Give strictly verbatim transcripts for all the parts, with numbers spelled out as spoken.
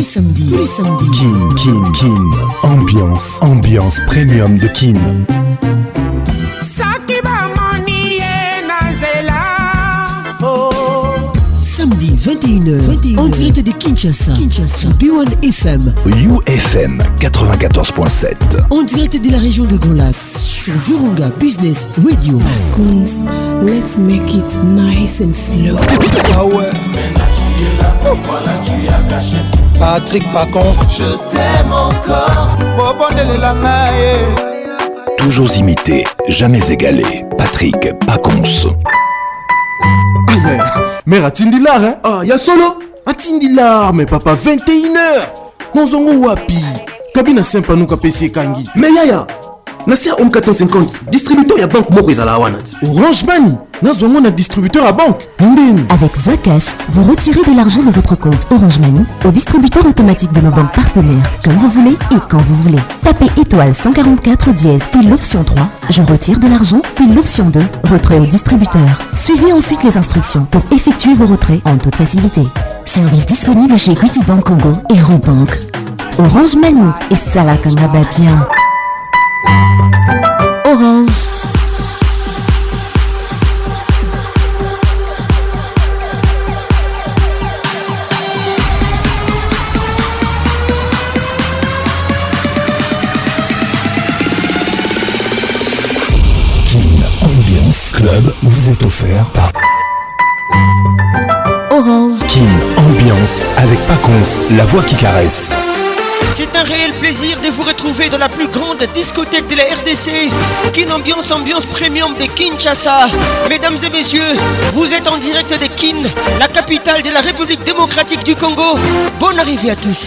les samedis, tous les samedis. Kin, Kin, Kin. Ambiance, ambiance premium de Kin. Samedi vingt et une heures, vingt et une heures, en direct de Kinshasa, Kinshasa, B un F M, U F M quatre-vingt-quatorze point sept, en direct de la région de Grand Lac, sur Virunga Business Radio. Kunz, let's make it nice and slow. Ah ouais. Patrick Pacons, je t'aime encore. Toujours imité, jamais égalé. Patrick Pacons. Aïe, mère Atindilar, hein? Ah, y'a solo? Atindilar, mais papa, vingt et une heures. Nozongo wapi. Kabina sempa nuka P C Kangi. Mais yaya, Nasser Home quatre cent cinquante, distributeur ya banque moko ezala wanati. Orange Money, Nazongo na distributeur à banque. Ndeni. Avec Zocash, vous retirez de l'argent de votre compte Orange Money au distributeur automatique de nos banques partenaires, comme vous voulez et quand vous voulez. Tapez étoile cent quarante-quatre dièse, puis l'option trois, je retire de l'argent, puis l'option deux, retrait au distributeur. Suivez ensuite les instructions pour effectuer vos retraits en toute facilité. Service disponible chez Equity Bank Congo et Robank. Orange Money, et ça la kangaba bien. Orange. Kin Ambiance Club vous est offert par Orange. Kin Ambiance avec Pacons, la voix qui caresse. C'est un réel plaisir de vous retrouver dans la plus grande discothèque de la R D C, Kin Ambiance, ambiance premium de Kinshasa. Mesdames et messieurs, vous êtes en direct de Kin, la capitale de la République démocratique du Congo. Bonne arrivée à tous.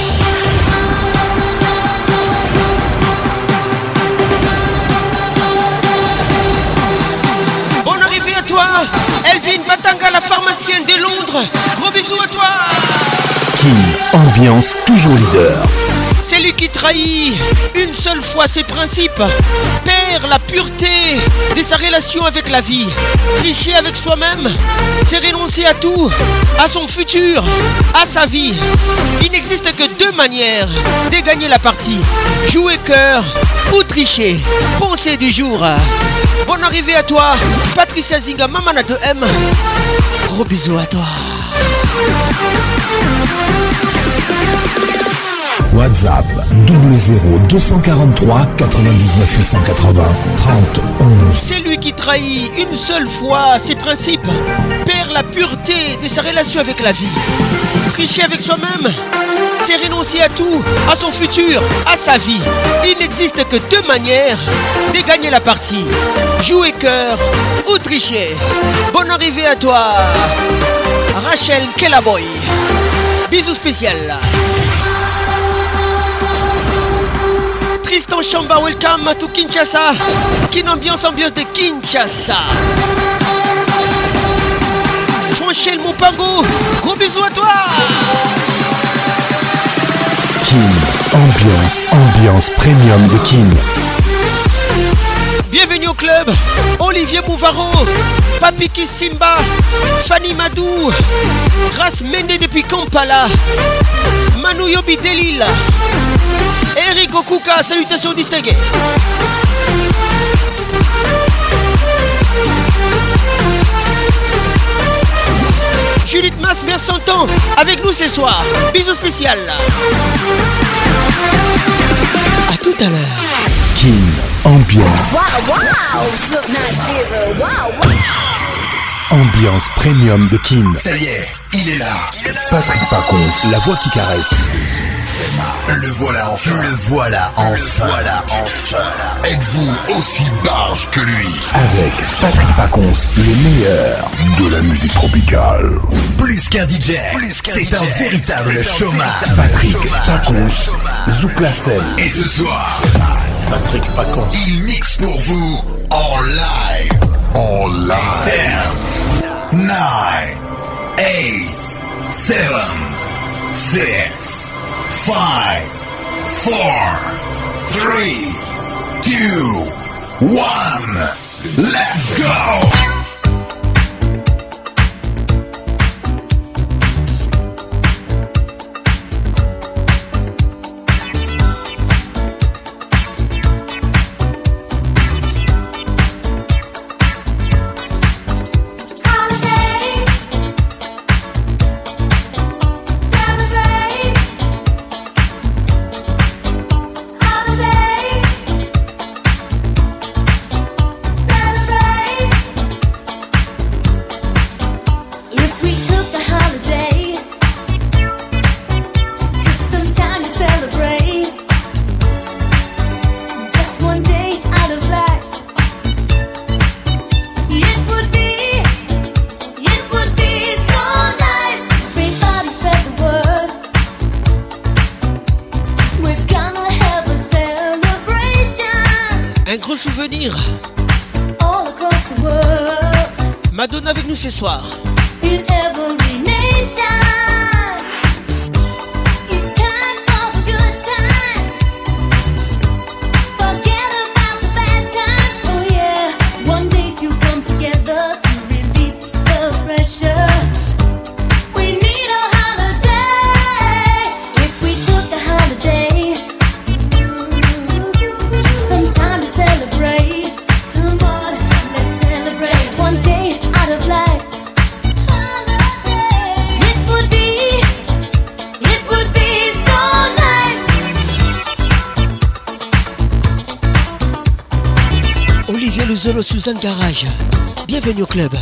Bonne arrivée à toi, Elvin Batanga, la pharmacienne de Londres. Gros bisous à toi. Kin Ambiance, toujours leader. C'est lui qui trahit une seule fois ses principes, perd la pureté de sa relation avec la vie. Tricher avec soi-même, c'est renoncer à tout, à son futur, à sa vie. Il n'existe que deux manières de gagner la partie: jouer cœur ou tricher. Pensée du jour. Bonne arrivée à toi, Patricia Zinga, Mamana de M. Gros bisous à toi. WhatsApp double zéro deux cent quarante-trois quatre-vingt-dix-neuf huit cent quatre-vingts trente onze. C'est lui qui trahit une seule fois ses principes, perd la pureté de sa relation avec la vie. Tricher avec soi-même, c'est renoncer à tout, à son futur, à sa vie. Il n'existe que deux manières de gagner la partie: jouer cœur ou tricher. Bonne arrivée à toi, Rachel Kellaboy. Bisous spécial. Tristan Chamba, welcome to Kinshasa. Kin Ambiance, ambiance de Kinshasa. Franchel Moupango, gros bisous à toi. Kin Ambiance, ambiance premium de Kin. Bienvenue au club. Olivier Bouvaro, Papi Kissimba, Fanny Madou, Grace Mende depuis Kampala, Manu Yobi Delil, Eric Okuka, salutations distinguées. Judith Mas, mère cent ans, avec nous ce soir. Bisous spécial. A tout à l'heure. Kin Ambiance. Wow, wow. Wow, wow. Ambiance premium de Kin. Ça y est, il est là. Patrick Pacons, la voix qui caresse. Le voilà enfin. Le voilà enfin. Le voilà enfin. Êtes-vous aussi barge que lui? Avec Patrick Pacons, le meilleur de la musique tropicale. Plus qu'un D J, c'est un véritable showman. Patrick Pacons, Zouk la scène. Et ce soir, Patrick Pacons, il mixe pour vous en live. En live. ten, nine, eight, seven, six, five, four, three, two, one. Let's go! Un gros souvenir. Madonna avec nous ce soir. Zolo Suzanne Garage, bienvenue au club.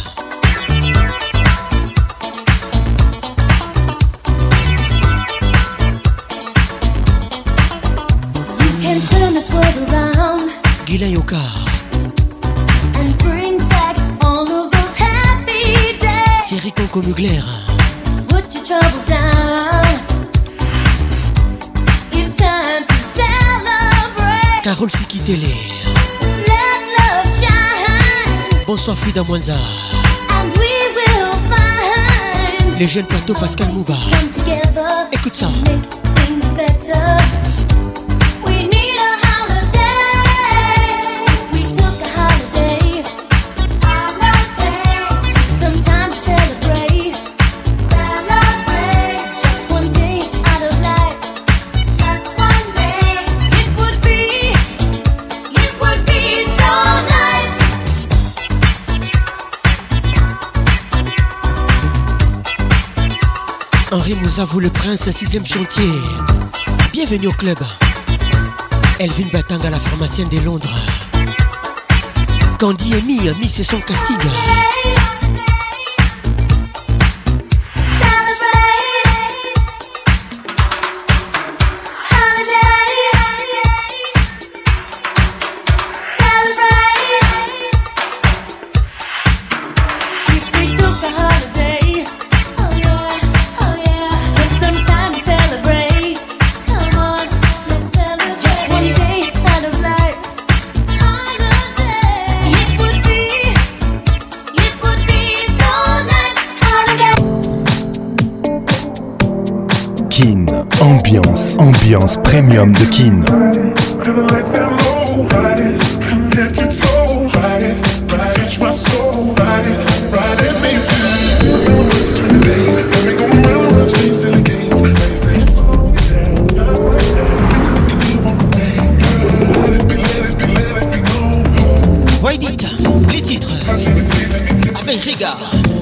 Guylain Yoka. Thierry Conco Mugler. Carole Sikitele. Bonsoir Frida Mwanza. Les jeunes plateaux Pascal Mouba. Écoute ça. Henri Mouzavou, le prince, sixième chantier. Bienvenue au club. Elvin Batanga, la pharmacienne de Londres. Candy et Mi, Mi c'est son casting. Ambiance, ambiance premium de Kin. Why it, les titres avec Riga.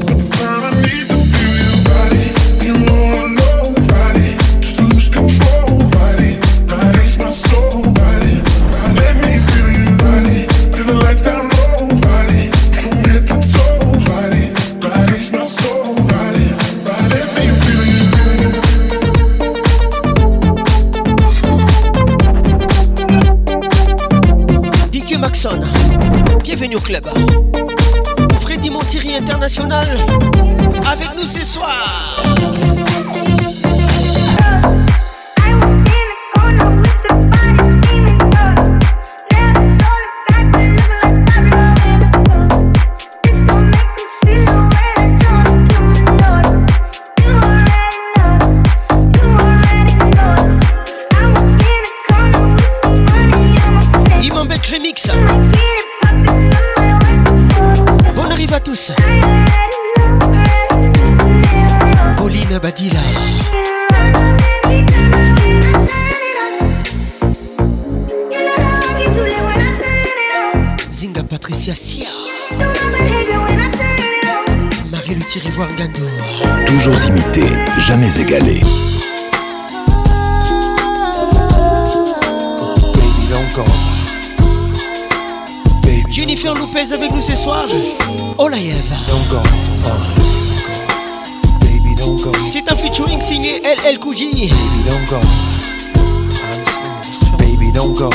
Maxon, bienvenue au club. Freddy Montieri International avec nous ce soir. Remix. Bonne arrive à tous. Pauline Badila. Zinga Patricia Sia. Marie-Luthi Rivoire Gando. Toujours imité, jamais égalé. Jennifer Lopez avec nous ce soir. Olaïev. C'est un featuring signé L L Kouji. Baby, don't go.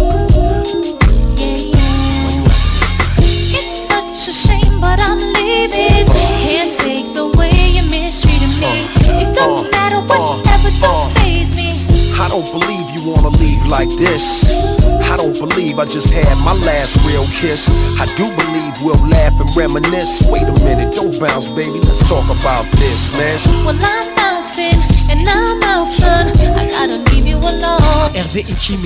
It's such a shame, but I'm leaving. Can't take the way you mistreated me. It don't matter whatever, don't faze me. I don't believe you want wanna leave like this. I don't believe I just had my last real kiss. I do believe we'll laugh and reminisce. Wait a minute, don't bounce, baby, let's talk about this, man. Well, I'm bouncing and I'm out, son. I gotta leave you alone. Hervé Ichimi,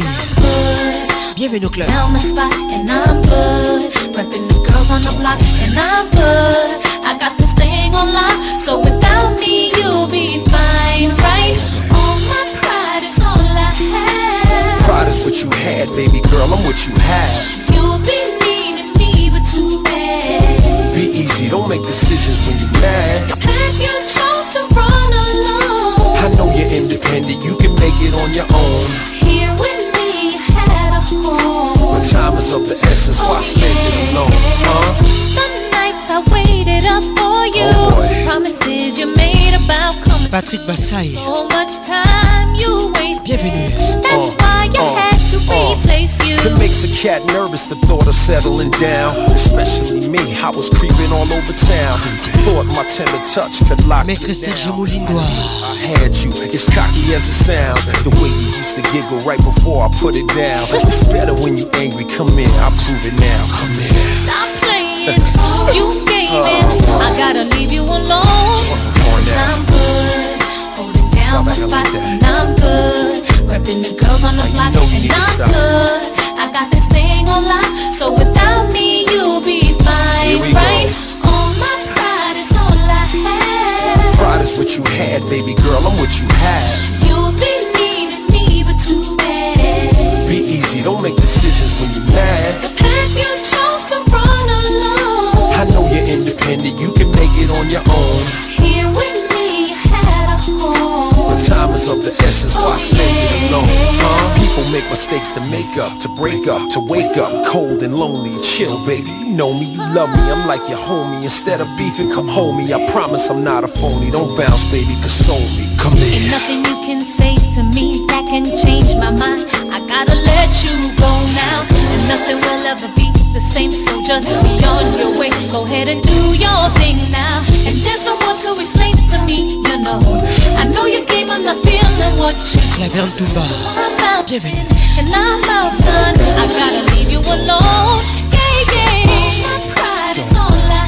bienvenue au club. Down the spot and I'm good. Repping the girls on the block and I'm good. I got this thing on lock, so without me you'll be fine, right? All my pride is all I have. Pride is what you had, baby girl, I'm what you have. You'll be needing me, but too bad. Be easy, don't make decisions when you're mad. The path you chose to run alone. I know you're independent, you can make it on your own. Here with me, you had a home. But time is of the essence, why oh, spend yeah. it alone, huh? The nights I waited up for you. Oh, promises you made about coming. Patrick Bassay, so much time you wasted. Bienvenue. That's uh, why you uh, had to uh, replace you. It makes a cat nervous, the thought of settling down. Especially me, I was creeping all over town. Thought my tender touch could lock me Maître Serge down. Moulindois. I had you, it's cocky as it sounds. The way you used to giggle right before I put it down. It's better when you angry, come in, I'll prove it now. Come in. Stop playing, you gave in. I gotta leave you alone. Cause I'm good, holding down my spot, and I'm good. Repping the girls on the block, and I'm good. I got this thing on lock, so without me you'll be fine, right? All my pride is all I have. Pride is what you had, baby girl, I'm what you have. You'll be needing me, but too bad. Be easy, don't make decisions when you're mad. The path you chose to run alone. I know you're independent, you can make it on your own. Here with me, you had a home. But time is of the essence, why oh, spend yeah. it alone, huh? People make mistakes to make up, to break up, to wake up cold and lonely. Chill, baby, you know me, you love me, I'm like your homie. Instead of beefing, come home me. I promise I'm not a phony. Don't bounce, baby, console me. Come in. And nothing you can say to me that can change my mind. I gotta let you go now. And nothing will ever be the same, so just be on your way. Go ahead and do your thing now. And there's no more to explain to me, you know. I know you came, I'm not feeling what you Claverne Touba, bienvenue. and I'm out, son. I gotta leave you alone. Yeah, yeah. My pride is all I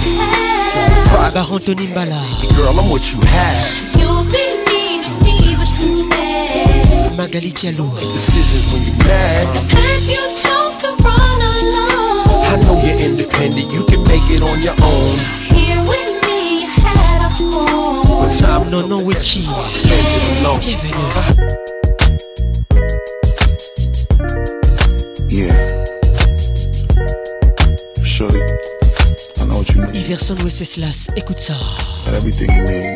have. Baron Tony Mbala, Girl, I'm what you have. You'll be needing me, but too bad. Magali Kialou, Decisions when you're mad. The path you chose to run alone. I know you're independent, you can make it on your own. Here with me, you had a home. But time Non Non Witchy, spend it alone. bienvenue. Yeah. Shorty, I know what you need. Iverson Wenceslas, écoute ça. Got everything you need.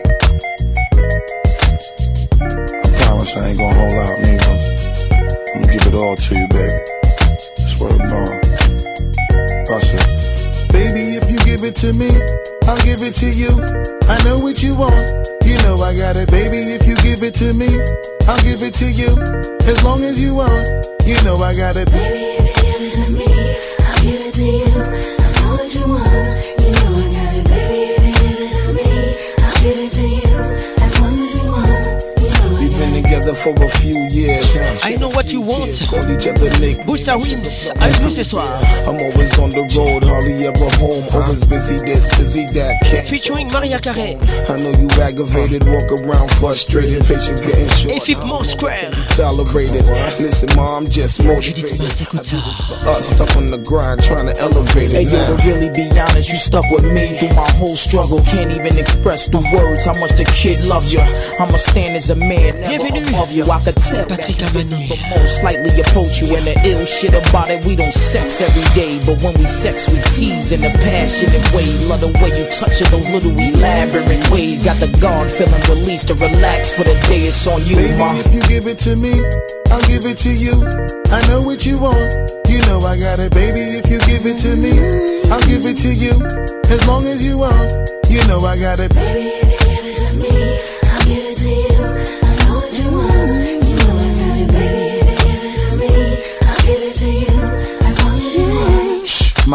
I promise I ain't gonna hold out, neither. I'm gonna give it all to you, baby. Swear to God. Bust it. Baby, if you give it to me, I'll give it to you. I know what you want. You know I got it, baby. If you give it to me, I'll give it to you. As long as you want, you know I got it. Baby, if you give it to me, I'll give it to you. I know what you want. You know I got it. Baby, if you give it to me, I'll give it to you. As long as you want. We've been together for a few years. I know what you want. Call each other Nick. Booster Wims, avec nous ce soir. I'm always on the road, hardly ever home. Always busy this, busy that. Can't. Featuring Maria Carey. I know you aggravated, walk around frustrated. Patience getting short. Équipement Square. Tolerated. Listen, mom, I'm just motivated. Judith Mars, écoute ça. Us stuck on the grind, trying to elevate it. Hey, yo, now. to really be honest, you stuck with me through my whole struggle. Can't even express through words how much the kid loves you. I'ma stand as a man, never Bienvenue. above you. I could tell Patrick that you Amani. for most slightly approach you. And the ill shit about it, we don't sex every day, but when we sex, we tease in a passionate way. Love the way you touch it, those little elaborate ways. Got the guard feeling released to relax for the day. It's on you, Baby, ma. if you give it to me, I'll give it to you. I know what you want. You know I got it, baby. If you give it to me, I'll give it to you. As long as you want, you know I got it. Baby, if you give it to me, I'll give it to you. I know what you want. You know I got it. Baby, if you give it to me, I'll give it to you. As long as you want. My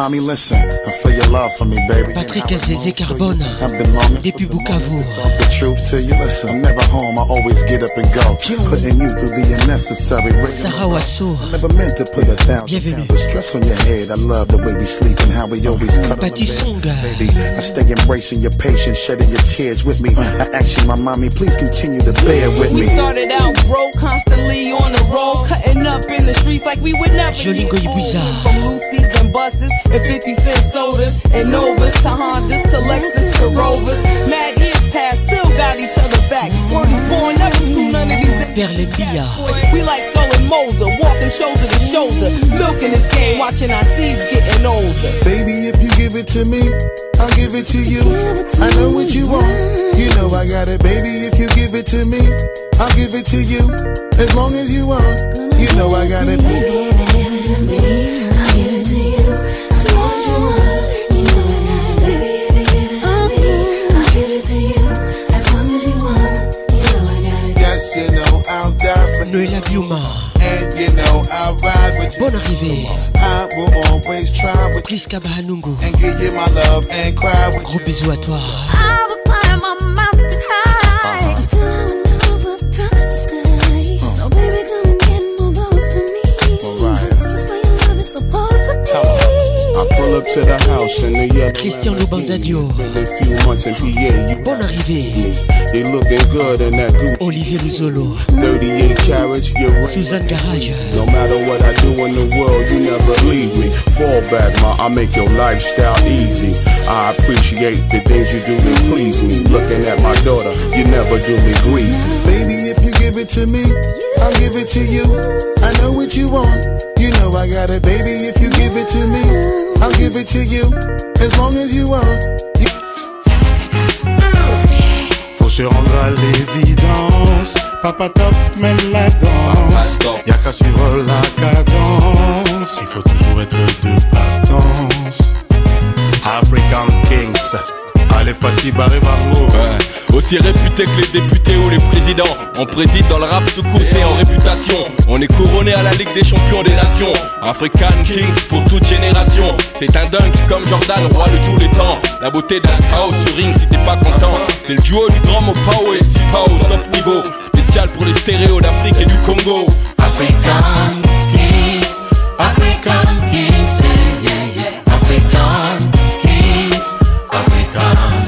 mommy, listen, I feel your love for me, baby. Patrick Zézé Carbone, depuis Bukavu. Talk the truth to you, listen, I'm never home, I always get up and go. Putting you through the unnecessary. Sarah Wasso, I never meant to put a thousand pounds of stress on your head. I love the way we sleep and how we always cut on the bed. Baby, I stay embracing your patience, shedding your tears with me. I ask you, my mommy, please continue to bear with me. We started out broke, constantly on the road, cutting up in the streets like we would never get old. From Lucy's and buses and fifty cent sodas and Novas to Hondas to Lexus to Rovers. Mad years past, still got each other back. Word is born, never screw none of these. We like Skull and Molder, walking shoulder to shoulder, milking this game, watching our seeds getting older. Baby, if you give it to me, I'll give it to you. I know what you want, you know I got it. Baby, if you give it to me, I'll give it to you. As long as you want, you know I got it. Baby, give it to me, I'll give it to you. As long as you want, you know I got it. Baby, if you give it to me, I'll give it to you. As long as you want, you know I got it. Yes, you know I'll die for Noëlla Biuma. And you know I'll ride with you. Bonne arrivée. I will always try with Priska Bahanungu. And give you my love and cry with Gros bisous à toi. I will climb a mountain high uh-huh. until our love will touch the sky. So baby, come and get more close to me. Right. This is where your love is supposed to be. I pull up to the house and the yellow. Christian Lubanzadio. Been a few months in P A. Bonne arrivée. They looking good in that Gucci. Olivier Luzolo. thirty-eight carats, you're right. Suzanne Garage. No matter what I do in the world, you never leave me. Fall back, ma, I make your lifestyle easy. I appreciate the things you do to please me. Looking at my daughter, you never do me greasy. Baby, if you give it to me, I'll give it to you. I know what you want, you know I got it. Baby, if you give it to me, I'll give it to you. As long as you want. You... Faut se rendre à l'évidence. Papa top mène la danse. Y'a qu'à suivre la cadence. Il faut toujours être de platance. African Kings. Allez, pas si barré barreau. Ouais. Aussi réputé que les députés ou les présidents. On préside dans le rap sous course et en réputation. On est couronné à la Ligue des champions des nations. African Kings pour toute génération. C'est un dunk comme Jordan, roi de tous les temps. La beauté d'un chaos sur ring si t'es pas content. C'est le duo du grand Mopao et Sipa au top niveau. Spécial pour les stéréos d'Afrique et du Congo. African Kings, African Kings, yeah, yeah, yeah. African Kings, African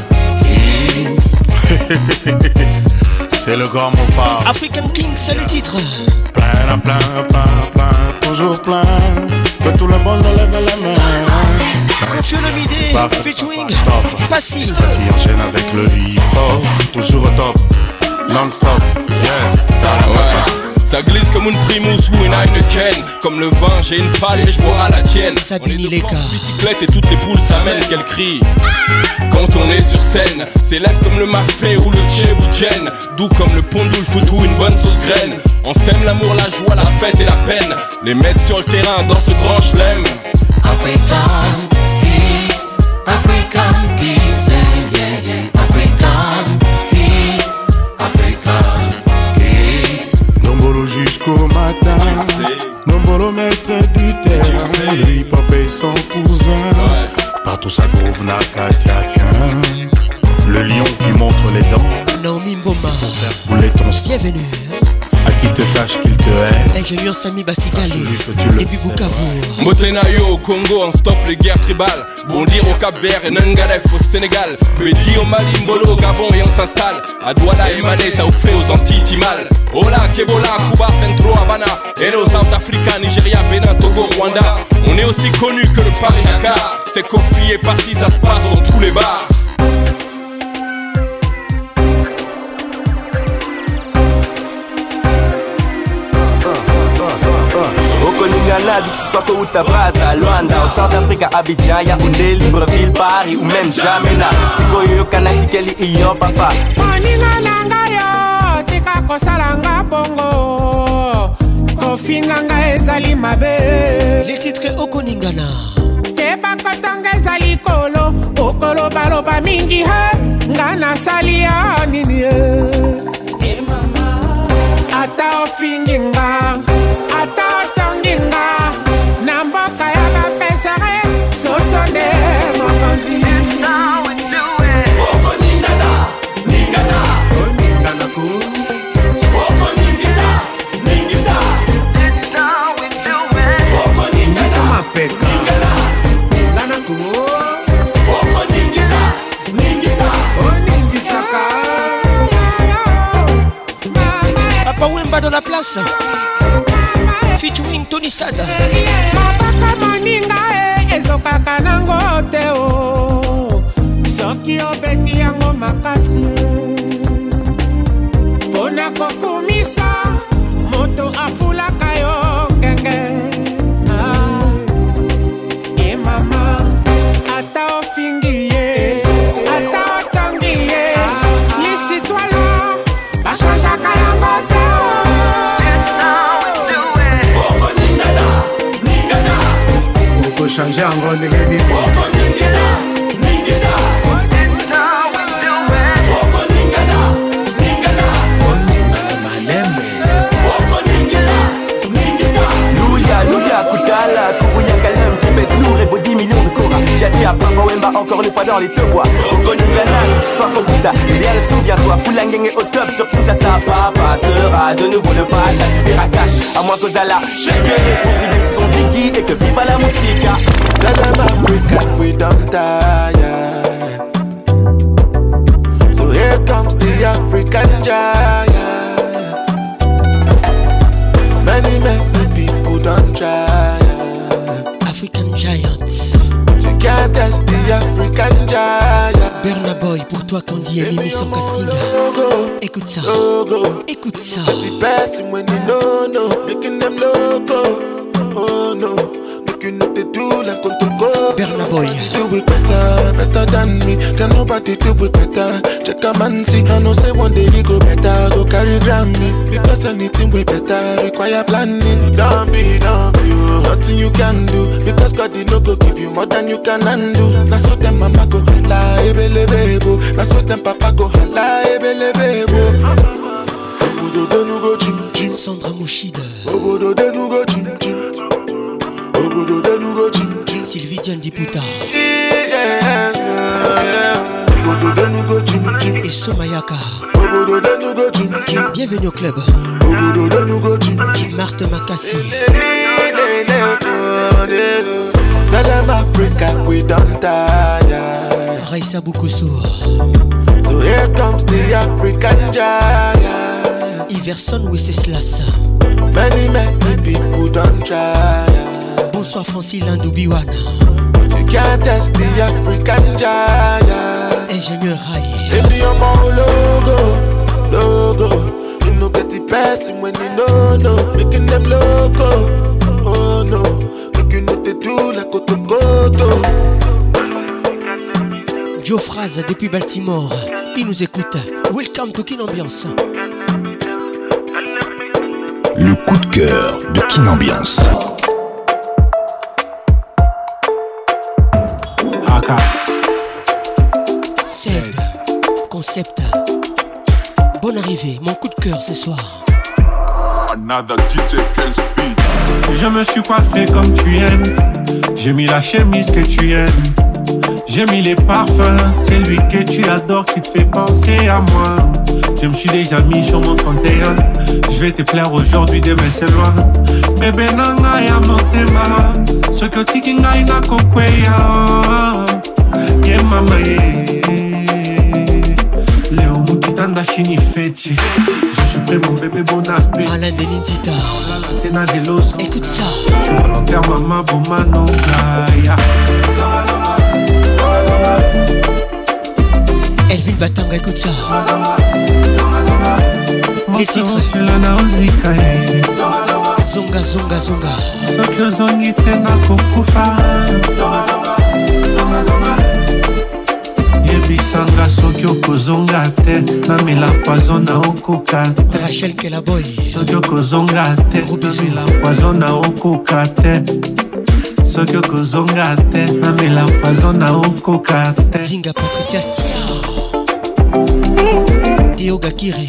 Kings. C'est le grand Mopao. African Kings, c'est le titre. Plein, plein, plein, plein, toujours plein. Que tout le monde lève la main. Confie Olomide, featuring Passy. Passy enchaîne avec le hip-hop. Toujours au top, non-stop, yeah. Ouais. Ça glisse comme une Primus ou une Heineken. Comme le vin, j'ai une palle et je bois à la tienne. Sabine Leka. Bicyclette et toutes les poules s'amènent qu'elles crient. Quand on est sur scène, c'est laid comme le mafé ou le tchébouchen. Doux comme le pondou, le foot ou une bonne sauce graine. On sème l'amour, la joie, la fête et la peine. Les mettre sur le terrain dans ce grand chelem. African Kings, African Kings, yeah, yeah, yeah. African Kings, African Kings. Nombolo jusqu'au matin, Nombolo maître du terrain. Le hip-hop est son cousin, ouais. Partout ça groove n'a qu'à tiaquin. Le lion qui montre les dents, Naomi Mboma, couler ton sang. Bienvenue. À qui te cache qu'il te hait. Ingénieur Sami Basigale et puis Bukavu. Motenayo au Congo, on stoppe les guerres tribales. Bondir au Cap Vert et Nangalef au Sénégal. Bédi au Mali, Mbolo au Gabon et on s'installe. À Douala et Mané, ça offrait aux Antilles Timal. Ola, Kebola, Cuba, Centro, Havana. Hello, South Africa, Nigeria, Bénin, Togo, Rwanda. On est aussi connu que le Paris-Dakar. C'est Kofi et Passy, ça se passe dans tous les bars. Okoningana, du Soto ou Tabraza, Luanda, au South Africa, Abidjan, Yaoundé, Libreville, Paris ou même Jamena. Sikoyo, Kanati, Kelly, Iyo, Papa. Moninga nanga yo, tika kosalanga bongo. Kofi nanga ezali mabe. Les titres Okoningana. Keba kotanga ezali kolo, okolo baloba mingi he. Ngana sali ya nini he. Ata ofinginga, ata otonginga. Namboka ya bapesare, soso Papa Wemba dans la place. Featuring Tony Sada. Mabaka moninga e ezokaka nango te o. Soki obeti yango makasi. Pona kokumisa moto afulaka yo ngenge. Ah. E mama ata ofingiye ata otangiye. Lisi toi là bachangaka yango te o. Changer en gros nigga nigga That's how we do it. Woko ningana, ningana. Louya, louya, Koutala, Kourouya, Kalem, qui pèse lourd et vaut dix millions de Cora. Jaji à Papa Wemba, encore une fois dans les deux bois. Woko ningana, soit Kokuta, bien le souviens-toi. Foulangang est au top sur Kinshasa. Papa sera de nouveau le patch à Tibirakash. À moins qu'Ozala, Schengen est pour briller son Diggy et que viva la musica. Tell them Africa, we don't tire. So here comes the African giant. Many, many people don't try. African giant. You can't test the African giant. Berna Boy, pour toi qu'on dit Mimi sans casting. Écoute ça. Écoute ça. The best when you know, no, making them loco. Oh no. You know they do like control go. Berna Boy. Do it better, better than me. Can nobody do it better? Check a man see. I know say one day you go better. Go carry Grammy. Because anything way better require planning. Don't be, don't be. Nothing you can do. Because God did not go give you more than you can undo. Now so them mama go hala, ebele bebo. Now so them papa go hala, ebele bebo. Obodo de nou go chim chim. Sandra Mouchide. Obodo de nou go chim chim. Obodo de nou go chim chim. Sylvie Diane Diputa. Obodo de nou go chim chim. Et Somayaka. Obodo de nou go chim chim. Bienvenue au club. Obodo de nou go chim chim. Marthe Makassi. Tell them Africa we don't tire. Raissa Boukoussou. So here comes the African giant. Iverson Wenceslas. Many, many people don't try. Bonsoir Francis Landoubiwana. You can't test the African giant. Ingénieur Rai. In the logo, logo. You know get the person when you know, no. Making them loco. Oh no. Make you know they do like Otokoto. Joe Fraz depuis Baltimore. Il nous écoute. Welcome to Kin Ambiance. Le coup de cœur de Kin Ambiance. Haka. Seb. Concept. Bonne arrivée. Mon coup de cœur ce soir. Another D J Prince Beat. Je me suis coiffé comme tu aimes. J'ai mis la chemise que tu aimes. J'ai mis les parfums. C'est lui que tu adores qui te fait penser à moi. Je me suis déjà mis sur mon trente et un. Je vais te plaire aujourd'hui, demain c'est loin. Bébé nanga ya motema. Ce que tiki ngai na kokweya. Ye mama ye. Léo mukitanda shini feti. Je suis prêt mon bébé, bon appétit. Alain Denizita. Tena zelos. Écoute ça. Je suis volontaire maman pour manongaya. Zama zama. Zama zama. Elvin Batanga, écoute ça. Les titres. Zonga, zonga, zonga. Soki ozongi te nakokufa. Yebisanga soki okozonga te namela poison na okoka te. Rachel Kelaboy. Soki okozonga te namela poison na okoka te. Soki okozonga te namela poison na okoka te. Zinga Patricia Sia. Théo Gakiri.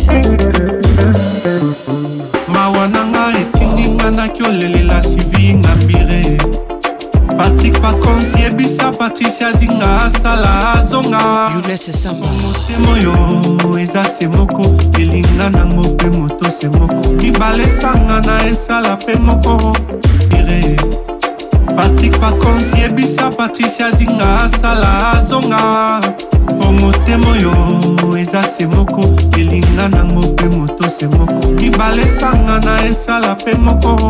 Mawananga etinginga na kiolelela sivi ngambire. Patrick Paconsi ebisa Patricia Zinga asala azonga. Younes Samba. Motemo yo eza se moko. Elinga nango pe moto se moko. Mibale sanga na esala pe moko. Ire. Patrick Paconsi ebisa Patricia Zinga asala azonga. Motemo yo eza se moko. Elinga nango pe moto moto se moko mibale esanga na esala pe moko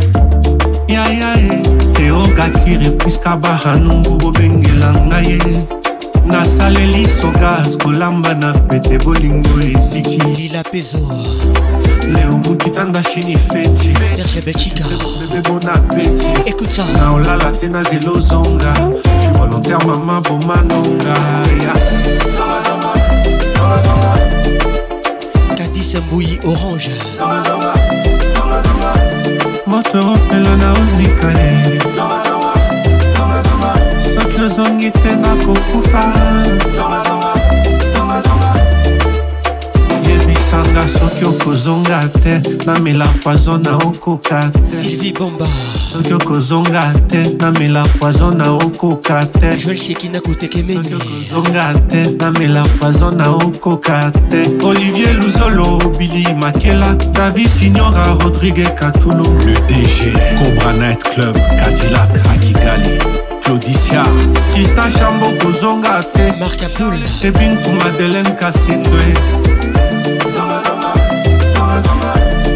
yayae eogakire puiska bahanungu bobengela ngai nasaleli sogas kolamba na pete bolingo eziki lila pezo leo mukitanda shini feti Serge Belchica bébé bon appétit écoute ça na olala tena zelo zonga je suis volontaire maman bomanonga ya zama zama zama zama Kadis Mbouyi Orange zama zama zama zama moto opela na ozika ye zama zama zama zama soki ozongi te na kokufa zama zama zama zama yebisanga soki okozonga te namela poison na okoka te Sylvie Bomba soki okozonga te namela poison na okoka te Joël Shekina Koutekemeni soki okozonga te namela poison na okoka te Olivier Luzolo Billy Makela David Signora Rodrigue Katulo le D G Cobra Night Club Cadillac à Kigali Claudicia Tristan Chambo kozonga te Marc Abdoul Tebin pour Madeleine Kassindwe Zama zama zama zama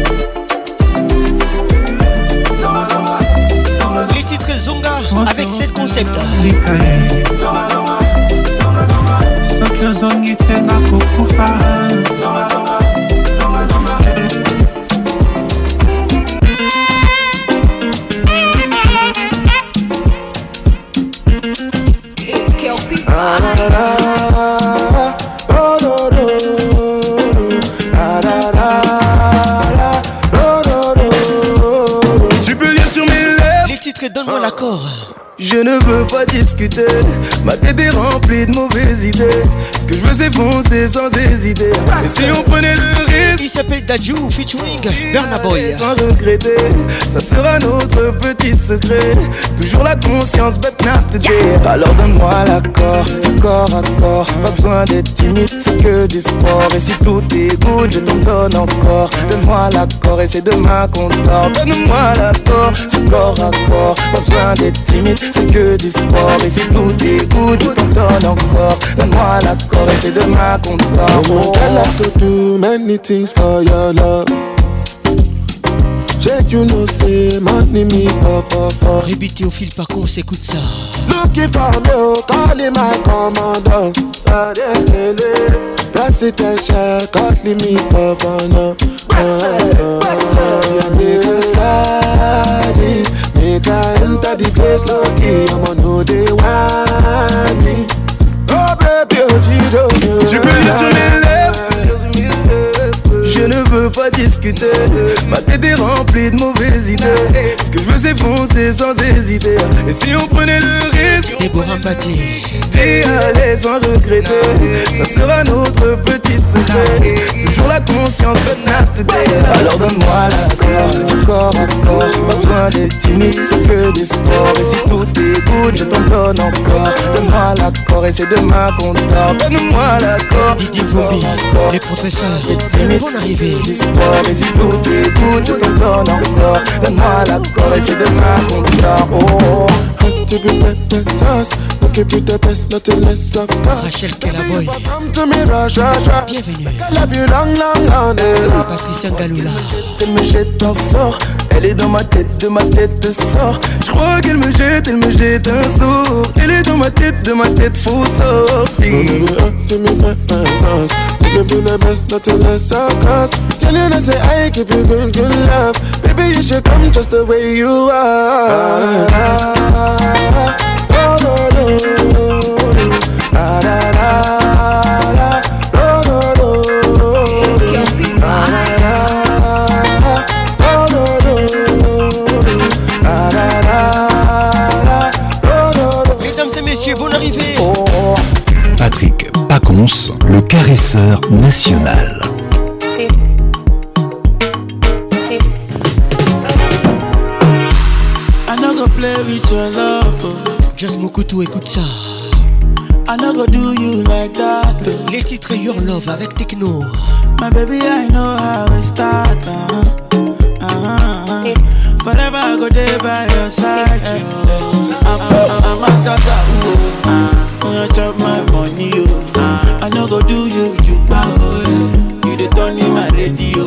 zama zama zama les titres Zonga avec sept concepts zama zama zama zama soki ozongi te na kokufa zama zama zama zama It's Kelpie. Tu peux lire sur mes lèvres. les titres donne-moi l'accord. Je ne veux pas discuter, ma tête est remplie de mauvaises idées. Ce que je veux c'est foncer sans hésiter. Et si on prenait le risque, il s'appelle Dadju featuring Burna Boy. sans regretter, ça sera notre petit secret. Toujours la conscience, but not today. Alors donne-moi l'accord, du corps à corps. Pas besoin d'être timide, c'est que du sport. Et si tout est good, je t'en donne encore. Donne-moi l'accord et c'est demain qu'on dort. Donne-moi l'accord, du corps à corps. Pas besoin d'être timide, c'est que du sport. Et si tout est good, je t'en donne encore. Donne-moi l'accord et c'est demain qu'on dort. Oh, girl, I could do many things for your love. Check, you know, say, money me pop, pop, pop. Rébité au fil par contre, s'écoute ça. Looking for me, calling my commander. Presidential, calling me governor. Make a slide, make a enter the place lucky. I'ma know they want me. Oh baby, oh Giro. Tu peux lire sur mes lèvres. Je ne veux pas discuter, ma tête est remplie de mauvaises idées. Ce que je veux c'est foncer sans hésiter. Et si on prenait le risque, Déborah Mbaté, d'y aller sans regretter, ça sera notre petit secret. Toujours la conscience, but not today. Alors donne-moi l'accord, du corps à corps. Pas besoin d'être timide, c'est que du sport. Et si tout est good, je t'en donne encore. Donne-moi l'accord et c'est demain qu'on dort. Donne-moi l'accord, Didier Vombi, les professeurs, bonne arrivée. du sport. Et si tout est good, je t'en donne encore. Donne-moi l'accord et c'est demain qu'on dort. Oh, hot to be pepper sauce. Look if you the best, nothing less of us. Rachel Kelaboy, Come to me, rush, rush, rush. bienvenue. I love you long, long, long, long. Patricia Ngaloula, elle me jette un sort. Elle est dans ma tête, de ma tête sort. Je crois qu'elle me jette, elle me jette un sort. Elle est dans ma tête, de ma tête, faut sortir. Hot to me pepper sauce. Look if you the best, nothing less of us. Girl, you know say I give you good, good love. Baby, you should come just the way you are. mesdames et messieurs, bonne arrivée. Patrick Pacons, le caresseur national. I no go play with your love. Oh. Just Mokutu, écoute ça. I no go do you like that. Oh. Les titres Your Love avec Techno. My baby, I know how it start. Uh-huh. Uh-huh. Forever I go there by your side. Oh. I'm, I'm, I'm a tata. Oh. Uh, you chop my money. Oh. Uh, I no go do you, you bow. You the turn in my radio.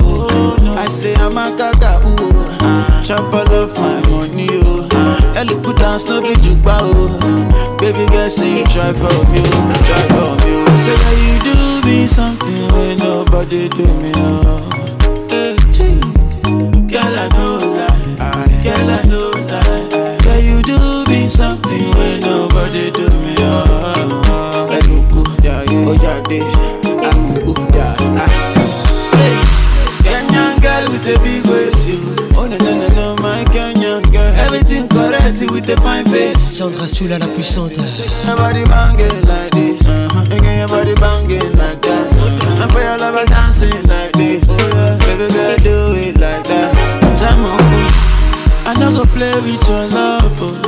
I say I'm a gaga, ooh. Chop all of my money, oh. Ellie good dance, no be jukba, oh. Baby girl, say you try for me, oh. Try for me, oh. Say that you do me something when nobody do me, oh. Hey, gee. Girl, I know lie. Girl, I know lie. Girl, you do me something when nobody do me, oh. Hey, look good, yeah, yeah. Oh, yeah, this. I'm good, yeah. Kenyan girl with a big waist, you. Oh no no no no, my Kenyan girl. Everything correct with a fine face. Sandra Soula la puissante. Your body banging like this, uh-huh. Again your body banging like that. Uh-huh. And for your lover dancing like this, oh, yeah. Baby girl do it like that. Jam on, I no go play with your love, oh.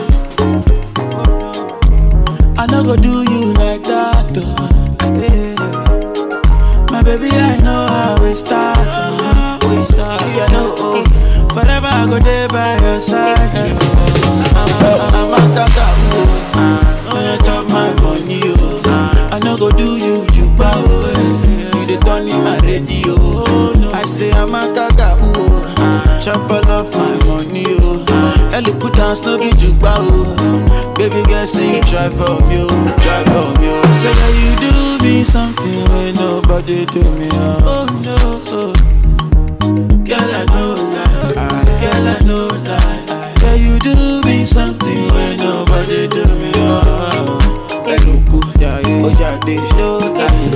I no go do you like that, oh. Yeah. My baby, I know how we start, uh, we start, yeah, I know, oh. Forever I go there by your side, oh. I'm, I'm a tata, oh. Oh, you chop my money, oh. I no go do you, you bow, oh. You the turn in my radio, oh, no. I say I'm a gaga, oh. Chop all of my money, oh. Ellie good dance, no be jukba, oh. Baby girl, say you try for me, oh. Try for me, oh. Say that you do me something when nobody do me, oh, oh no, oh. Girl, I know lie. Girl, I know lie. Girl, you do me something when nobody do me, oh. Hey, look good, yeah, yeah. Oh, yeah, this, no lie.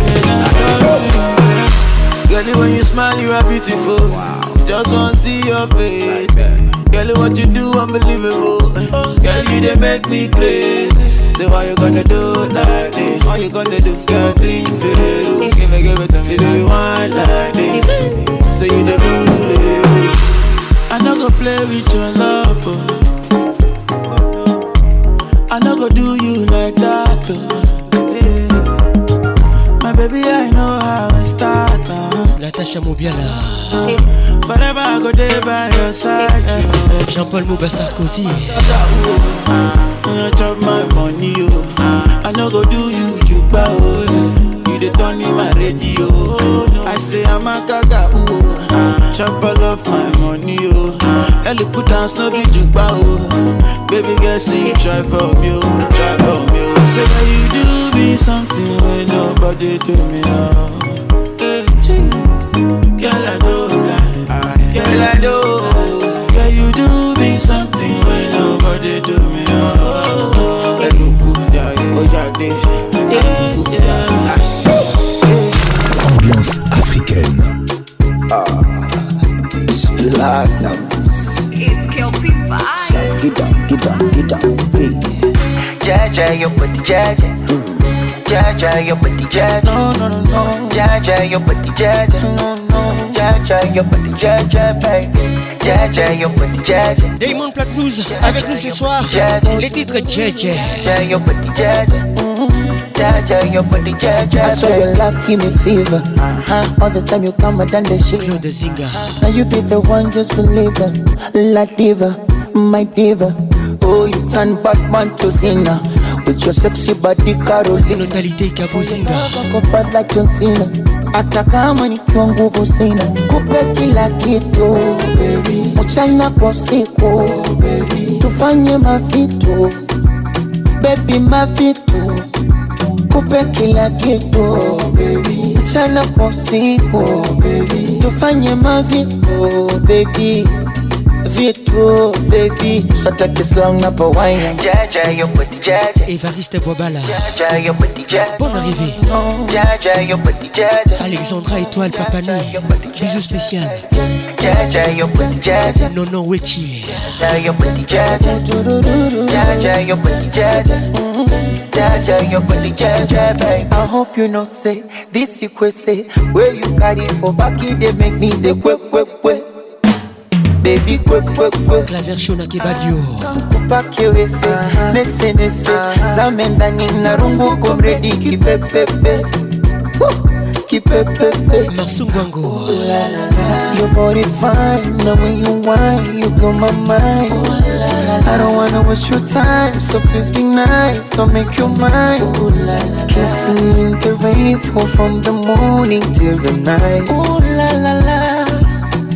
Girl, when you smile, you are beautiful. Wow. Just wanna see your face. Girl, what you do, unbelievable. Girl, you they make me crazy. Say, why you gonna do like this? Why you gonna do? Girl, drink Ferrero. Give me, give it to me. Say, do you want like this? Say, you the bully. I no go play with your love, oh. I no go do you like that, oh. Yeah. My baby, I know how I start, uh. Natacha Mobiala. Uh, forever I go there by your side, uh. Jean-Paul Mouba Sarkozy. You chop my money, oh. I no go do you, you bow, oh. You the turn in my radio, oh, no. I say I'm a gaga, oh. Chop all of my money, oh. Ellie good dance, no be jukba, oh. Baby girl, say you try for me, oh. Try for me, oh. Say that you do me something when nobody do me, oh. Hey, gee. Girl, I know lie. Girl, I know. Girl, you do me something when nobody do me, oh. Hey, look good, yeah, yeah. Oh, yeah, this. Yeah, yeah. Ambiance africaine. Ah, Platinums. It's Kelpie Vibes. Get down, get down, get down, baby. Jaja, your body, Jaja. Jaja, your body, Jaja. No, no, no, no. Jaja, your body, Jaja. No, no. Jaja, your body, Jaja, baby. Jaja, your body, Jaja. Damon Platnumz avec nous ce soir. Les titres Jaja. Jaja, your body, Jaja. Jaja, your body, Jaja. I swear your love give me fever. Uh-huh. All the time you come and done the shit. Claude Zinga. Now you be the one, just believe it. La diva, my diva. Oh, you turn Batman to Cena. With your sexy body, Caroline. Notalité Cabo Zinga. Fight like John Cena. Hata kama nikiwa nguvu sina, kupe kila kitu baby, mchana kwa usiku baby, tufanye mavitu baby, mavitu, kupe kila kitu baby, mchana kwa usiku baby, tufanye mavitu baby, vitu baby, sataki slang na pawaina. Jaja, your body, Jaja. Evariste Boabala. Jaja, your body, Jaja. Bonne arrivée. Jaja, your body, Jaja. Alexandra Étoile Papani. Bisous spécial. Jaja, your body, Jaja. Nono Wechi. Jaja, your body, Jaja. Jaja, your body, Jaja. Jaja, your body, Jaja, baby. I hope you know say this you could say where you carry for back it they make me the quick quick quick. Baby quick quick quick. La version à Kebadio. Kupaki wese nese nese zamenda nina rungu komredi kipepepe kipepepe. Marsungwango. Your body fine, now when you whine you blow my mind. I don't wanna waste your time, so please be nice, so make your mind. Kissing in the rain, fall from the morning till the night. Ooh la la la.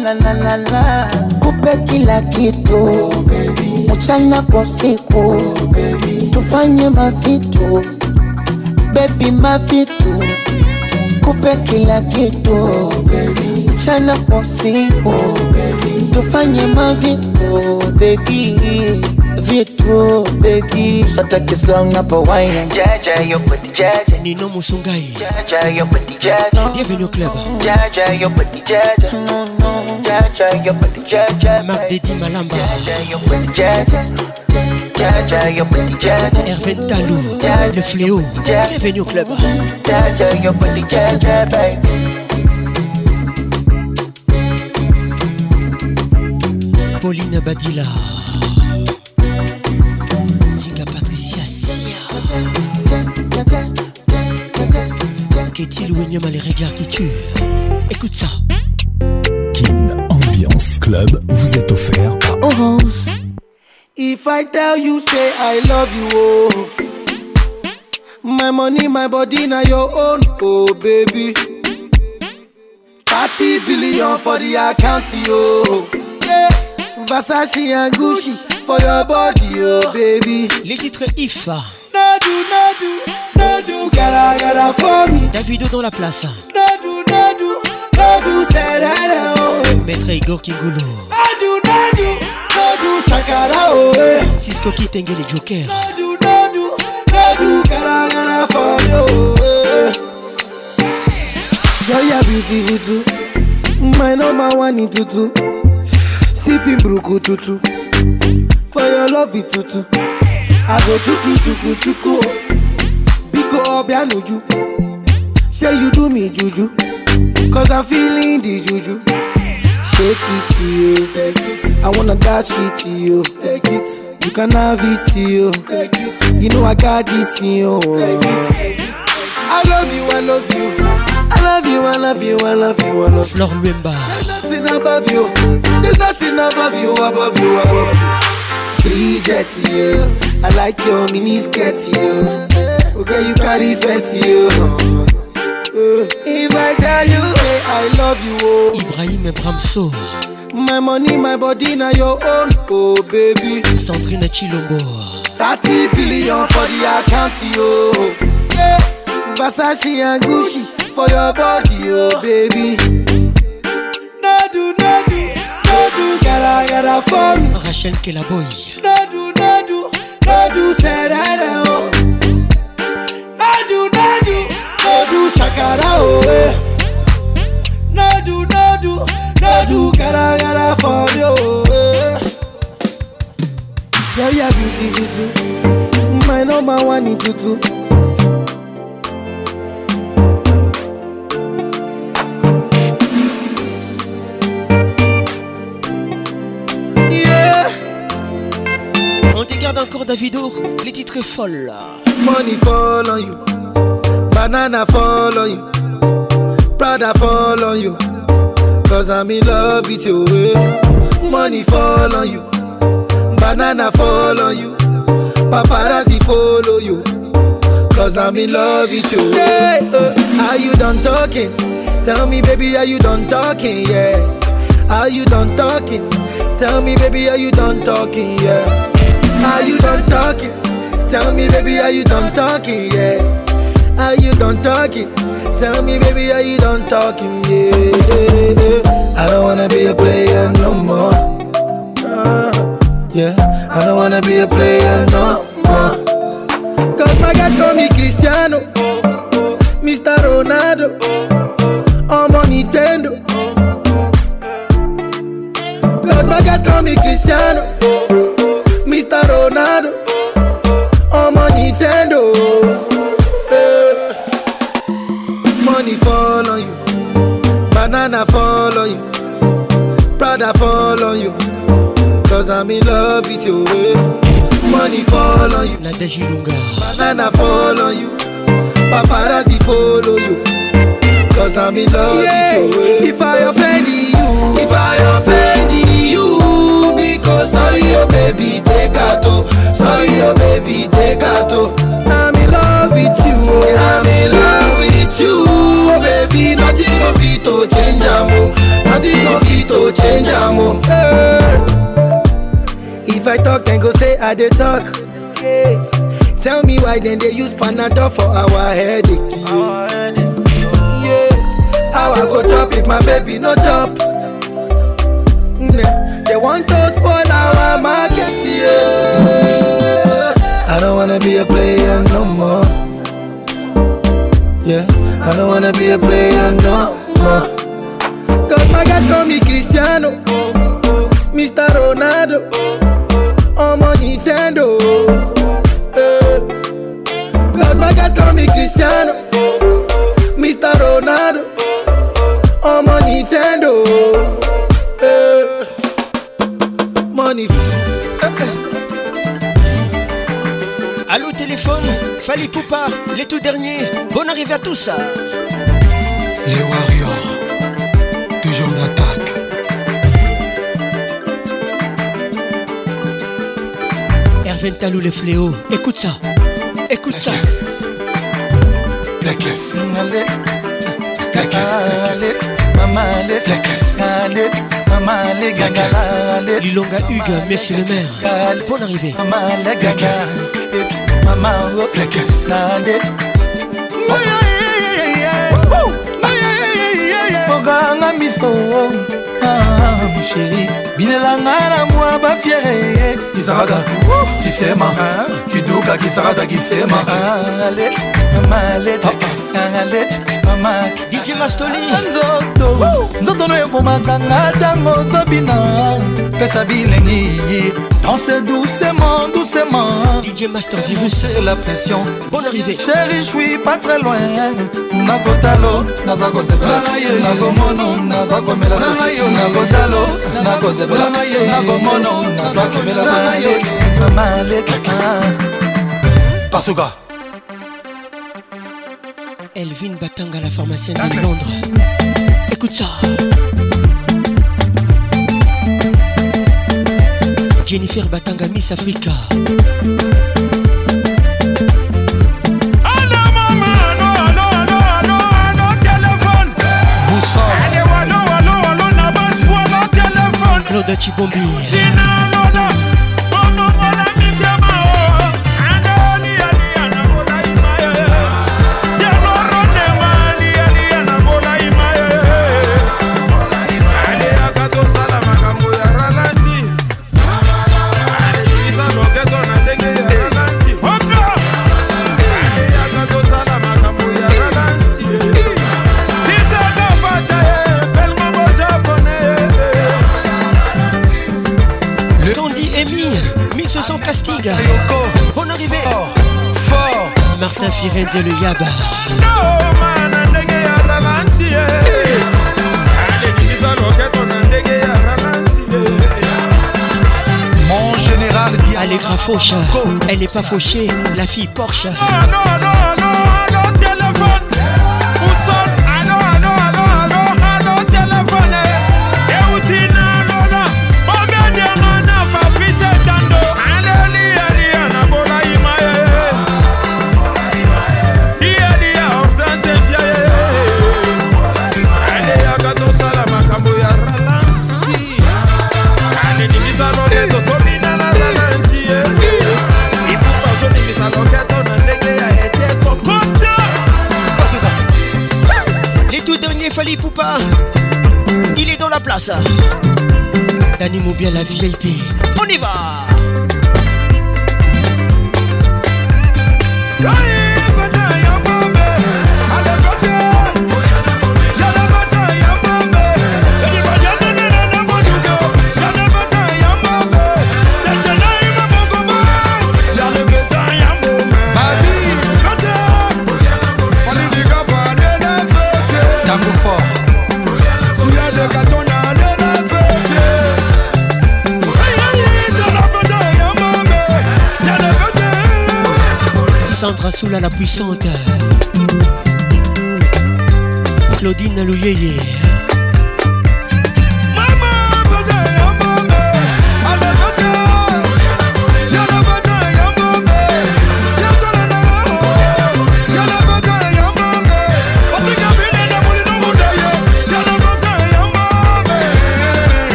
la la la la, kupe kila kitu mchana kwa usiku, tufanye mavitu baby, mavitu kupe kila kitu mchana kwa usiku, tufanye mavitu baby, vitu baby. Sata kislong na pa wine Jaja yo put the jaja Nino Musungai Jaja yo put the jaja Bienvenue au club Jaja yo put the jaja Jaja yo put the jaja Marc Dedi Malamba Jaja yo put the jaja Jaja yo put the jaja Hervé Talou Le fléau Bienvenue au club Jaja yo put the jaja baby. Pauline Badila Zinga Patricia Sia Qu'est-il ou Enyama les regards qui tuent. Écoute ça. Kin Ambiance Club vous est offert à Orange. If I tell you say I love you, oh, my money, my body, now your own, oh baby. thirty billion for the account, oh, yeah. Versace and Gucci for your body, oh baby. Les titres If. No do, no do, no do, gotta, gotta for me. Davido dans la place. No do, no do, no do, say that, oh. Maître Igor Kingolo. No do, no do, no do, shakara, oh. Cisco Kitenge les Jokers. No do, no do, no do, gotta, gotta for me, oh. Girl, you're beautiful too. My number one in tutu. Sipping bruku tutu. For your love it tutu. I go chuku chuku chuku. Biko obianuju. Say you do me juju. Cause I'm feeling the juju. Shake it to you. Take it. I wanna dash it to you. Take it. You can have it to you. Take it. You know I got this in you. Take it. I love you, I love you. I love you, I love you, I love you, I love you. Flor Luemba. There's nothing above you. There's nothing above you, above you, above you. Bridget, you. I like your mini skirt, you. Okay, you carry fancy, you. If I tell you, hey, I love you, oh. Ibrahim Bramso. My money, my body, now your own, oh baby. Sandrine Chilombo. thirty billion for the account, yo. Yeah. Versace and Gucci for your body, oh baby. No do, no do, no do, gotta, gotta for me. Rachel Kelaboy. No do, no do, no do, say that, oh. No do, no do, no do, shakara, oh. No do, no do, no do, gotta, gotta for me, oh. Girl, you're beautiful too. My number one in tutu. On te garde encore Davido, les titres folles. Money fall on you, banana fall on you, Prada fall on you, cause I'm in love with you. Money fall on you, banana fall on you, paparazzi follow you, cause I'm in love with you. Hey, uh, are you done talking? Tell me baby, are you done talking? Yeah. Are you done talking? Tell me baby, are you done talking? Yeah. Are you done talking? Tell me baby, are you done talking? Yeah. Are you done talking? Tell me baby, are you done talking? Yeah, yeah, yeah. I don't wanna be a player no more. Uh, yeah, I don't wanna be a player no more. Cause my guys call me Cristiano, Mister Ronaldo, I'm on Nintendo. Cause my guys call me Cristiano, Mister Ronaldo, I'm on Nintendo. Yeah. Money fall on you, banana fall on you, Prada fall on you, cause I'm in love with you. Money fall on you, Nadège Ilunga, banana fall on you, paparazzi follow you, cause I'm in love yeah. with you. If I offend you, if I offend you, because sorry oh baby, take out, sorry oh baby, take out. I'm in love with you, I'm in love with you, oh baby, nothing of it to change, amo, nothing of it to danger mo. If I talk then go say I dey talk. Yeah. Tell me why then they use Panadol for our headache. Yeah. How I go chop if my baby no chop? Mm, they want to spoil our market. Yeah. I don't wanna be a player no more. Yeah. I don't wanna be a player no more. Cause my guys call me Cristiano, Mister Ronaldo, I'm on Nintendo. Uh, Cause my guys call me Cristiano, Mister Ronaldo, I'm on Nintendo. Uh, money. Allô téléphone, Fali Poupa, les tout derniers, bonne arrivée à tous. Les Warriors, toujours d'attaque. Hervé Talou les fléaux, écoute ça, écoute ça. La caisse. La caisse. Maman, la caisse. Lilonga Hugues, monsieur le maire, bonne arrivée. La caisse. La caisse. Moganga miso, ah mon chéri, binelanga na moi ba fiere. Kisarada, kisema, kiduka kisarada kisema. Alet, malet, alet, mama. D J Mastoli. Nzoto, nzoto no yoko makanga tango zabina. Pesa bilengi, danse doucement, doucement. D J Master Virus. C'est la pression. Bonne arrivée. Chéri, je suis pas très loin. Nakotalo, nazako sepela. Nakomono, nazako mela. Nakotalo, nazako sepela. Nakomono, nazako mela. Mama leka. Pasuka. Elvin Batanga, la pharmacienne de Londres. Écoute ça. Jennifer Batanga, Miss Africa. Claude Chibombi. Sans casting. Bonne arrivée. Fort. Martin Firenze le Yaba. Mon général dit Allegra Fauche. Elle n'est pas fauchée, la fille Porsche. Fali Poupa, il est dans la place. Dani Moubia, la V I P. On y va. Sandra Soula la puissante, Claudine Louyeye.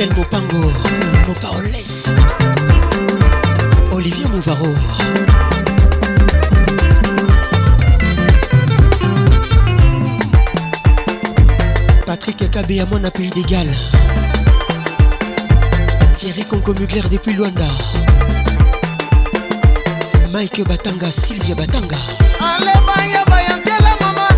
Michel Mopango, Mopaoles, Olivier Mouvaro. Patrick Kabé à mon pays d'égal. Thierry Conco Mugler depuis Luanda. Mike Batanga, Sylvia Batanga. Allez, baya, baya, quelle maman.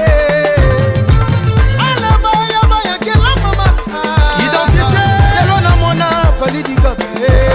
Allez, baya, baya, quelle maman. Identité. Lelo na mona, fali di gabe.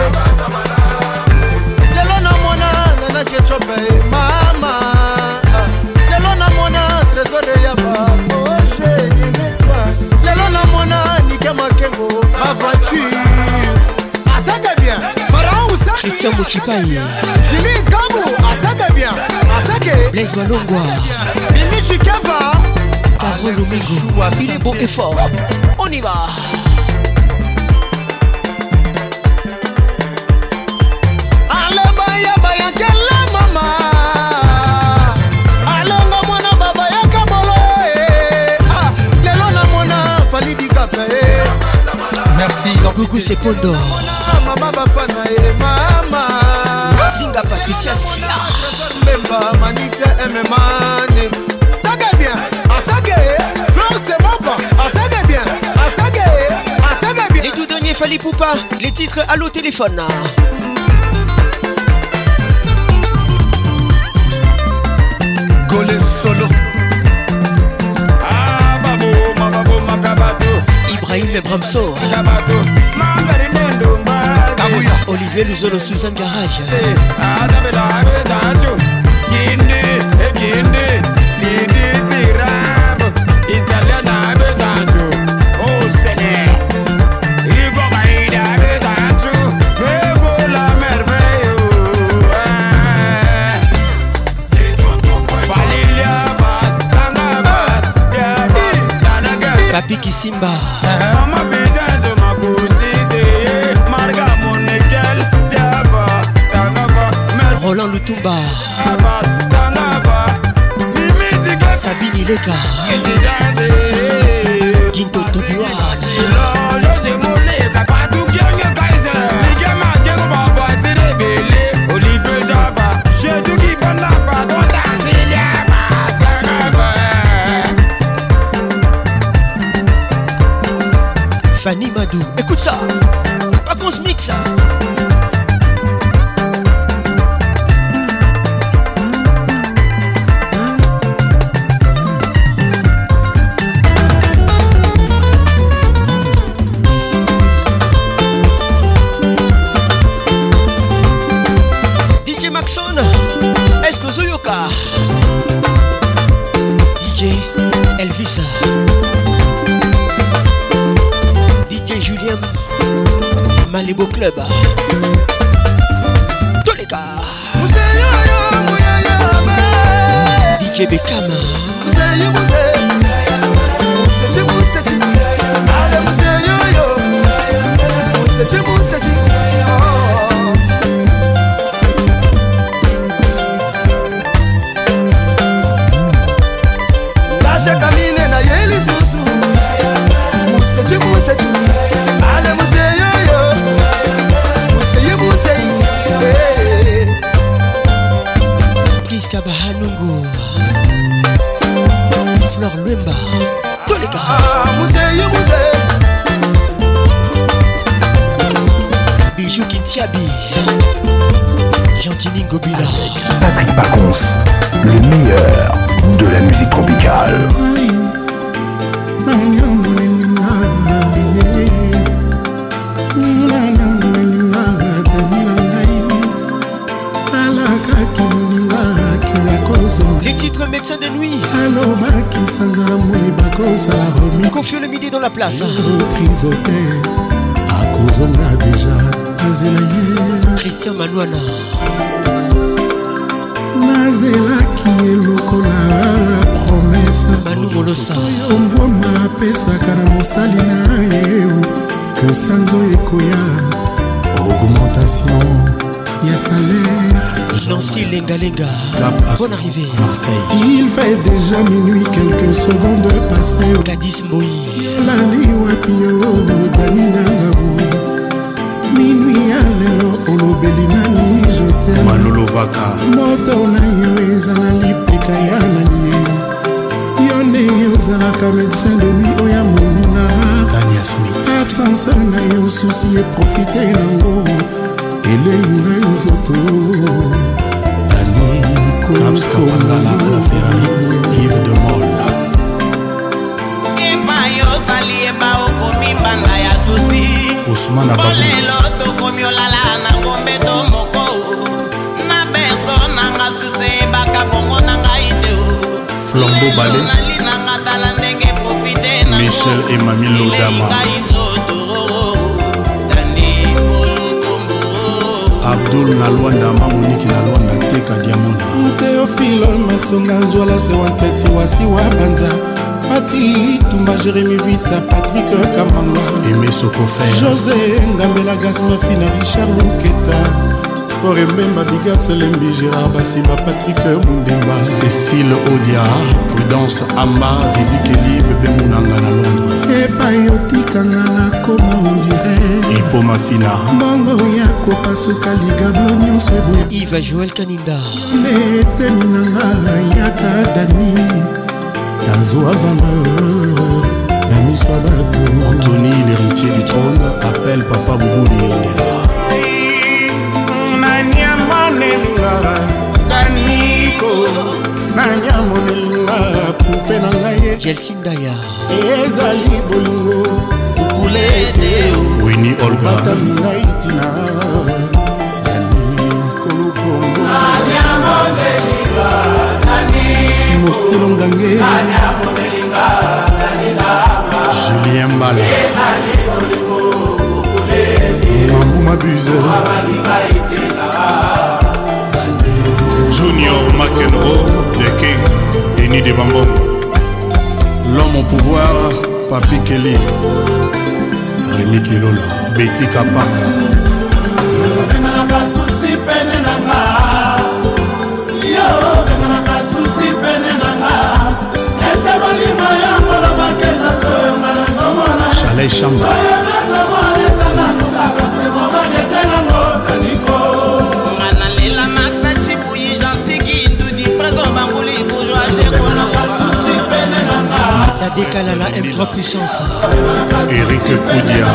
Lelo na mona, nana ketchup, mama. Lelo na mona, trésor de yaba. Oh, j'ai ni l'espoir. Lelo na mona, Nika Makengo, ma voiture. Ah, ça t'est bien. Pharaon ou ça? Christian Mouchipaï. Julie Kabou, ah ça t'est bien. Ah ça qu'est. Blaise Walongwa. Mimi Chikava. Carole Domingo. Il est beau et fort. On y va. Allez, baya, baya, quelle maman. Alonga mwana baba ya kabolo. Ah, lelo na mwana fali di kape. Merci. Gougou c'est Pondo. Mama bafana e mama. Singa Patricia Sia. Memba Manixa Mmane. Ça gagne bien. Ah ça gagne. Flore c'est mon fan. Ah ça gagne bien. Ah ça gagne. Ah ça gagne bien. Les tout derniers Fali Poupa. Les titres Allo téléphone. Golé solo. Ah babo, ma babo, ma kabato. Ibrahim Bramso. Kabato. Mangari nendo mazi. Olivier Luzolo Suzanne Garage. Ah dabela abedacho. Kinde, e kinde. Lidi zirab. Italiana abedacho. Oh Seigneur. Igo baida abedacho. Vego la merveille. Valilia Bas, Tanga Bas, Yaba, Tanaga. Papi Kisimba. Mama Bidanzo Magusite. Marga Monekel. Yaba, Tanga. Roland Lutumba. Yaba, Tanga. Mimi Sabine Ileka. Ginto Tobiwa. Fanny Madou, écoute ça. Pas qu'on se mixe. D J Maxon, est-ce que Zoyoka? D J Elvis. D J Julien Malibu Club. Tous les gars. D J Beckham. Priska Bahanungu. Fleur Luemba. Tous les gars. Bijou Kintiabi. Gentini Gobila. Patrick Pacons, le meilleur de la musique tropicale. Les titres médecins de nuit. Confie le midi dans la place. Christian Manouana. nazelaki elokola promesa Manu Molosa omvoma apesaka na mosali na ye que sanzo ekoya augmentation ya salaire Nancy Lenga Lenga. Bonne arrivée. Marseille. Il fait déjà minuit, quelques secondes passées. Gladys Moï. Lali Wapio, Danina Ngabou. Minuit à l'élo, Olobeli Nani, je t'aime. Manolo Vaka. Moto na yo ezala lipeka ya nani. Yone yozalaka médecin de nuit oya moninga. Tania Smith. Absence na yo souci et profiter nango. Elei na nzoto. Tani Caps Kapangala à la Ferrari. Yves de Molle. Eba yo sali eba okomi mbanda ya souci. Ousmane Ababou. Bolelo tokomi olala na ngombe to moko. Na beso nanga suse baka bongo nanga ite o. Flambeau Ballet. Michel et Mamie Lodama. Abdul Nalwanda Mamonique Nalwanda Teka Diamona. Théophile Masonga Nzola Sewantesi Wasiwa Banza. Pati Tumba Jérémy Vita Patrick Kamanga. Aimé Sokofer. José Ngambela Gasma Fina Richard Louketa. Forembemba Bigas Lembi Gérard Bassiba Patrick Mundemba. Cécile Odia. Prudence Amba Vivi Kelly Bébé Mounanga na Londres. Epa yoti kangana koma on dirait. Ipo Mafina. Mongo ya kopa suka liga blonyo seboya. Yves Joël Kaninda. Nete minanga yaka dani. Tazwa valeur. Nami Swabako. Anthony l'héritier du trône appelle Papa Boubouli Ndela. Daniko Nanya monelinga Poupe na ngaye Jelsindaya Ezali bolingo Kukulete Winnie Olga Bata mina itina Daniko lukongo Nanya monelinga Daniko Moskilo ngange Nanya monelinga Danila Julien Mbala Ezali bolingo Kukulete Mambu Mabuse Mabalinga itina Junior McEnroe, le King, Denis de Bambon. L'homme au pouvoir, Papi Kelly, Rémi Kilola, Betty Kapanga. Chalet Chamba. La décale à la M trois puissance. Eric Koudia.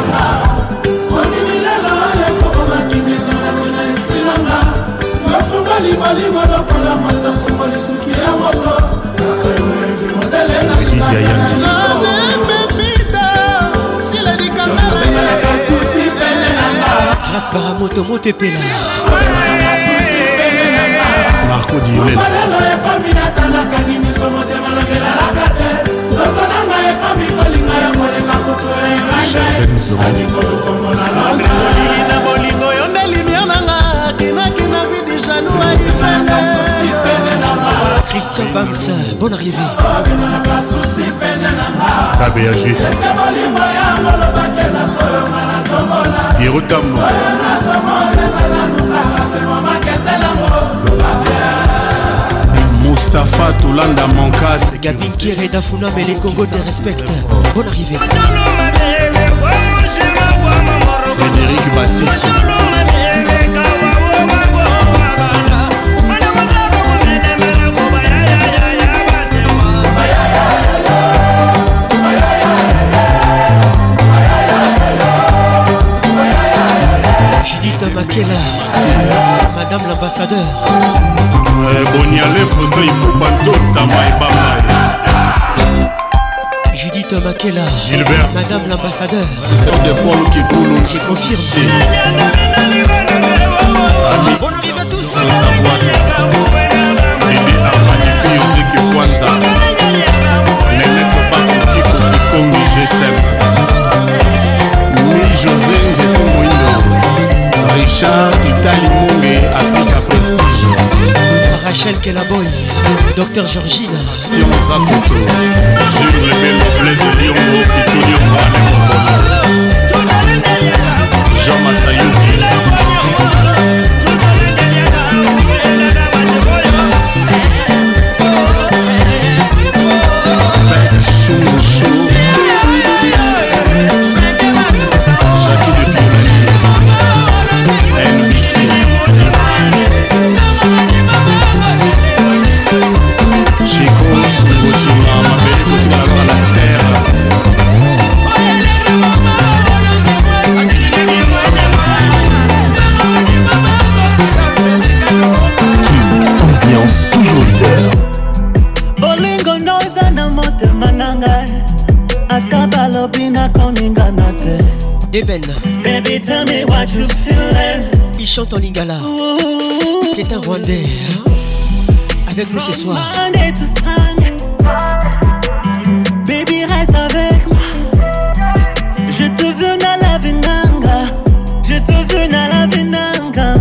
Raspara moto moto pela. Marco Diolela. Christian Banks, bonne arrivée. Tabea Juif. Hirotam. Mustapha Toulanda Mankas. Gabin Kieré Dafuna, mais les Congos te respectent. Bonne arrivée. Frédéric Bassissi. Judith Makela, Madame l'ambassadeur. Boniale Fosto Ipopanto Tamaïbama. Judith Makela, Gilbert, Madame l'ambassadeur. de Paul Kikoulou. J'ai confirmé. Bonne arrivée à tous. Bibi Armanifi Yoseki Kwanza. Nenette Bakuki Kukikongi G S M. Mi José Nzeto Moindo. Richard Itali Monge Africa Prestige. Rachel Kelaboy, Docteur Georgina. Sion Zakoto. Jules Lebelo Blaise Liongo Pichoni Mbane Mbono. Jean Masayuki. Deben. Baby, tell me what you feeling. Il chante en lingala. C'est un Rwandais. Hein? Avec nous ce soir. Monday to Sunday. Baby, reste avec moi. Je te veux dans la vinanga. Je te veux dans la vinanga.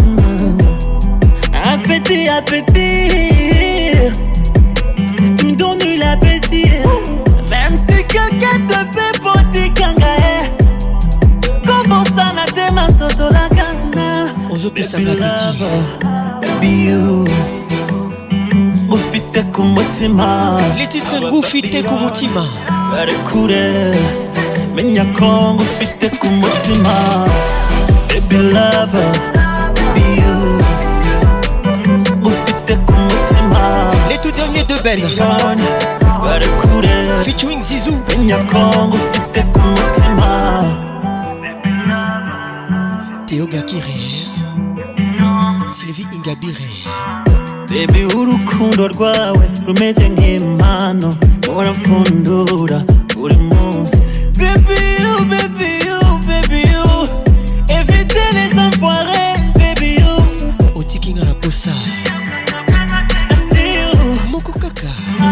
Appétit, appétit. Tu me donnes l'appétit. Même si quelqu'un te fait porter kangae. Comment ça n'a te ma soto la kanga. On se peut s'en appétit. Baby you. Ufite kumutima. Les titres Ngufite kumutima. Barekure. Menya kongo ufite kumutima. Baby lover. Baby you. Ufite kumutima. Les tout derniers de Ben. Barekure. Featuring Zizou. Menya kongo ufite kumutima. Théo Gakire. Sylvie Ingabire. Baby urukundo rwawe rumeze nk'impano uramfundura buri munsi. Baby you, baby you, baby you. Évitez les enfoirés, baby you. Otikinga la posa. Moko kaka.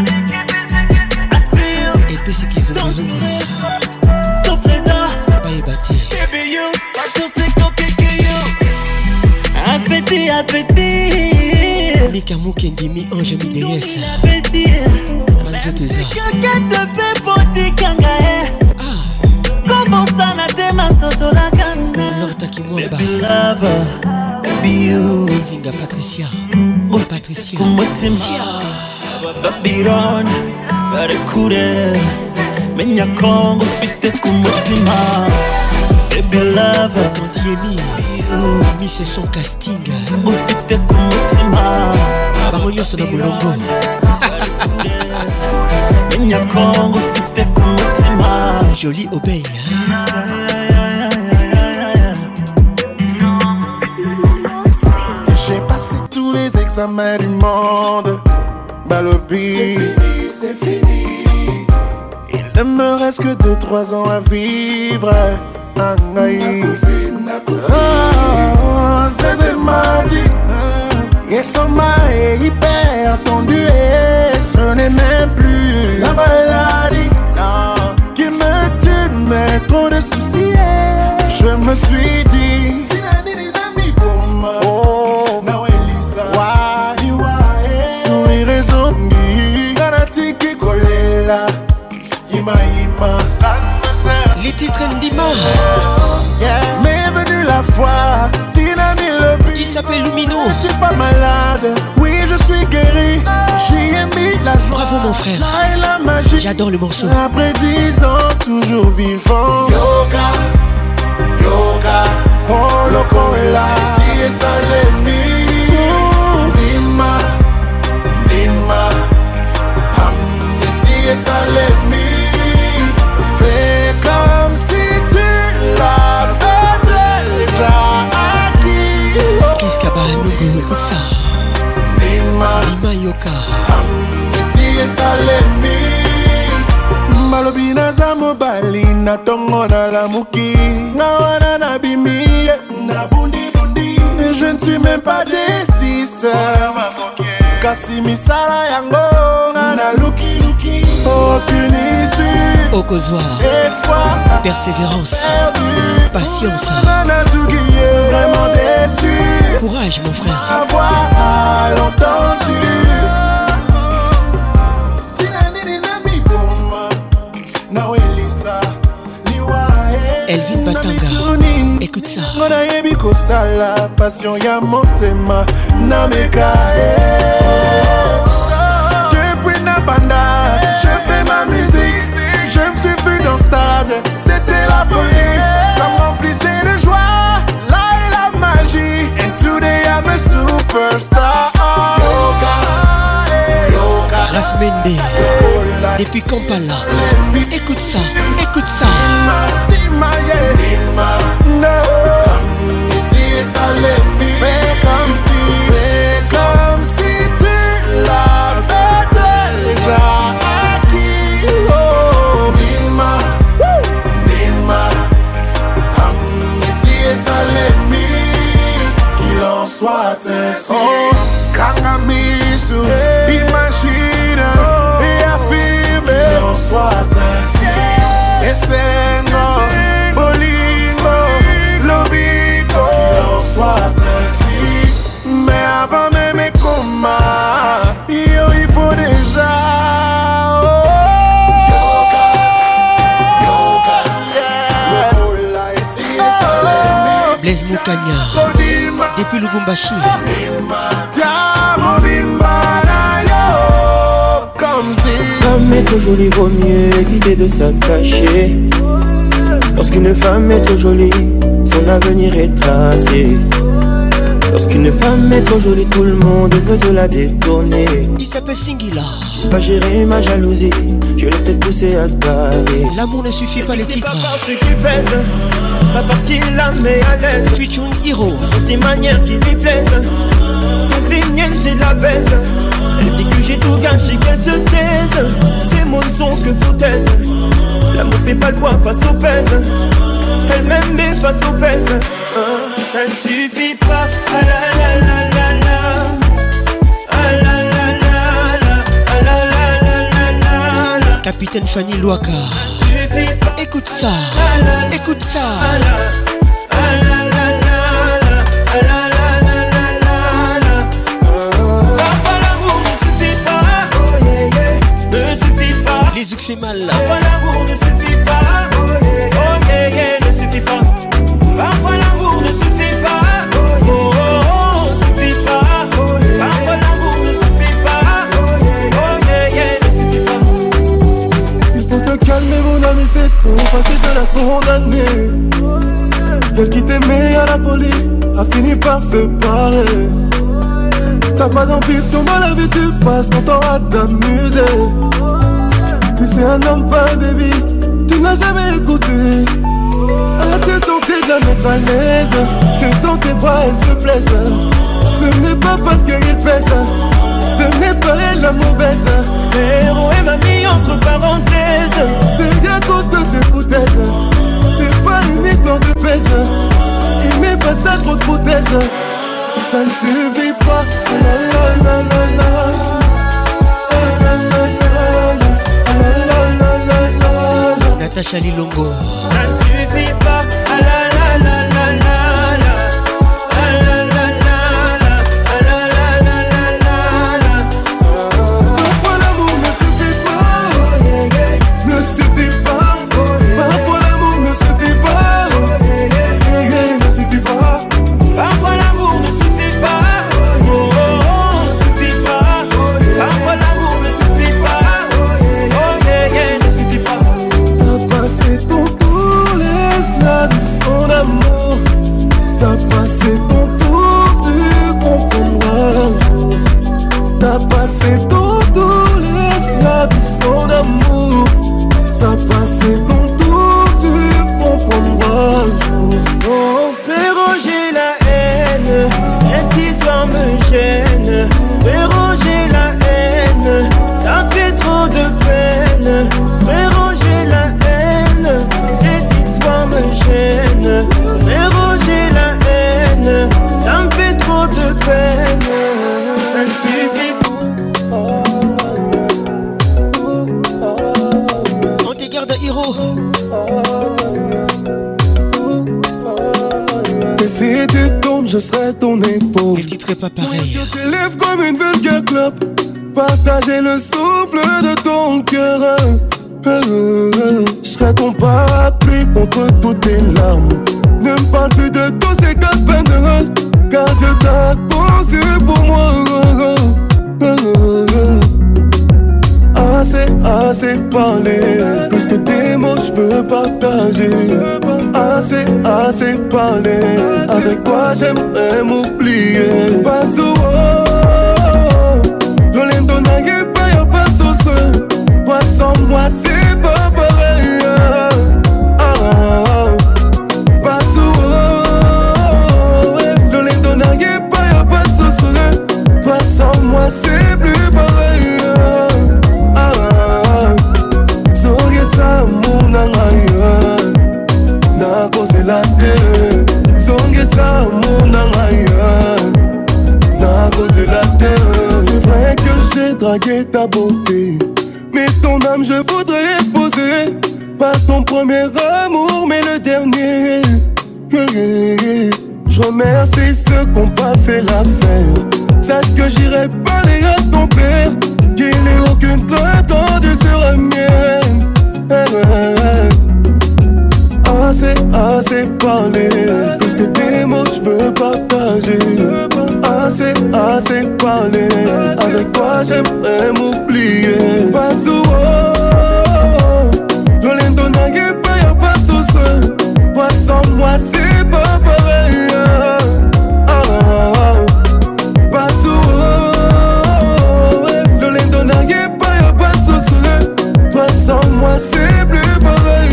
Et puis c'est qu'ils ont besoin. Sofreda. Baye bati. Baby you, I just think I'll pick you. Appétit, appétit. Nika Mukendimi Ange Mideyes. Manzoteza. Quelqu'un te fait porter kangae. Comment ça n'a te ma soto la kanga. Lorta Kimwamba. Baby lover. Baby you. Zinga Patricia. Oh Patricia. Sia. Babylon. Barekure. Menya kongo fite kumutima. Baby lover. Mondiemi. Mi c'est son casting. Ufite kumutima. Baronio sona mulongo. Menya kongo ufite kumutima. Jolie obéi. J'ai passé tous les examens du monde. Balobi. C'est fini, c'est fini. Il ne me reste que deux trois ans à vivre. Angaï. Oh, c'est m'a dit. L'estomac est hyper tendu et ce n'est même plus la maladie non, qui me tue, mais trop de soucis. Je me suis dit, oh, sourire et zombie, Karatiki Kolela, Yima Yima, ça me sert. Les titres Ndima. Yeah. Mais venu la foi, Tina le il s'appelle Lumino. Je suis pas malade, oui je suis guéri. J'y ai mis la joie. Bravo mon frère. Et la magie. J'adore le morceau. Après dix ans, toujours vivant. Yoga, yoga, oh loco est là. Ici et ça l'ennemi. Dima, Dima, hum, ici et ça l'ennemi. Fais comme si tu l'avais déjà acquis. Qu'est-ce qu'il y a Bahanougo, écoute ça. Dima, Dima Yoka. hum, ici et ça l'ennemi. Malobi naza mobali na tongo na lamuki. Na wana na bimi na bundi bundi. Je ne suis même pas des six. Kasi misala yango na luki luki. Aucune issue. Au causoir. Espoir. Persévérance. Perdu. Patience. Vraiment déçu. Courage mon frère. Avoir l'entendu. Elvin Batanga. Écoute ça. Monayebi kosala passion ya motema na mekae. Depuis Nabanda, je fais ma musique. Je me suis vu dans le stade, c'était la folie. Ça me remplissait de joie, là est la magie. And today I'm a superstar. Yoga, yoga. Grace Mende. Depuis Kampala. Écoute ça, écoute ça. Dima, yeah. Dima, no. Ici et ça l'ennemi. Fais comme si, fais comme si tu l'avais déjà acquis. Oh, Dima, Dima, Salemi, qu'il en soit ainsi. Oh, Kangamisu, imagine et affirme, qu'il en soit ainsi. Et c'est non, Bolingo, Lobico, qu'il en soit ainsi. Mais avant même mes combats, il faut déjà. Blaise Moukanya, depuis Lubumbashi. Femme est trop jolie, vaut mieux éviter de s'attacher. Lorsqu'une femme est trop jolie, son avenir est tracé. Lorsqu'une femme est trop jolie, tout le monde veut de la détourner. Il s'appelle Singila. Pas gérer ma jalousie, je l'ai peut-être poussé à se barrer. L'amour ne suffit pas les titres. Pas parce qu'il pèse, pas parce qu'il la met à l'aise. Featuring Hero. Ce sont ses manières qui lui plaisent. Donc les miennes c'est de la baise. Elle dit que j'ai tout gâché, qu'elle se taise. C'est mon son que foutaise. L'amour fait pas le poids face au pèse. Elle m'aime mais face au pèse. uh, Ça ne suffit pas. Ah la la la la la. Ah la la la la. Ah la la la la la. Capitaine Fanny Louaka. Écoute ça. Écoute ça. Les yeux fait mal. Parfois l'amour ne suffit pas. Oh yeah yeah, ne suffit pas. Parfois l'amour ne suffit pas. Oh oh oh, suffit pas. Parfois l'amour ne suffit pas. Oh yeah yeah, ne suffit pas. Il faut te calmer mon ami, c'est trop facile de la condamner. Elle qui t'aimait à la folie a fini par se parer. T'as pas d'ambition dans la vie, tu passes ton temps à t'amuser. Puis c'est un homme, pas un baby, tu n'as jamais écouté. As-tu tenté de la mettre à l'aise, que dans tes bras elle se plaise. Ce n'est pas parce qu'il pèse, ce n'est pas elle la mauvaise. Héros et mamie entre parenthèses. C'est à cause de tes foutaises. C'est pas une histoire de pèse. Il met face à trop de foutaises. Ça ne suffit pas. La la la la la. Natacha Lilongo. Ça ne suffit pas. Ah la la la la la la. Ah la la la la. Ah la la la la la la. Parfois l'amour ne suffit pas. Ne suffit pas. Parfois l'amour ne suffit pas. Ne suffit pas. Parfois l'amour ne suffit pas. Oh oh oh, ne suffit pas. Parfois l'amour ne suffit pas. Oh yeah yeah, ne suffit pas. Passé ton tour, laisse-la vivre son amour. T'as passé ton tour, tu comprendras un jour. T'as passé ton tour, laisse-la vivre son amour. T'as passé ton tour, tu comprendras un jour. Oh, fais ranger la haine, cette histoire me gêne. Fais ranger la haine, ça fait trop de peine. Fais ranger la haine, cette histoire me gêne. Fais ranger la haine, ça me fait trop de peine. Ça ne suffit pas. On te garde Hiro. Et si tu tombes, je serai ton épaule. Les titres pas pareil. Je t'élève comme une vulgaire clope. Partager le souffle de ton cœur. Je serai ton parapluie contre toutes tes larmes. Ne me parle plus de tous ces quatre peines de rôle, car Dieu t'a conçu pour moi. Assez, assez parlé. Plus que tes mots, je veux partager. Assez, assez parlé. Avec toi, j'aimerais m'oublier. Pas souvent. L'olendo n'a pas, y'a pas sauce. Toi sans moi, c'est pas pareil. Ah, ah, pas souvent. L'olendo n'a pas, y'a pas sauce. Toi sans moi, c'est plus pareil. Ah, ah, sourire ça, mon anga. Na cause la terre. et ta beauté. Mais ton âme je voudrais poser. Pas ton premier amour mais le dernier. Je remercie ceux qui n'ont pas fait l'affaire. Sache que j'irai parler à ton père, qu'il n'ait aucune crainte quand tu seras mienne. Assez, assez parlé, plus que des mots je veux partager. Assez, assez parlé, avec toi j'aimerais m'oublier. Pas souvent, Lolendo n'a pas y'a pas de souci. Toi sans moi c'est pas pareil. Ah, ah, ah. Pas souvent, Lolendo n'a pas y'a pas de souci. Toi sans moi c'est plus pareil.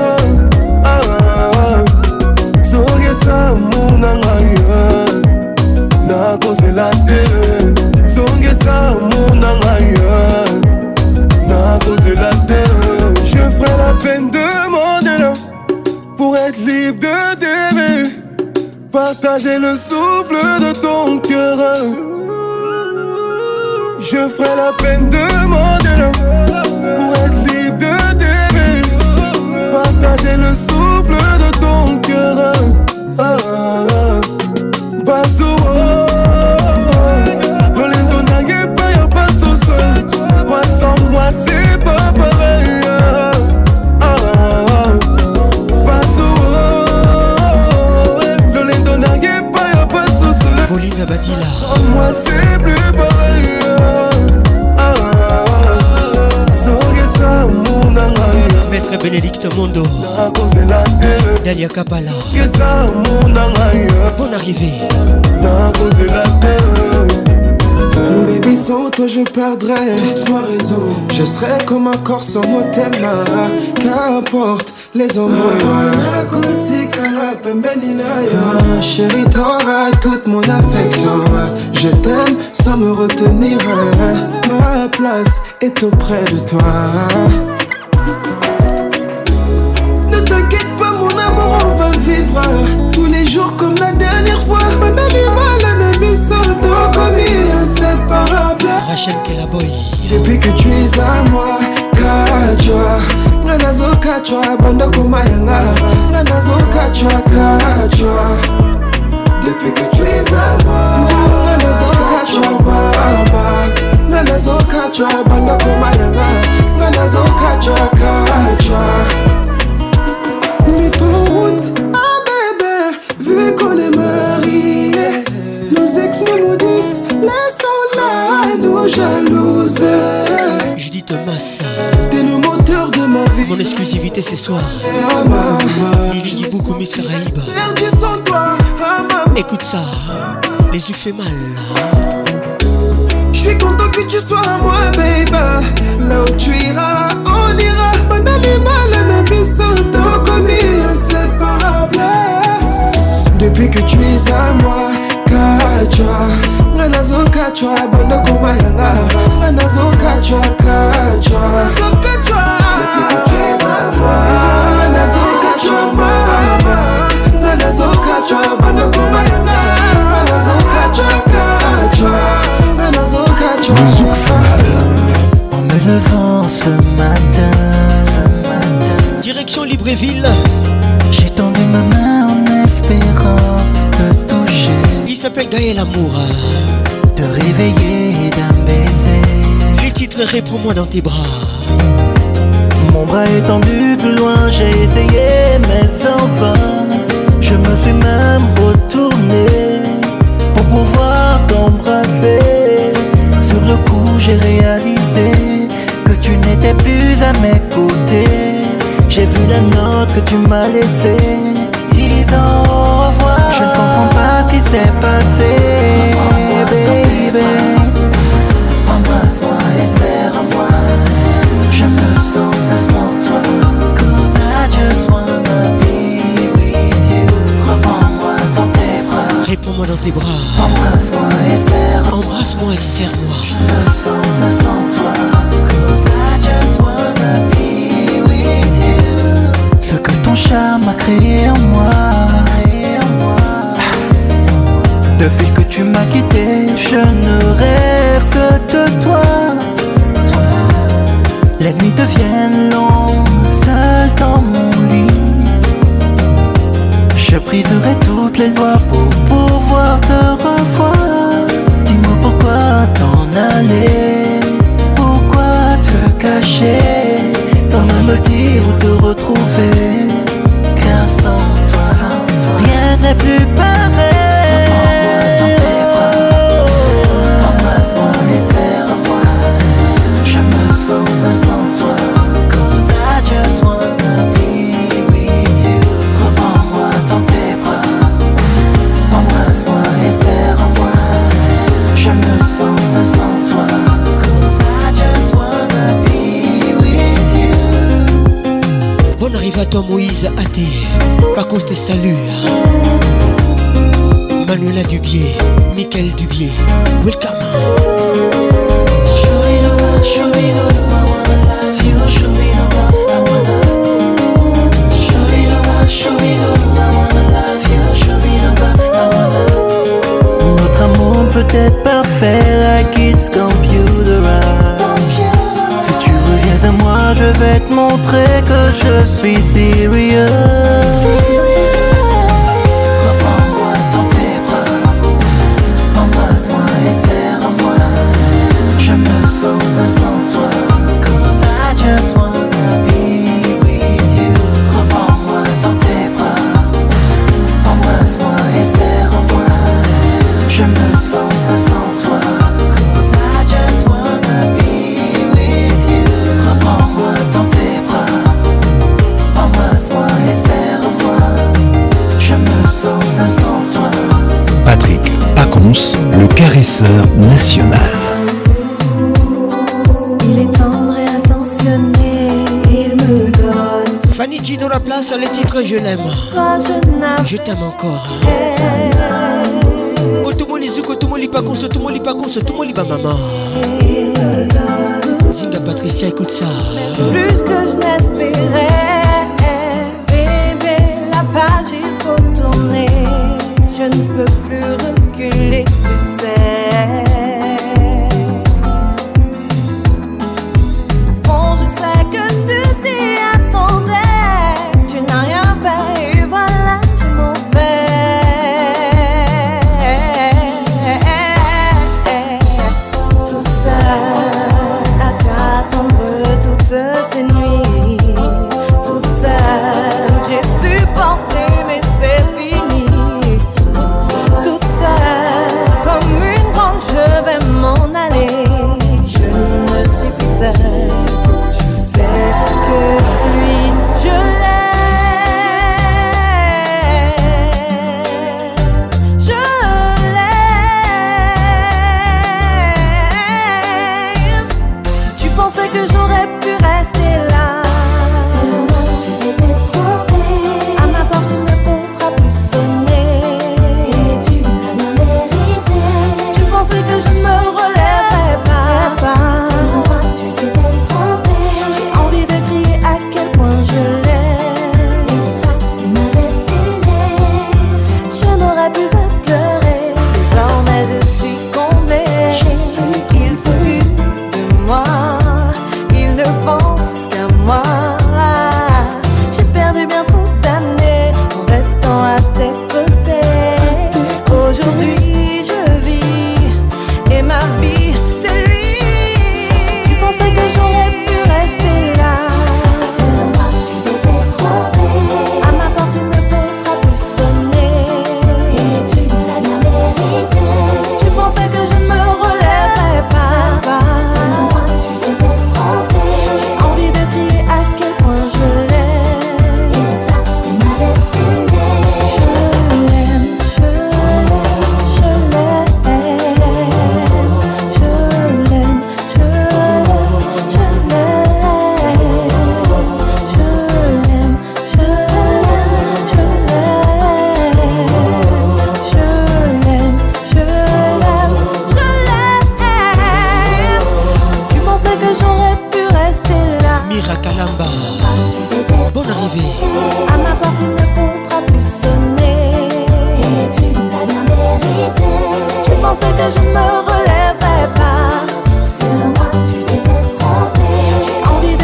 Na cause la terre, songe ça mon angaya. Na cause la terre, je ferai la peine de demander pour être libre de t'aimer, partager le souffle de ton cœur. Je ferai la peine de demander pour être libre de t'aimer, partager le souffle de ton cœur. Ah, ah, ah. Pas souvent, Lolendo n'a pas y'a pas de souci. Toi sans moi c'est pas pareil. Ah, ah, ah. Pas souvent, Lolendo n'a pas y'a pas de souci. Pauline Batila. Sans moi c'est plus pareil. Ah, ah, ah. Maître Bénédicte Mondo, Dalia Kapala. Bonne arrivée. Baby, sans toi je perdrais toute ma raison. Je serais comme un corps sans mot thème. Qu'importe les hommes. Chérie, t'auras toute mon affection. Je t'aime sans me retenir. Ma place est auprès de toi. Ne t'inquiète pas mon amour, on va vivre tous les jours comme la dernière fois. Rachel Kelaboy. Depuis que tu es à moi, Kachwa Nganazo Kachwa, Banda Kumayanga Nganazo Kachwa, Kachwa. Depuis que tu es à moi, Nganazo Kachwa, Mama Nganazo Kachwa, Banda Kumayanga Nganazo Kachwa, Kachwa. Mais ton route, ah bébé, vu qu'on est mariés, nos ex nous maudissent, laissons-la nous jalouses. Judith Thomas, t'es le moteur de ma vie. Mon exclusivité ce soir. Lili Diboukou, Miss Caraïbe. Perdu sans toi, ah maman. Écoute ça, les yeux fait mal. J'suis content que tu sois à moi, baby. Là où tu iras, on ira. Banalima, la nabisoto, commis inséparable. Depuis que tu es à moi, Kachwa Nganazo Kachwa, Banda Kumayanga Nganazo Kachwa, Kachwa. Depuis que tu es à moi, Nganazo Kachwa, Mama Nganazo Kachwa, Banda Kumayanga Nganazo Kachwa, Kachwa. Nganazo Kachwa. Le zouk final. En me levant ce matin, direction Libreville. J'ai tendu ma main en espérant te toucher. Il s'appelle Gaël Amour. Te réveiller d'un baiser. Les titres réponds-moi dans tes bras. Mon bras est tendu plus loin, j'ai essayé mais sans fin. Je me suis même retourné pour pouvoir t'embrasser. Sur le coup j'ai réalisé que tu n'étais plus à mes côtés. J'ai vu la note que tu m'as laissée, disant au revoir. Je ne comprends pas ce qui s'est passé, baby. Embrasse-moi et serre-moi. Je me sens seul sans toi, cause I just wanna be with you. Reprends-moi dans tes bras. Réponds-moi dans tes bras. Embrasse-moi et serre-moi. Embrasse-moi et serre-moi. Je me sens seul sans toi, cause I just wanna be with you. Ce que ton charme a créé en moi. Depuis que tu m'as quitté, je ne rêve que de toi. Les nuits deviennent longues, seul dans mon lit. Je briserai toutes les lois pour pouvoir te revoir. Dis-moi pourquoi t'en aller, pourquoi te cacher, sans même me dire où te retrouver. Car sans toi, sans toi, rien n'est plus pareil. Reprends-moi dans tes bras, embrasse-moi et serre-moi. Je me sens sans toi, cause I just wanna be with you. Reprends-moi dans tes bras, embrasse-moi et serre-moi. Je me sens sans toi, cause I just wanna be with you. Bonne arrivée à toi Moïse Athé, par cause tes saluts. Manuela Dubier, Mickaël Dubier, welcome. Notre amour peut être parfait, like it's computerized. Si tu reviens à moi, je vais te montrer que je suis serious. Reprends-moi dans tes bras, embrasse-moi et serre-moi. Je me sens sans toi, cause I just wanna be with you. Reprends-moi dans tes bras, embrasse-moi et serre-moi. Je me sens sans toi, cause I just wanna be with you. Reprends-moi dans tes bras, embrasse-moi et serre-moi. Je me sens sans toi. Patrick Pacons, le caresseur national. Il est tendre et attentionné, il me donne. Fanny G dans la place, les titres je l'aime. Toi je n'aime. Je t'aime encore. Otomoli Zouk, Otomoli Pacons, Otomoli Pacons, Otomoli Bamama. Zinga Patricia, écoute ça. Plus que je n'espérais. Bébé, la page il faut tourner. Je ne peux plus reculer, tu sais. Bon, je sais que tu t'y attendais. Tu n'as rien fait et voilà, je m'en vais. Toute seule à t'attendre toutes ces nuits. Toute seule, j'ai supporté mais c'est fini. Toute seule, comme une grande, je vais m'en aller. Je ne suis plus seule. Je sais que lui, je l'aime. Je l'aime. Tu pensais que j'aurais pu rester là. C'est moi, tu t'étais trompé. À ma porte, il ne faudra plus sonner. Et tu l'as bien mérité. Tu pensais que je ne me relèverais pas. C'est moi, tu t'étais trompé. J'ai envie de crier à quel point je l'aime. Et ça, c'est ma destinée. Je n'aurais plus à pleurer. Désormais, je suis comblée. Il s'occupe de moi. Il ne pense qu'à moi. J'ai perdu bien trop d'années en restant à tes côtés. Aujourd'hui je vis et ma vie c'est lui. Tu pensais que j'aurais pu rester là. C'est moi, tu t'étais trompé. À ma porte il ne faudra plus sonner. Et tu l'as bien mérité. Tu pensais que je ne me relèverais pas. C'est moi, tu t'étais trompé. J'ai envie de crier à quel point je l'aime. Et ça c'est ma destinée. Je l'aime, je l'aime, je l'aime. Je l'aime, je l'aime, je l'aime. Je l'aime, je l'aime, je l'aime. Je l'aime, je l'aime, je l'aime. Tu pensais que j'aurais pu rester là. Mira Kalamba, bonne arrivée. À ma porte il ne faudra plus sonner. Et tu l'as bien mérité. Tu pensais que je ne me relèverais pas. Sur moi tu t'étais trompé. J'ai envie de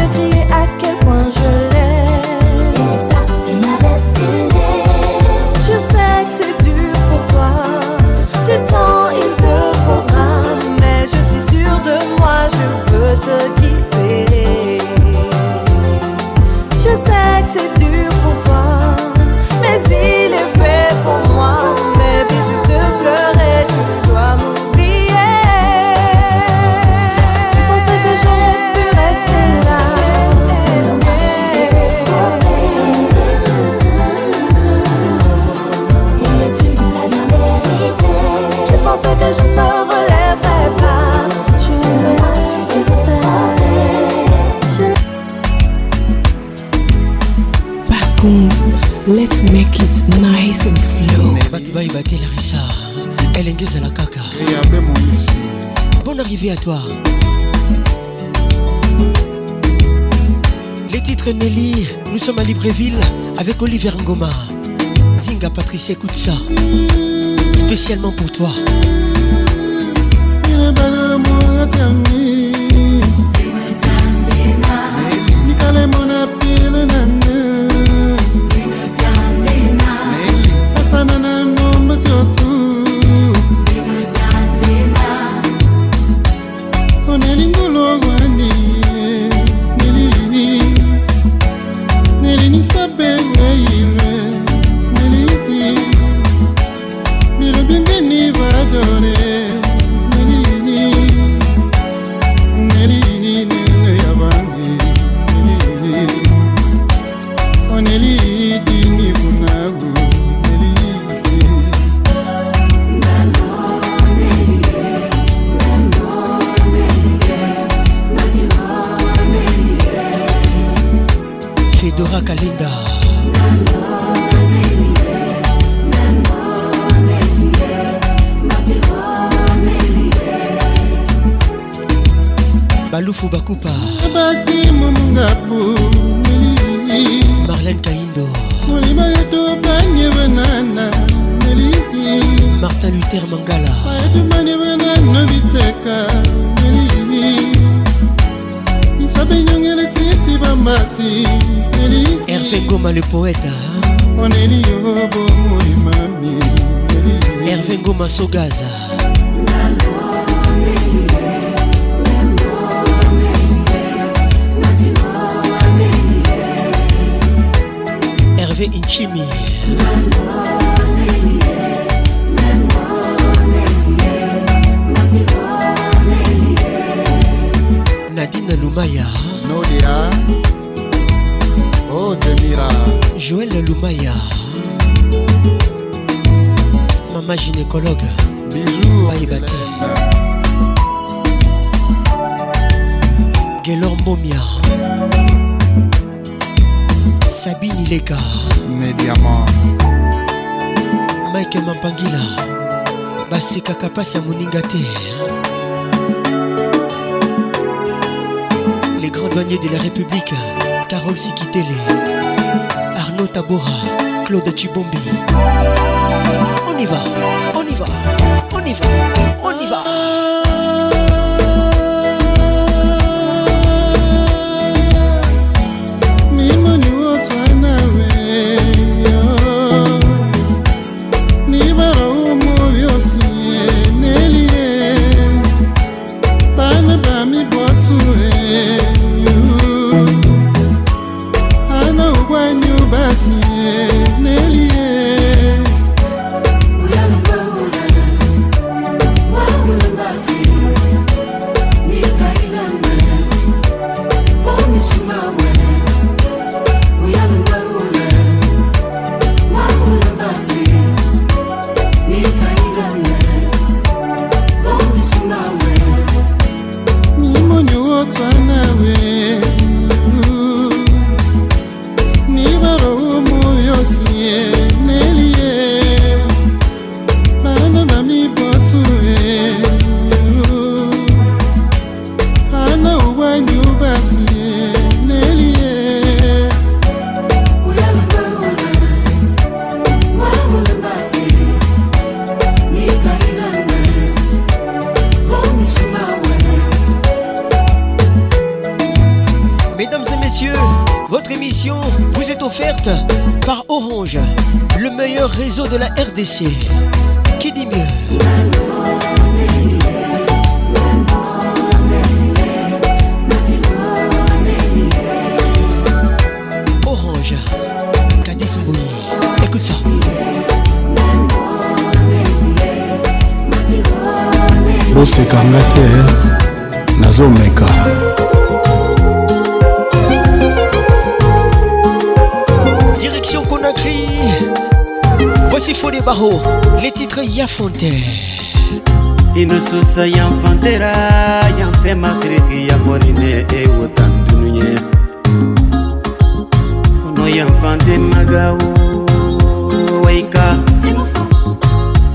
Tete Larissa, Elengeza la Kaka. Bonne arrivée à toi. Les titres Nelly, nous sommes à Libreville avec Olivier Ngoma. Zinga Patricia, écoute ça. Spécialement pour toi. Fedora Kalenda. Baloufou Bakupa. Marlène Kaindo. Martin Luther Mangala. Hervé Ngoma le poète. Hervé Ngoma Sogaza. Hervé Inchimi. Nadine Lumaya. Nolia. Oh Demira. Joël Lumaya. Maman gynécologue. Bisous. Baïbate. Guélor Momia. Sabine Ileka. Mediamant. Mike Mampangila. Baseka Kapasi ya Moningate. Les grands douaniers de la République. Carole Sikitele. Arnaud Tabora. Claude Chibombi. On y va, on y va, on y va, on y va. Par Orange, le meilleur réseau de la R D C. Qui dit mieux? Orange, Kadis Mbouyi. Écoute ça. bosekanga te nazomeka. Direction Conakry. Voici Fodé Barreau, les titres Yafonte. Inososa yamfantera yamfe makriki ya morine e wotandunye. Kono yamfante magawo waika.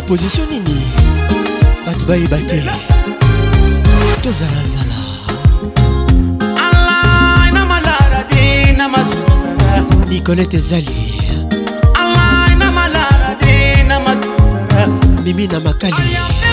opposition nini bato bayeba te tozalazala Nicolette ezali Mimi na makali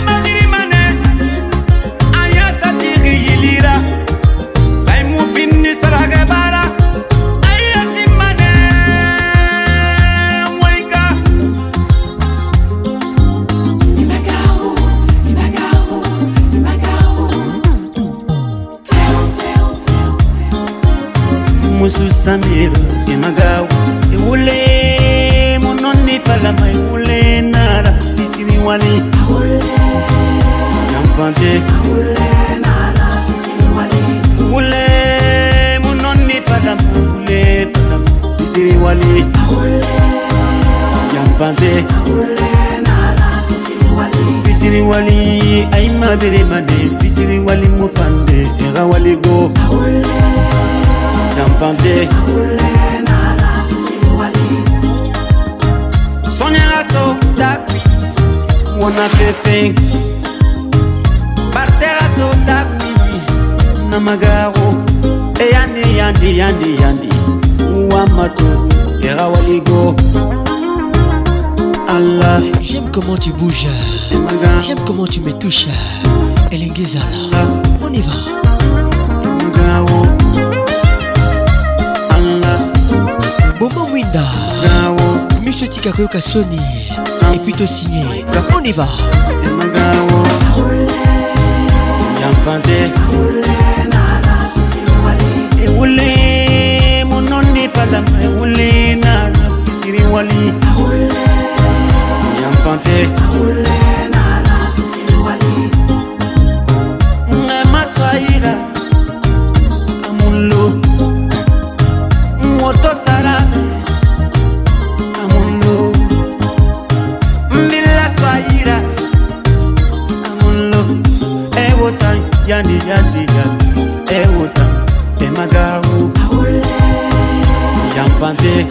Musu Samir Imagao Iwule Mononi Falama Iwule Nara Fisiri Wali Jamfante Iwule Nara Fisiri Wali Iwule Mononi Falama Iwule Falama Fisiri Wali Jamfante Iwule Nara Fisiri Wali Fisiri Wali Aima Biremane Fisiri Wali Mufande Era Wali Go Jamfante Sonia Rasso Takwi Wana Fefeng Barterasso Takwi Namagaro Eyandi Yandi Yandi Yandi Wamato Era Waligo Allah. J'aime comment tu bouges. J'aime comment tu me touches. Elengezala. On y va. Bobo Winda, Monsieur Tikakoyoka Sony, et puis te signé. On y va. Moto Sarame Amulo Mbila Swaira Amulo Ewota Yandi Yandi Yandi Ewota Emagaru Jamfante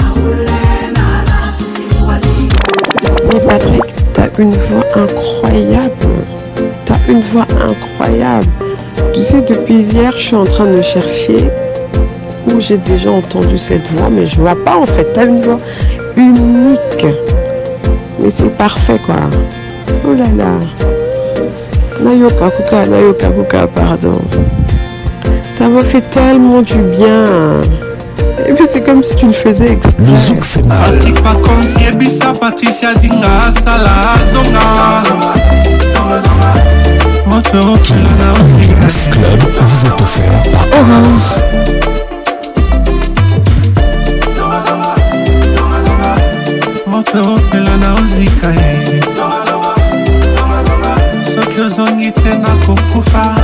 Mais Patrick, t'as une voix incroyable. T'as une voix incroyable. Tu sais, depuis hier, je suis en train de chercher où j'ai déjà entendu cette voix, mais je vois pas en fait. T'as une voix unique. Mais c'est parfait quoi. Oh là là. Nayoka Kuka, Nayoka Kuka, pardon. Ta voix fait tellement du bien. Et puis c'est comme si tu le faisais exprès. Le zouk fait mal. Patrick Pacons, Yebissa, Patricia Zinga, Salah, Zonga. Moto, Mix Club vous est offert par Orange. Moto, Pelana, Ozika, Sokyo Zongi, Tena, Kokufa.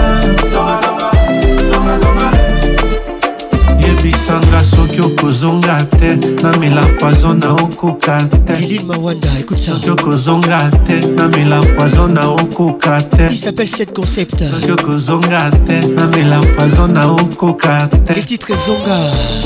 Yebisanga Sokyo Kozonga te na mela poison na okoka te. Lili Mawanda, écoute ça. Sokyo Kozonga te na mela poison na okoka te. Il s'appelle Set Concept. Sokyo Kozonga te na mela poison na okoka te. Les titres Zonga.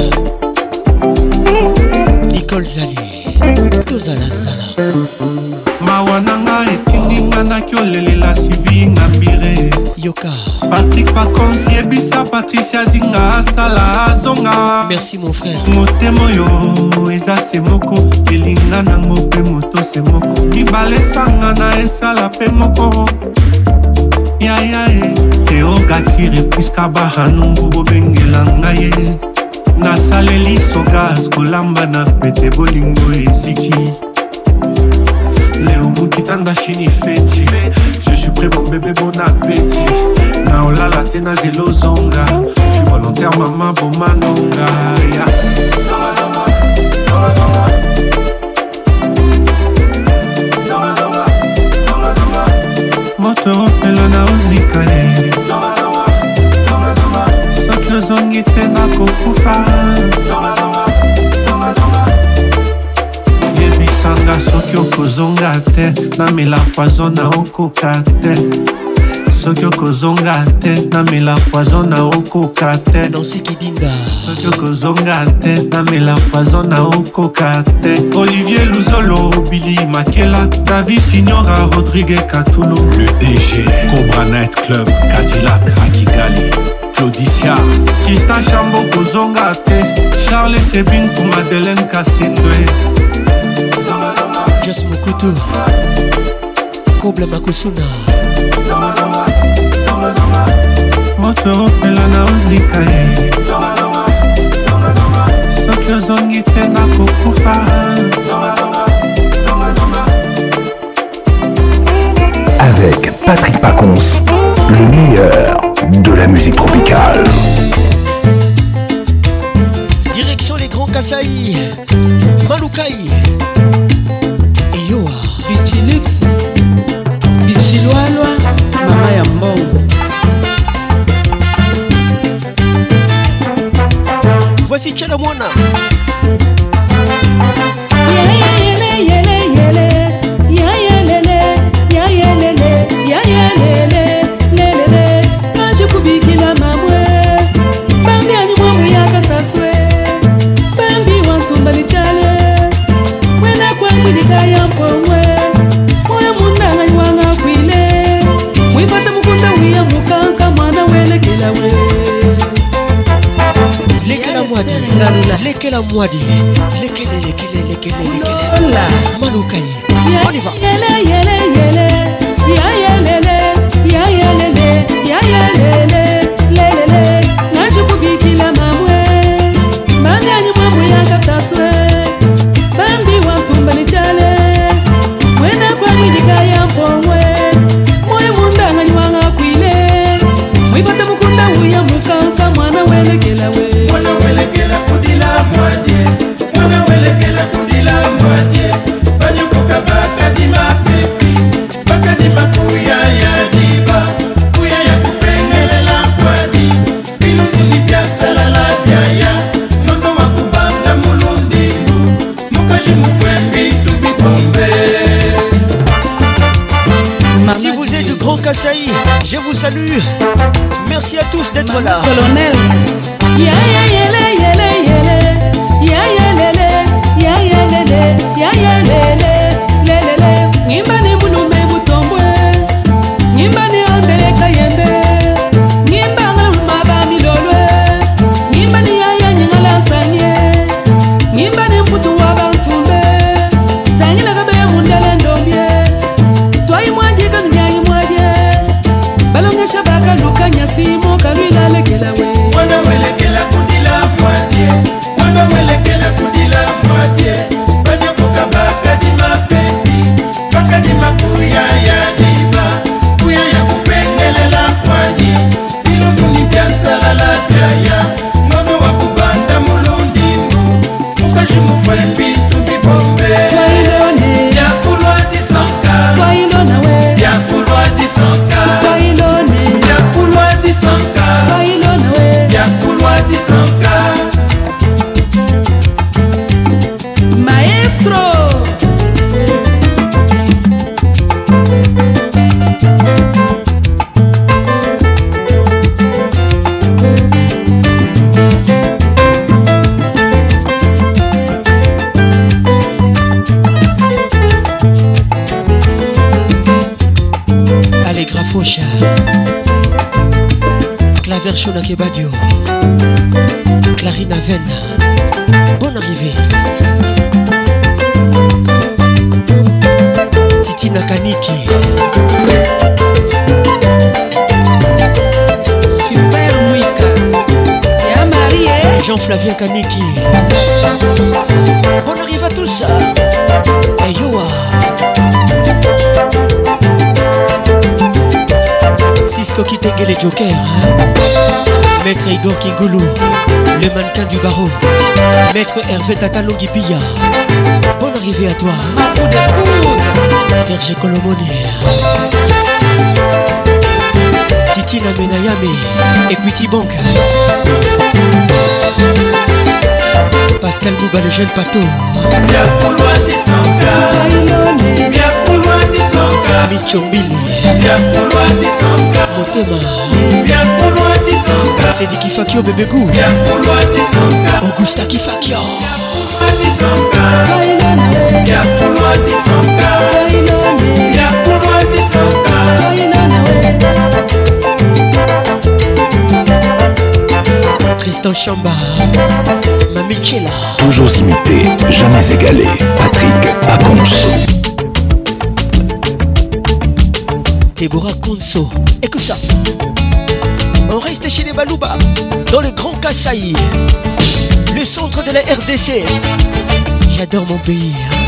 Nicole Zali. Tozala Zala. Mawananga etinginga na kyolelela sivinga mbire. Yoka. Patrick Pacons, Yebissa, Patricia Zinga, Salah, Zonga. Merci mon frère. Motemo yo, eza se moko. Elinga nango pe moto se moko. Mibale sanga na esala pe moko. Ya ya e, Teoga kire puiska baha nungu bobengela ngaye. Nasaleli sogas kolamba na pete bolingo eziki. Léo Moukitanda Chini Feti. Je suis prêt mon bébé, bon appétit. Naola la tena zelo zonga. Je suis volontaire maman bon manonga. Yeah. Zonga zonga, zonga zonga. Zonga zonga, zonga zonga. Moto pelana ozika ye. Zonga zonga, zonga zonga. Sokyo zongi tena kokufa. Zonga zonga, zonga zonga. Yebisanga Sokyo Kozonga te na mela poison na okoka te. soki okozonga te namela poison na okoka te nansikidinda soki okozonga te namela poison na okoka te Olivier Luzolo Billy Makela David Signora Rodrigue Katulo le D G Cobra Night Club Cadillac à Kigali Claudicia Christian Chambo kozonga te Charles Sebin pour Madeleine Kassindwe Just Mokutu Kobla Makusuna Zama zama Zama zama Moto opela na ozika ye Zama zama Zama zama Soki ozongi te na kokufa Zama zama Zama zama Avec Patrick Pacons, le meilleur de la musique tropicale. Direction les Grands Kasaï, Malukai et Yoa. Bichilix, Bichiloaloa, Mama Yambongo. Voici Tchalamwana. Yele, yele, yele, yele, ya yelele, ya yelele, lelele, maji kubikila mamwe, bambi anyimwamu yakasaswe, bambi wantumbali chale, mwena kwa mwilika ya mpomwe, moya mundana nywanga kwile, mwipata mukunda wiya mukanka mwana welekela we. Lekela mwadi, lekela mwadi, lekele, lekele, lekele, lekele, Malukai, on y va. Yele, yele, yele, ya yelele, ya yelele, ya yelele, lelele, najikubikila mamwe, bambi anyimwamu yakasaswe, bambi wantumbali chale, mwena kwa mwilika ya mpomwe, moyo mundanga nywanga kwile, mwipata mukunda uya mukanka mwana welekela we. Mwana welekela kudila mwadye, mwana welekela kudila mwadye, banyokoka bakadima pepi, bakadima kuya ya diba, kuya ya kupengelela kwadi, bilunguni byasala la byaya, nono wakubanda mulundingu, mukaji mufwembi tubibombe. Si vous êtes du Grand Kasaï, je vous salue. Merci à tous d'être là. Colonel. Ya ya yele yele yele, ya yelele, ya yelele, ya yelele, lelele. Ngimbani mulume butombwe, ngimbani ondele kayembe, ngimbanga lumaba milolwe, ngimbani ya ya nyingala sanye, ngimbani mputu wabantumbe, tangila kabe mundele ndombye, twai mwaje kanyayi mwaje, balonga shabaka lukanya simo kalwila lekela we. Mwana welekela kudila mwadye, mwana welekela kudila mwadye, banyokoka bakadima pepi, bakadima kuya ya diba, kuya ya kupengelela kwadi, bilunguni byasala la byaya, nono wakubanda mulundingu, mukaji mufwembi tubibombe. Twailone, byakulwa disanka, twailona we, byakulwa disanka, twailone, byakulwa disanka, twailona we, byakulwa disanka. Maestro. Allez, Grafoucha. Claver Shona Kebadio. Clarina Venn. Bonne arrivée. Titina Kaniki. Super Mwika. Ya Marie. Jean-Flavien Kaniki. Bonne arrivée à tous. Et Yoa. Cisco Kitenge les Jokers. Maître Igor Kingulu, le mannequin du barreau. Maître Hervé Tatalongi Pilla. Bonne arrivée à toi. Serge Colomoni. Titina Menayame. Equity Bank. Pascal Bouba le jeune pato. Byakulwa disanka, byakulwa Tisonga Michombili Yakulwa Tisonga Motema Yakulwa Tisonga Sedi Kifakio Bebegou Yakulwa Tisonga Augusta Kifakio Tisonga Yakulwa Tisonga Yakulwa Tisonga Tristan Chamba Mamichela. Toujours imité, jamais égalé. Patrick Pacons. Déborah Conso. Écoute ça. On reste chez les Balouba, dans le Grand Kasaï, le centre de la R D C. J'adore mon pays.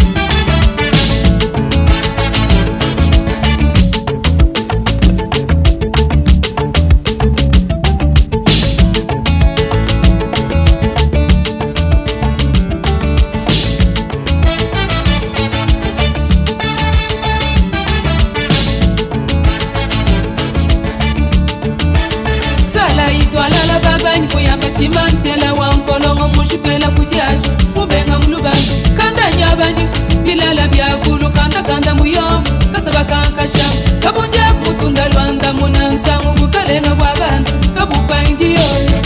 Chimantela wankolongo mushipela kujashi mubenga mulubanzi kanda nyabani bilala byakulu kanda kanda muyom kasaba kankasha kabunja kumutunda lwanda munansa mubukalenga bw'abantu kabupa injiyo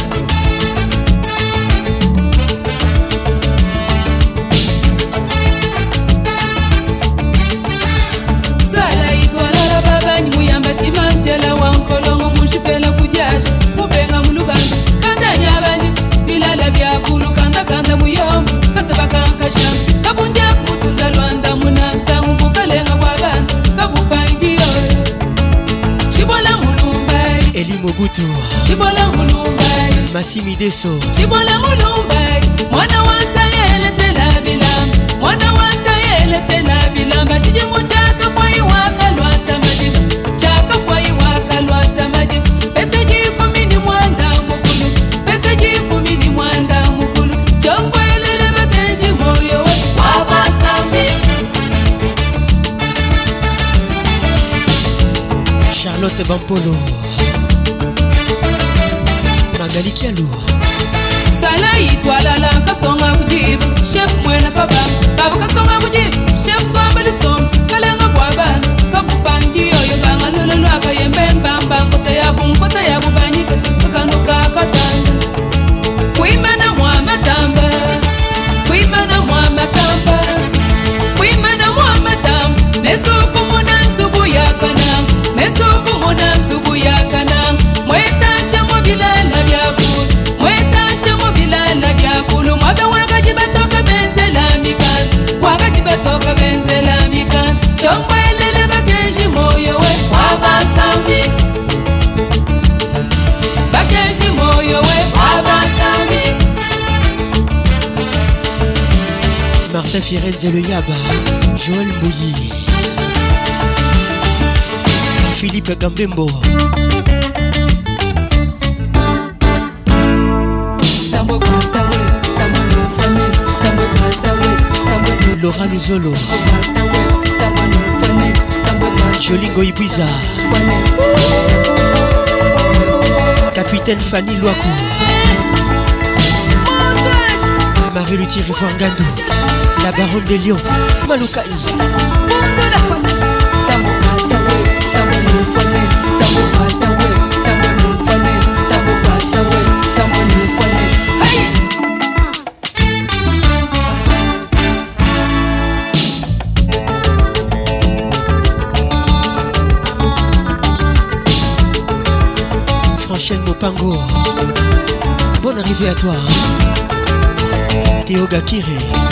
sala itwalala babanyi muyamba chimantela wankolongo mushipela kujashi mubenga mulubanzi bilala byakulu kanda kanda muyom kasaba kankasha kabunja kumutunda lwanda munansa mubukalenga bw'abantu kabupa injiyo chibola mulumbai Eli Mobutu chibola mulumbai Massimi Deso chibola mulumbai mwana wanta yele tela bilam mwana wanta yele tela bilam bachije muchaka kwa iwaka lwata majim chaka kwa iwaka lwata majim pesa jiko mini mwanda mukulu pesa jiko mini mwanda mukulu chombo elele bakenshi moyo we wabasambi Charlotte Bampolo Magali Kialou sala itwalala kasonga kujibu chef mwena papa baba kasonga kujibu chef bamba lisom kalenga bwabana kabupangi oyo banga lolo lwaka yembemba mbango tayabu nkota yabu banyika kakanuka katanga kuimana mwamatamba kuimana mwamatamba kuimana mwamatamba nesuku munanzubu yakanang nesuku munanzubu yakanang mwetasha mobilala byakulu mwetasha mobilala byakulu mwabe wakaji batoka benzela mikan wakaji batoka benzela mikan chombo elele bakenshi moyo we wabasambi bakenshi moyo we wabasambi Martin Firenze le Yaba Joël Bouilly Philippe Gambembo Laura Luzolo Jolingo Ibiza Capitaine Fanny Loakou Marie-Luthier Rivoangandou La Baronne des Lions Maloukaï Franchel Mopango bonne arrivée à toi Théo Gakire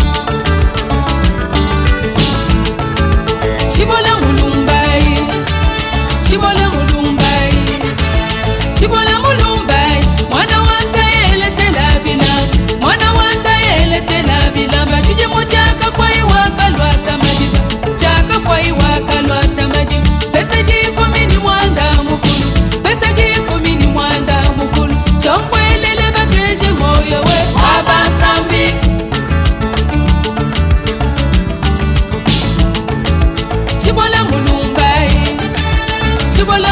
Chibola mulumbai Chibola mulumbai Chibola mulumbai mwana wanta yele tela bila mwana wanta yele tela bila batuje mochaka kwa iwaka lwata majiba chaka kwa iwaka lwata majiba pesa jiko mini mwanda mukulu pesa jiko mini mwanda mukulu chombo elele bakeje moyo we wabasambi Chibola mulumbai Chibola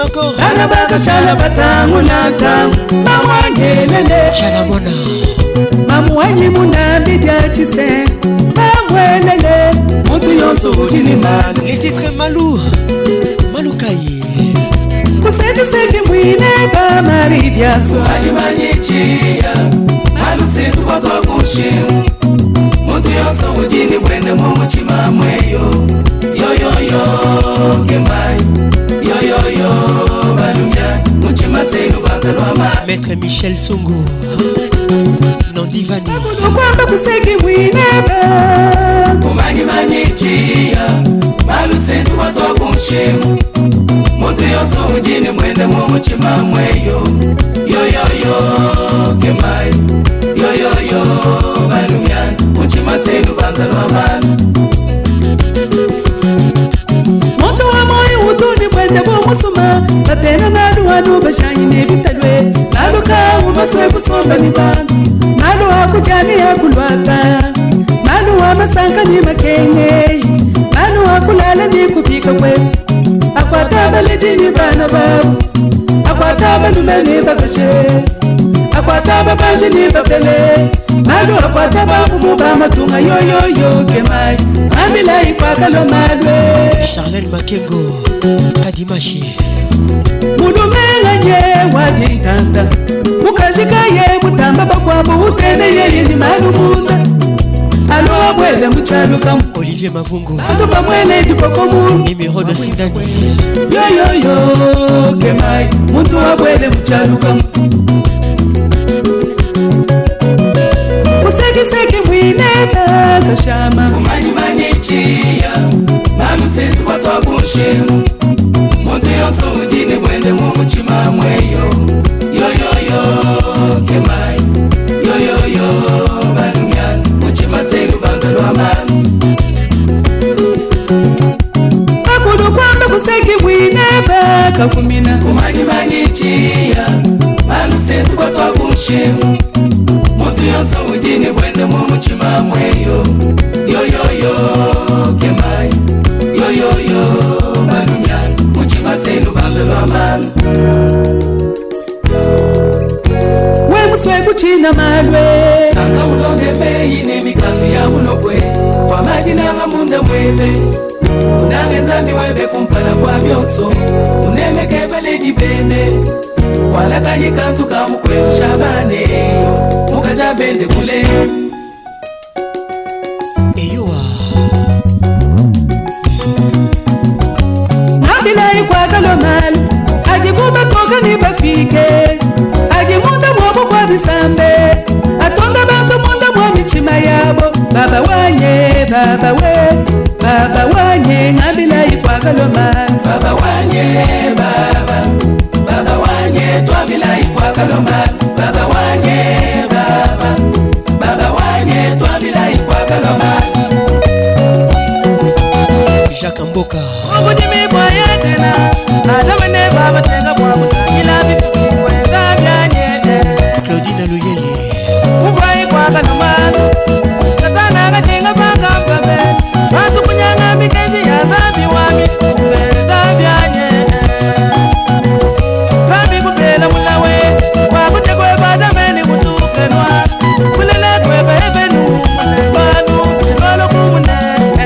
encore. Anabaka shalabatangu natangu mamwangelele Shalamona mamwanyi munabidya chise mamwelele mutu yonso udini manu. Les titres Malou Malou Kaye kusekiseki mwine bamari byaso alimanyichiya malu setu watu wakushimu mutu yonso udini bwene mumuchima mweyo yoyoyo kemai yoyoyo balumya muchima senu bazalwama. Maître Michel Songo Nandivani kwamba kuseki mwine kumanyi manyichiya malu setu watu wakushimu mutu yonso udini bwene mumuchima mweyo yoyoyo kemai yoyoyo balumya muchima senu bazalwama. Moto wa moyo utuni mwende bomusuma batena nalu wanu bashanyi nebitalwe nalu kawu maswe kusomba ni bandu nalu hakujani hakulwapa nalu wa masanga ni makenge nalu hakulala ni kupika kwetu akwataba lejini bana babu akwataba lumeni bakashe akwataba baje ni babele nalu akwataba kumuba matunga yoyoyo kemai amila ikwakalo malwe. Charlène Makengo Kadimashi Mulumelanye wadinganda mukashika ye mutamba bakwabo utene ye ni manu munda alo abwele muchaluka Olivier Mavungo ato bamwele jipoko mu numéro de Sindani yo yo yo kemai muntu abwele muchaluka kuseki mwine kashama kumanyi manyichiya malu setu watu wakushimu mutu yonso udini bwende mumuchima mweyo yoyoyo kemai yoyoyo balumya muchima senu bazalwama. Akulu kwamba kuseki mwine bakakumina kumanyi manyichiya malu setu watu wakushimu mutu yonso udini bwende mumuchima mweyo yoyoyo kemai yoyoyo balumya muchima senu bazalwama. We muswe kuchina malwe sanga ulonge beyi nemikambi ya mulokwe kwa majina nga munda mwebe unange nzambi webe kumpala kwa byonso unemekebele jibene wala kanyi kantu kamukwelu shabaneyo mukaja bende kule Eyoa nabilai kwa kalomalu ajikuba toka ni bafike ajimunda mwobo kwa bisambe atonda bantu munda mwa michima yabo baba wanye baba we baba wanye nabilai kwa kalomalu baba wanye baba baba wanye twabilai kwa kalomalu baba wanye baba baba wanye twabilai kwa kalomalu. Jacques Mboka Obudimi bwaye tena adamene baba tenga bwabuta ila bifuki kwenza byanye Claudine Luyeye Ubwai kwa kanumanu Satana katenga banga babe Watu kunyanga mikezi ya zambi wa misumbe za byanye Zambi kupela mulawe Wakute kwe badameni kutukenwa Kulele kwe bebenu mune banu Kuchikolo kumune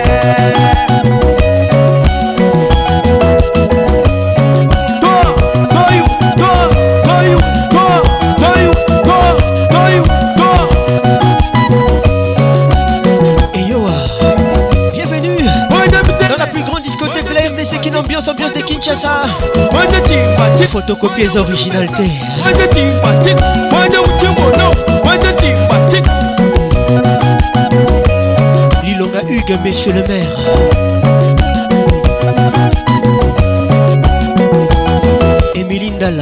Qui ambiance, ambiance de Kinshasa. Photocopies originalité. Lilonga Hugues, monsieur le maire. Émilie Ndala.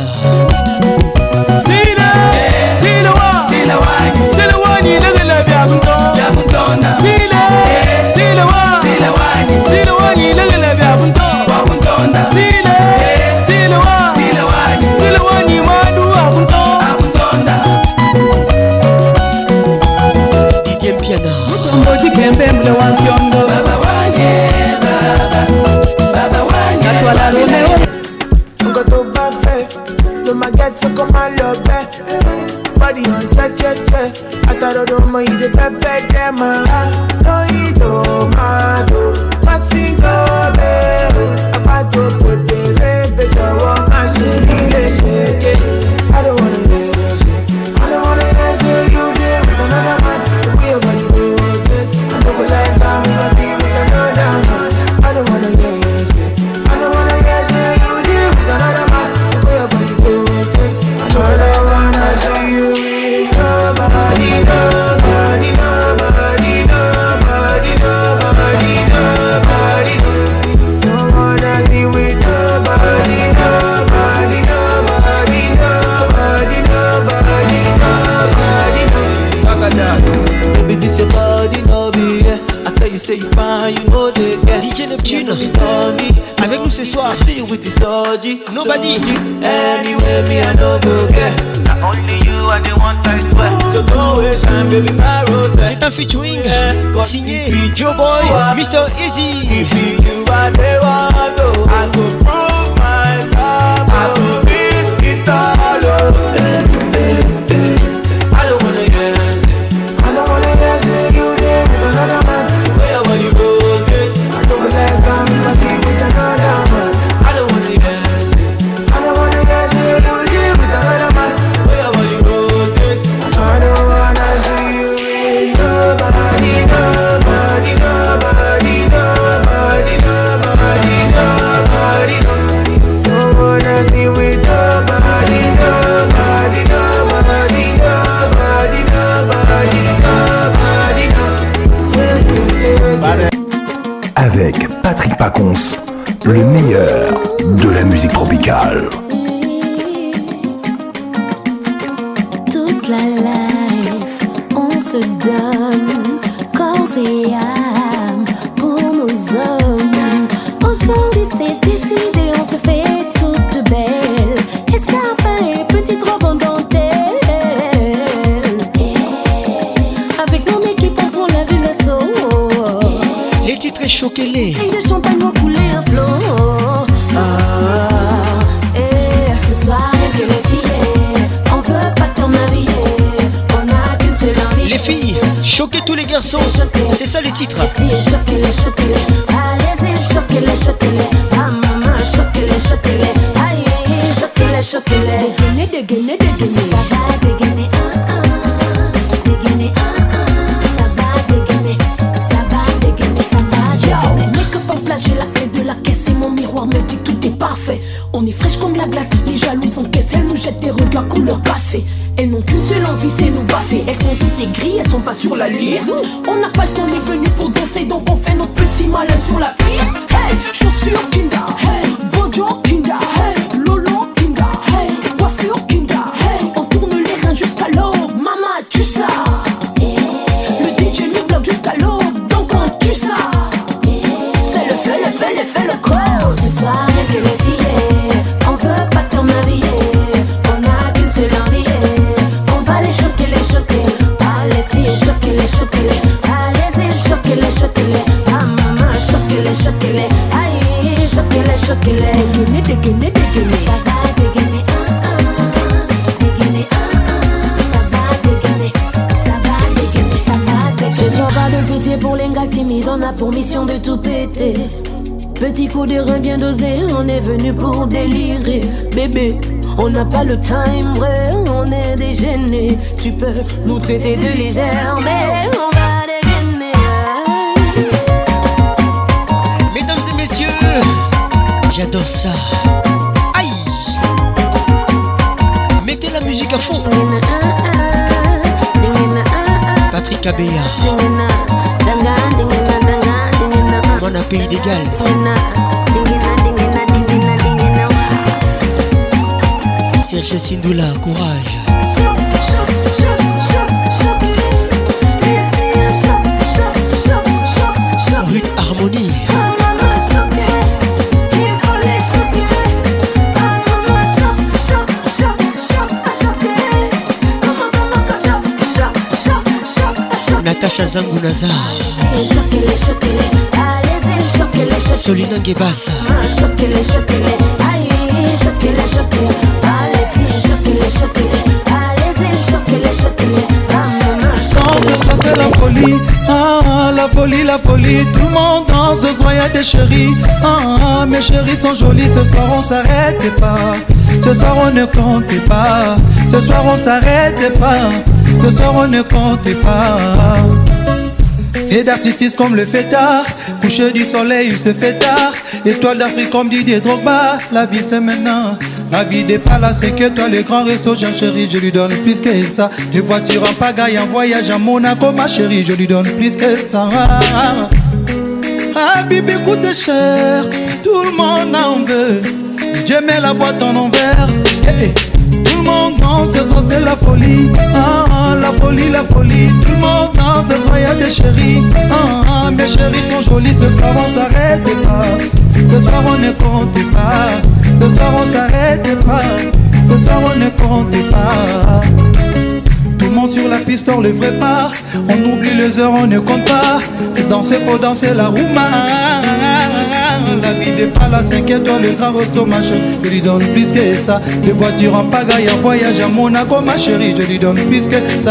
Didier Mpiana Mutombo jikembe mle wa mfyondo baba wanye body on check, check, check. I thought I don't mind the pepper, them, no, you don't mind. Masingo, I got to put the red, the one, I should shake it. I don't wanna hear you shake. I don't wanna hear you there with another man. The way your body goes, I don't like how we must be with another man. I don't wanna hear you shake. I don't wanna hear you there with another man. The way your body goes, I don't wanna see you with nobody, nobody, nobody, nobody, nobody, nobody. Don't wanna see with nobody, nobody, nobody, nobody, nobody, nobody. Baby, this your body, no be yeah. I tell you, say you fine, you know they get. D J Neptune, avec nous ce soir. Nobody. Anyway, me I no go get. Only you are the one I swear. So go away, shine, baby, my rose. C'est un featuring signé Joe Boy, mister Easy. You are the one, though. I go prove my love. I go miss it all. I don't wanna guess. I don't wanna guess you there with another man. Where will you go, get? I don't like how we must be with another man. I don't wanna guess. I don't wanna guess you there with another man. Where will you go, get? I don't wanna see you with nobody, nobody, nobody, nobody, nobody, nobody. Don't wanna see with nobody, nobody, nobody, nobody, nobody, nobody. Avec Patrick Pacons, le meilleur de la musique tropicale. Toute la life, on se donne corps et âme pour nos hommes. Aujourd'hui c'est décidé, on se fait toute belle. Escarpin et petite robe en dentelle. Avec mon équipe on prend la ville d'assaut. Les titres choqués-les. Et de champagne vont couler un flot. Ah, et ce soir que les filles, on veut pas ton avis. On a qu'une seule envie. Les filles, choquez tous les garçons. C'est ça les titres. Les filles, choquez-les, choquez-les. Allez-y, choquez-les, choquez-les. Ah maman, choquez-les, choquez-les. Aïe, choquez-les, choquez-les. Dégainer, dégainer, dégainer. Ça va dégainer, ah ah. Dégainer, ah ah. Ça va dégainer, ça va dégainer, ça va dégainer. Make-up en place, j'ai la clé de la caisse et mon miroir me dit que tout est parfait. On est fraîche comme la glace, les jalouses encaissent, elles nous jettent des regards couleur café. Elles n'ont qu'une seule envie, c'est nous baffer. Elles sont toutes aigries, elles sont pas sur la liste. On n'a pas le temps, on est venu pour danser, donc on fait notre petit malin sur la piste. Hey, chaussures Kinda, hey, Bojo Kinda, hey, Lolo Kinda, hey, coiffure Kinda, hey, on tourne les reins jusqu'à l'aube, maman tu ça. Le D J nous bloque jusqu'à l'aube, donc on tue ça. C'est le feu, le feu, le feu, le corps. Ce soir, que les filles, on veut pas ton avis. On a qu'une seule envie. On va les choquer, les choquer. Ah les filles, choquer, les choquer. Allez-y, choquer, les choquer. Ah maman, choquer, les choquer. Aïe, choquer, les choquer. Dégainer, dégainer, dégainer. Ça va dégainer, ah ah. Dégainer, ah ah. Ça va dégainer, ça va dégainer, ça va dégainer. Ce soir pas de pitié pour les gars timides, on a pour mission de tout péter. Petit coup de rein bien dosé, on est venu pour délirer. Bébé, on n'a pas le time vrai, on est dégêné. Tu peux nous traiter de légère, mais on va dégainer. Mesdames et messieurs, j'adore ça. Aïe. Mettez la musique à fond. Patrick Abéa, mon pays d'égal. Serge Sindoula, courage. Ruth Harmonie. Natacha Zangunazar, Solina Ngebassa, la folie, la folie. Tout le monde danse, ce soir y'a des chéris. Ah, ah, mes chéris sont jolis, ce soir on s'arrête pas. Ce soir on ne compte pas. Ce soir on s'arrête pas. Ce soir on ne compte pas. Et d'artifice comme le fêtard, coucher du soleil il se fait tard. Étoile d'Afrique comme Didier Drogba. La vie c'est maintenant. La vie des palaces, c'est que toi les grands restos, j'ai un chéri, je lui donne plus que ça. Des voitures en pagaille, en voyage à Monaco, ma chérie, je lui donne plus que ça. Ah, Bibi coûte cher, tout le monde en veut. Dieu met la boîte en envers. Yeah, yeah. Tout le monde danse, ce soir c'est la folie. Ah, la folie, la folie. Tout le monde danse, ce soir y'a des chéris. Ah, mes chéris sont jolis, ce soir on s'arrête pas. Ce soir on ne compte pas. Ce soir on s'arrête pas. Ce soir on ne compte pas. Tout le monde sur la piste sort le vrai part. On oublie les heures, on ne compte pas. Danser pour danser la rouma. La vie des palaces, cinq étoiles, le grand resto, ma chérie, je lui donne plus que ça. Les voitures en pagaille, en voyage à Monaco, ma chérie, je lui donne plus que ça.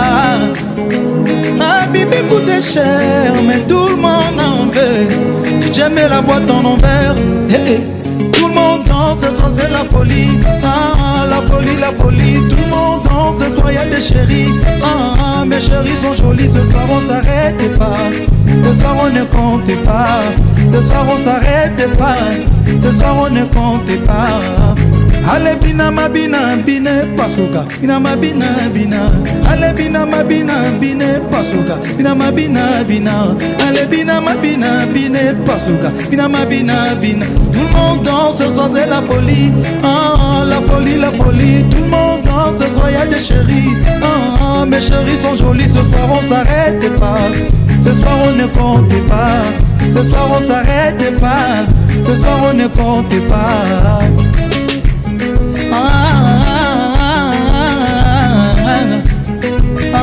Ah, Bibi coûte cher, mais tout le monde en veut. J'aime la boîte en envers. Hey, hey. Tout le monde danse, ce soir c'est la folie. Ah, la folie, la folie. Tout le monde danse, ce soir y'a des chéris. Ah, mes chéris sont jolis, ce soir on s'arrête pas. Ce soir on ne compte pas. Ce soir on s'arrête pas. Ce soir on ne compte pas. Allez bina ma bina bine pasuka. Bina ma bina bina. Allez bina ma bina bine pasuka. Bina ma bina bina. Allez bina ma bina bine pasuka. Bina ma bina bina. Tout le monde danse, ce soir c'est la folie. Ah, la folie, la folie. Tout le monde danse, ce soir y'a des chéris. Ah, mes chéris sont jolis, ce soir on s'arrête pas. Ce soir on ne compte pas. Ce soir on s'arrête pas. Ce soir on ne compte pas. Ah, ah, ah,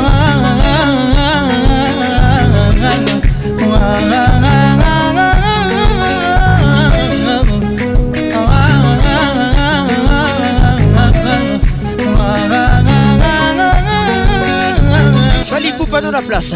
Fali Poupa dans la place.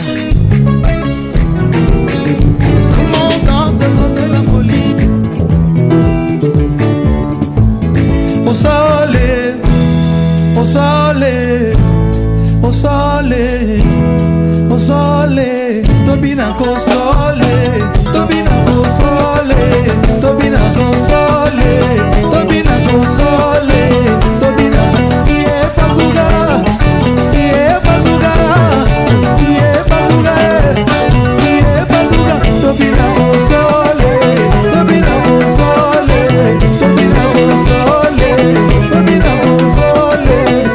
Au soleil, au soleil, au soleil, au soleil, Tobina go soleil, Tobina go soleil, Tobina go soleil, Tobina go soleil, Tobina yeah bazuga, yeah bazuga, yeah bazuga, yeah bazuga, Tobina go soleil, Tobina go soleil, Tobina go soleil, Tobina go soleil.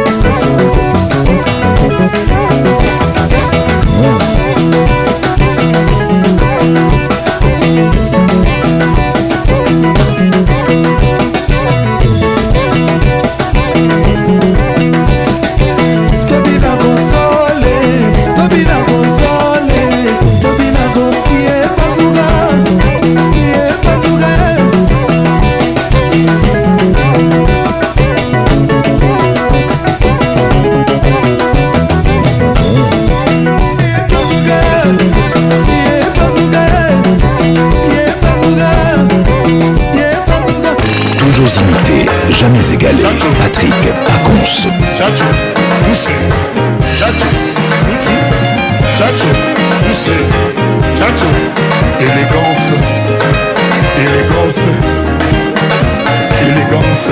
Toujours imité, jamais égalé. Patrick Pacons. Chacho, poussé. Chacho, poussé. Chacho, poussé. Chacho, élégance. Élégance. Élégance.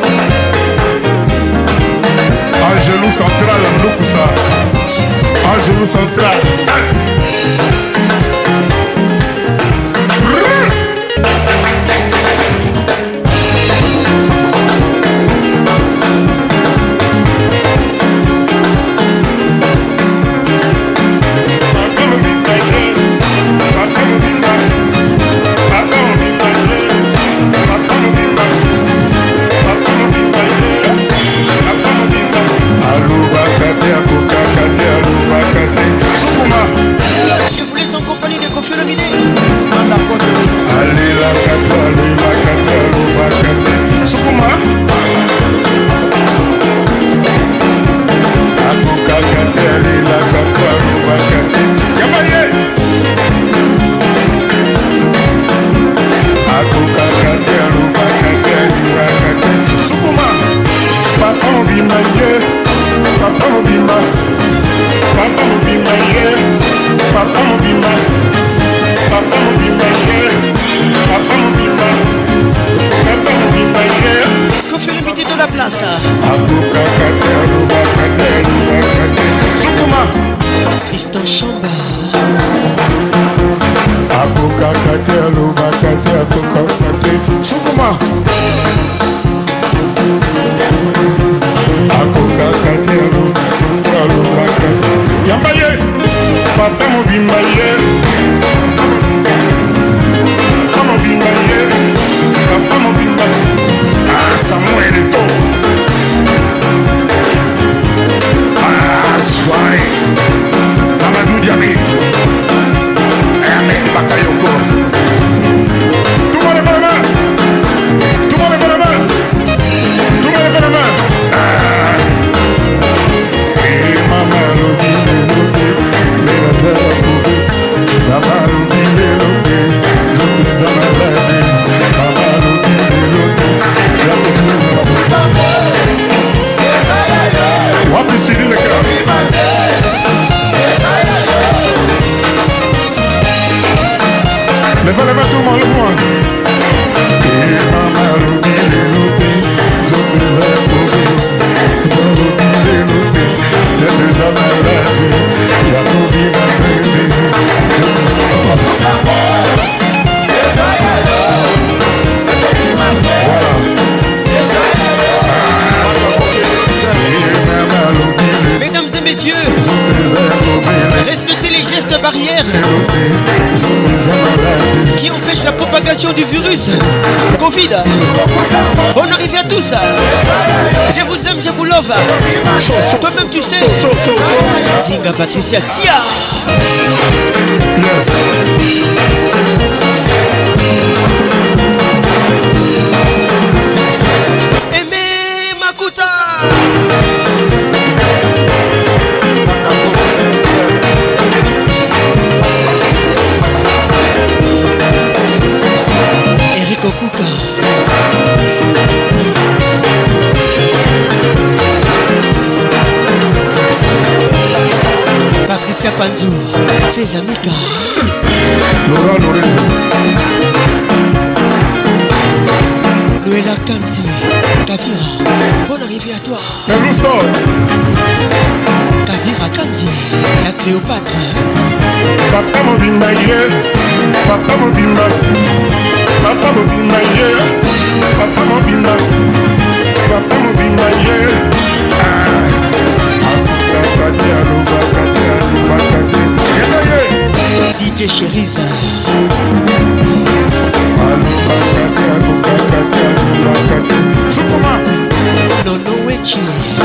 Angelou central, Ndoukoussa. Angelou central. Sukuma akokaka te alukaka yamba ye papa mobimba ye papa mobimba ye papa mobimba ah Samuel to ah soirée Mamadou Diaby Amen Bakayoko. Tout le monde lève la main. Tout le monde lève la main. Tout le monde lève la main. Ah. Et maman lobi lobi, mais la terre lobi, maman lobi lobi, toutes les amalades, maman lobi lobi, la lobi. Wapi Sidi le cœur. Lève la main tout le monde, le moins. Et maman lobi lobi, toutes les amalades, maman lobi lobi, les amalades, la lobi lobi. Mesdames et messieurs, respectez les gestes barrières qui empêchent la propagation du virus Covid. Bonne arrivée à tous. Je vous aime, je vous love. Toi-même tu sais. Zinga Patricia Sia. Aimé Makuta. Eric Okuka. Patricia Panzou. Fais Amika. Laura Lorenzo. Noëlla Kanti. Kavira. Bonne arrivée à toi. Kavira Kanti. La Cléopâtre. Papa mobimba ye. Papa mobimba. Papa mobimba ye. Papa mobimba. Papa mobimba ye. D J Cheriza. Soukoma. Nono Wechi.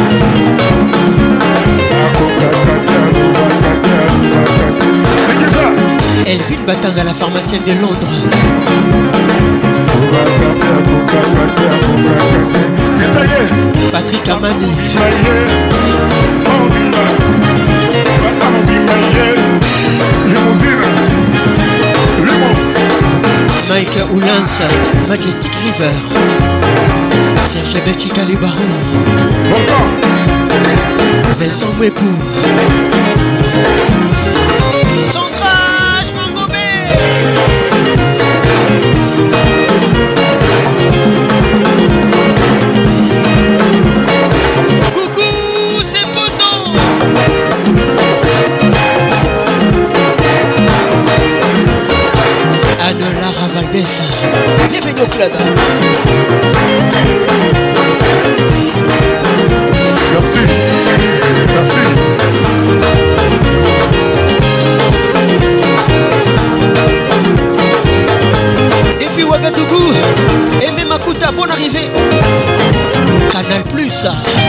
Elvin Batanga, la pharmacienne de Londres. Patrick Amani. Mike Oulans, Majestic River. Serge Betchika les barons. Vincent Mwepou. Centrage Mangomé. Coucou, c'est Poto. Anne Lara Valdez. Bienvenue au club. Merci. Merci. Depuis Ouagadougou, Aimé Makuta, bonne arrivée. Canal Plus.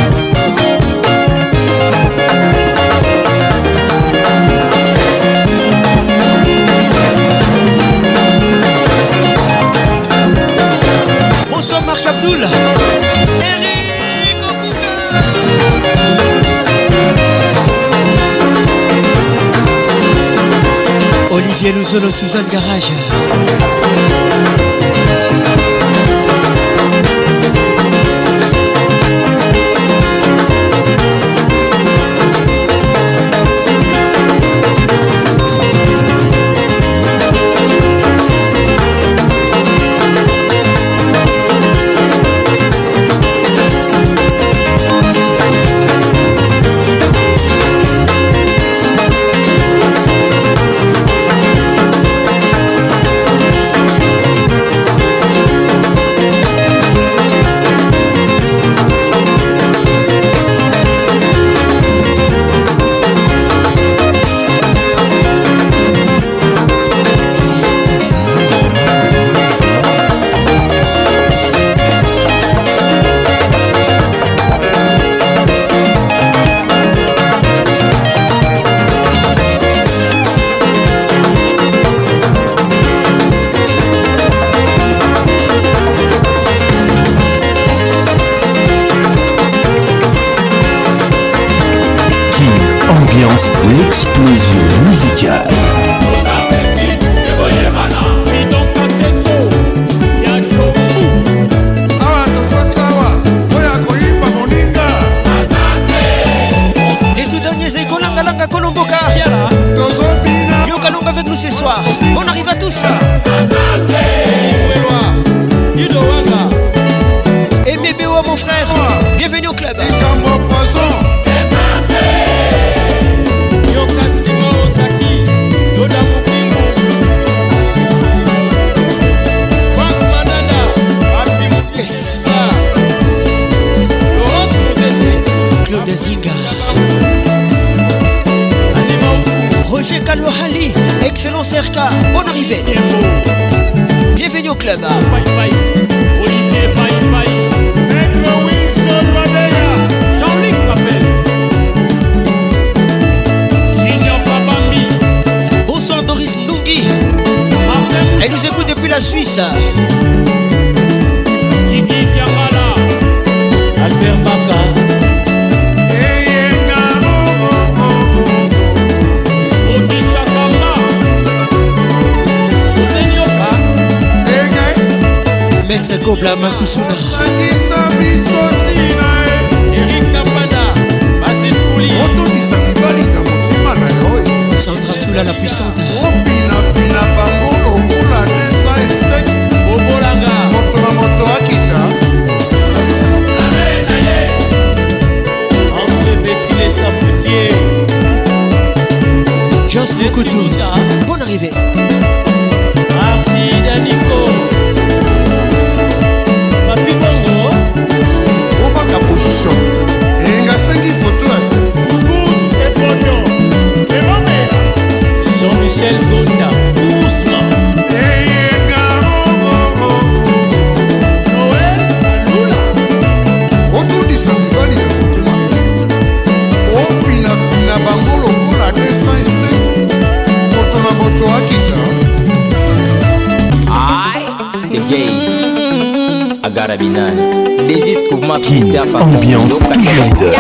Bonsoir Marc Abdoul. Eric Okuka. Olivier Louzolo, Suzanne Garage. ambiance, l'explosion musicale. Les tout derniers Ekolanga Langa Kolomboka. Yokalonga avec nous ce soir. On arrive à tous. Et Mébewa mon frère, bienvenue au club. Yes. Claude Zinga, Roger Kalouhali, excellent C R K, bonne arrivée. Bienvenue au club. Jean-Luc Papel, Junior Babambi. Bonsoir Doris Ndungi. Elle nous écoute depuis la Suisse. Kiki Kiamala, Albert Baka. Maître Kobla Makusuna, Eric Napana, Basile Kouli, Sandra Soula la puissante, Bobolanga, André Betty les Sapoutiers, Joss Mokutu, bonne arrivée. Archid Nico, Papi Bongo, Obaka position. Enga cinq photos à selfie. et Pognon, et ma mère, Jean-Michel Gonda, Ousmane, Noël, Lula, otondisa mibali na motema ofinafina bango lokola deux cent sept moto na moto akita. C'est gays. Agara Binani. Des isques pour ma King, ambiance toujours leader.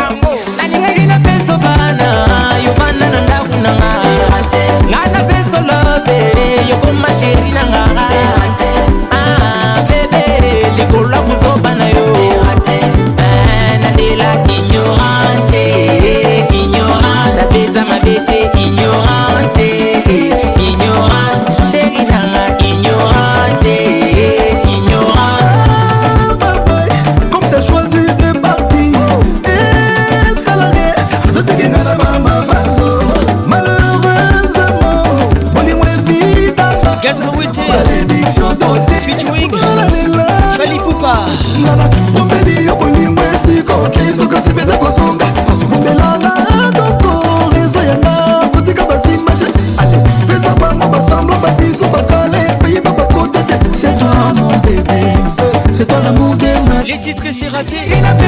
Featuring Fali Poupa. Les titres que c'est raté.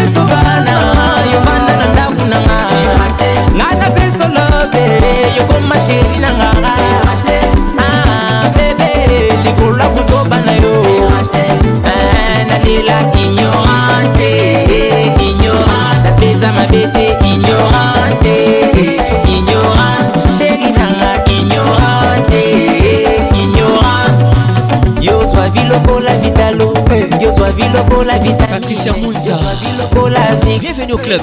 Patricia Mounza, bienvenue au club.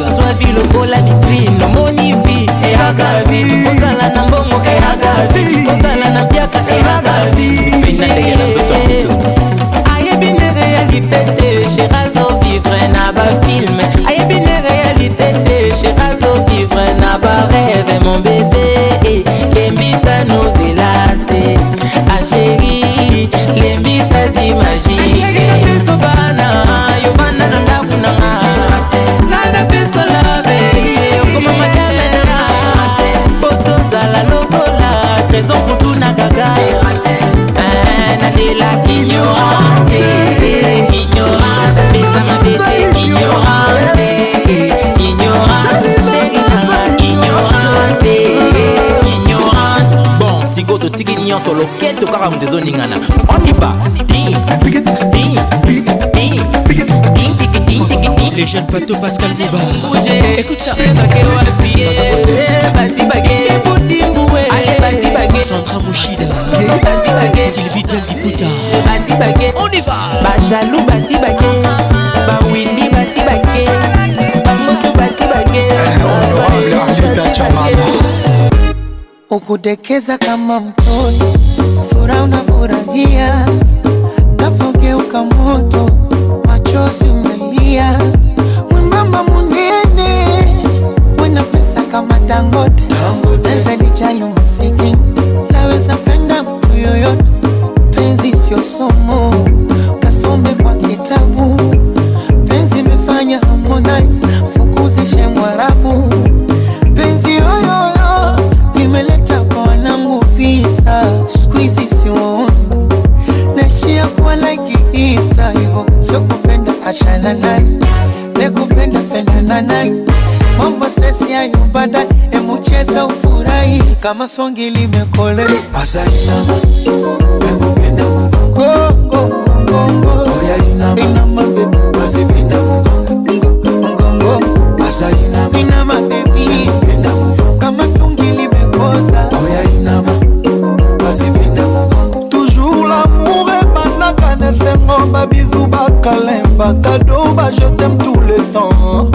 Mon bébé, les misa novelas, ah chérie, les misa imagines. Solo keto kaka mdezo ningana. On y va. Les jeunes bateaux Pascal Mouba. Écoute ça. Basi Bajalou basi bake, bawindi basi bake, bamoto basi bake. Honorable Arlita Chamama. Ukudekeza kama mtoto, furaha unafurahia, nafogeuka moto, machozi umelia. Mwembamba munene, wena pesa kama Dangote, naweza lijali masikini, naweza penda mtu yoyote. Penzi sio somo, kasome kwa kitabu. Penzi imefanya Harmonize, fukuzishe Mwarabu. Penzi yoyoyo, nimeleta kwa wanangu vita. Squeezy sio naishia kwa like Easter. Hivo, sio kupenda achana naye, nekupenda pendana naye. Mambo sesi ya yubada, emu cheza ufurahi. Kama songi limekole Asainama, emu penda mgongo Mgongo, oya inama Inama baby, basi penda mgongo Mgongo, Asainama Inama baby, penda mgongo. Kama tungi limekoza, oya inama basi penda mgongo. Toujours l'amour est banaka ne fait mon babizou bakalemba. Cadeau ba je t'aime tout le temps.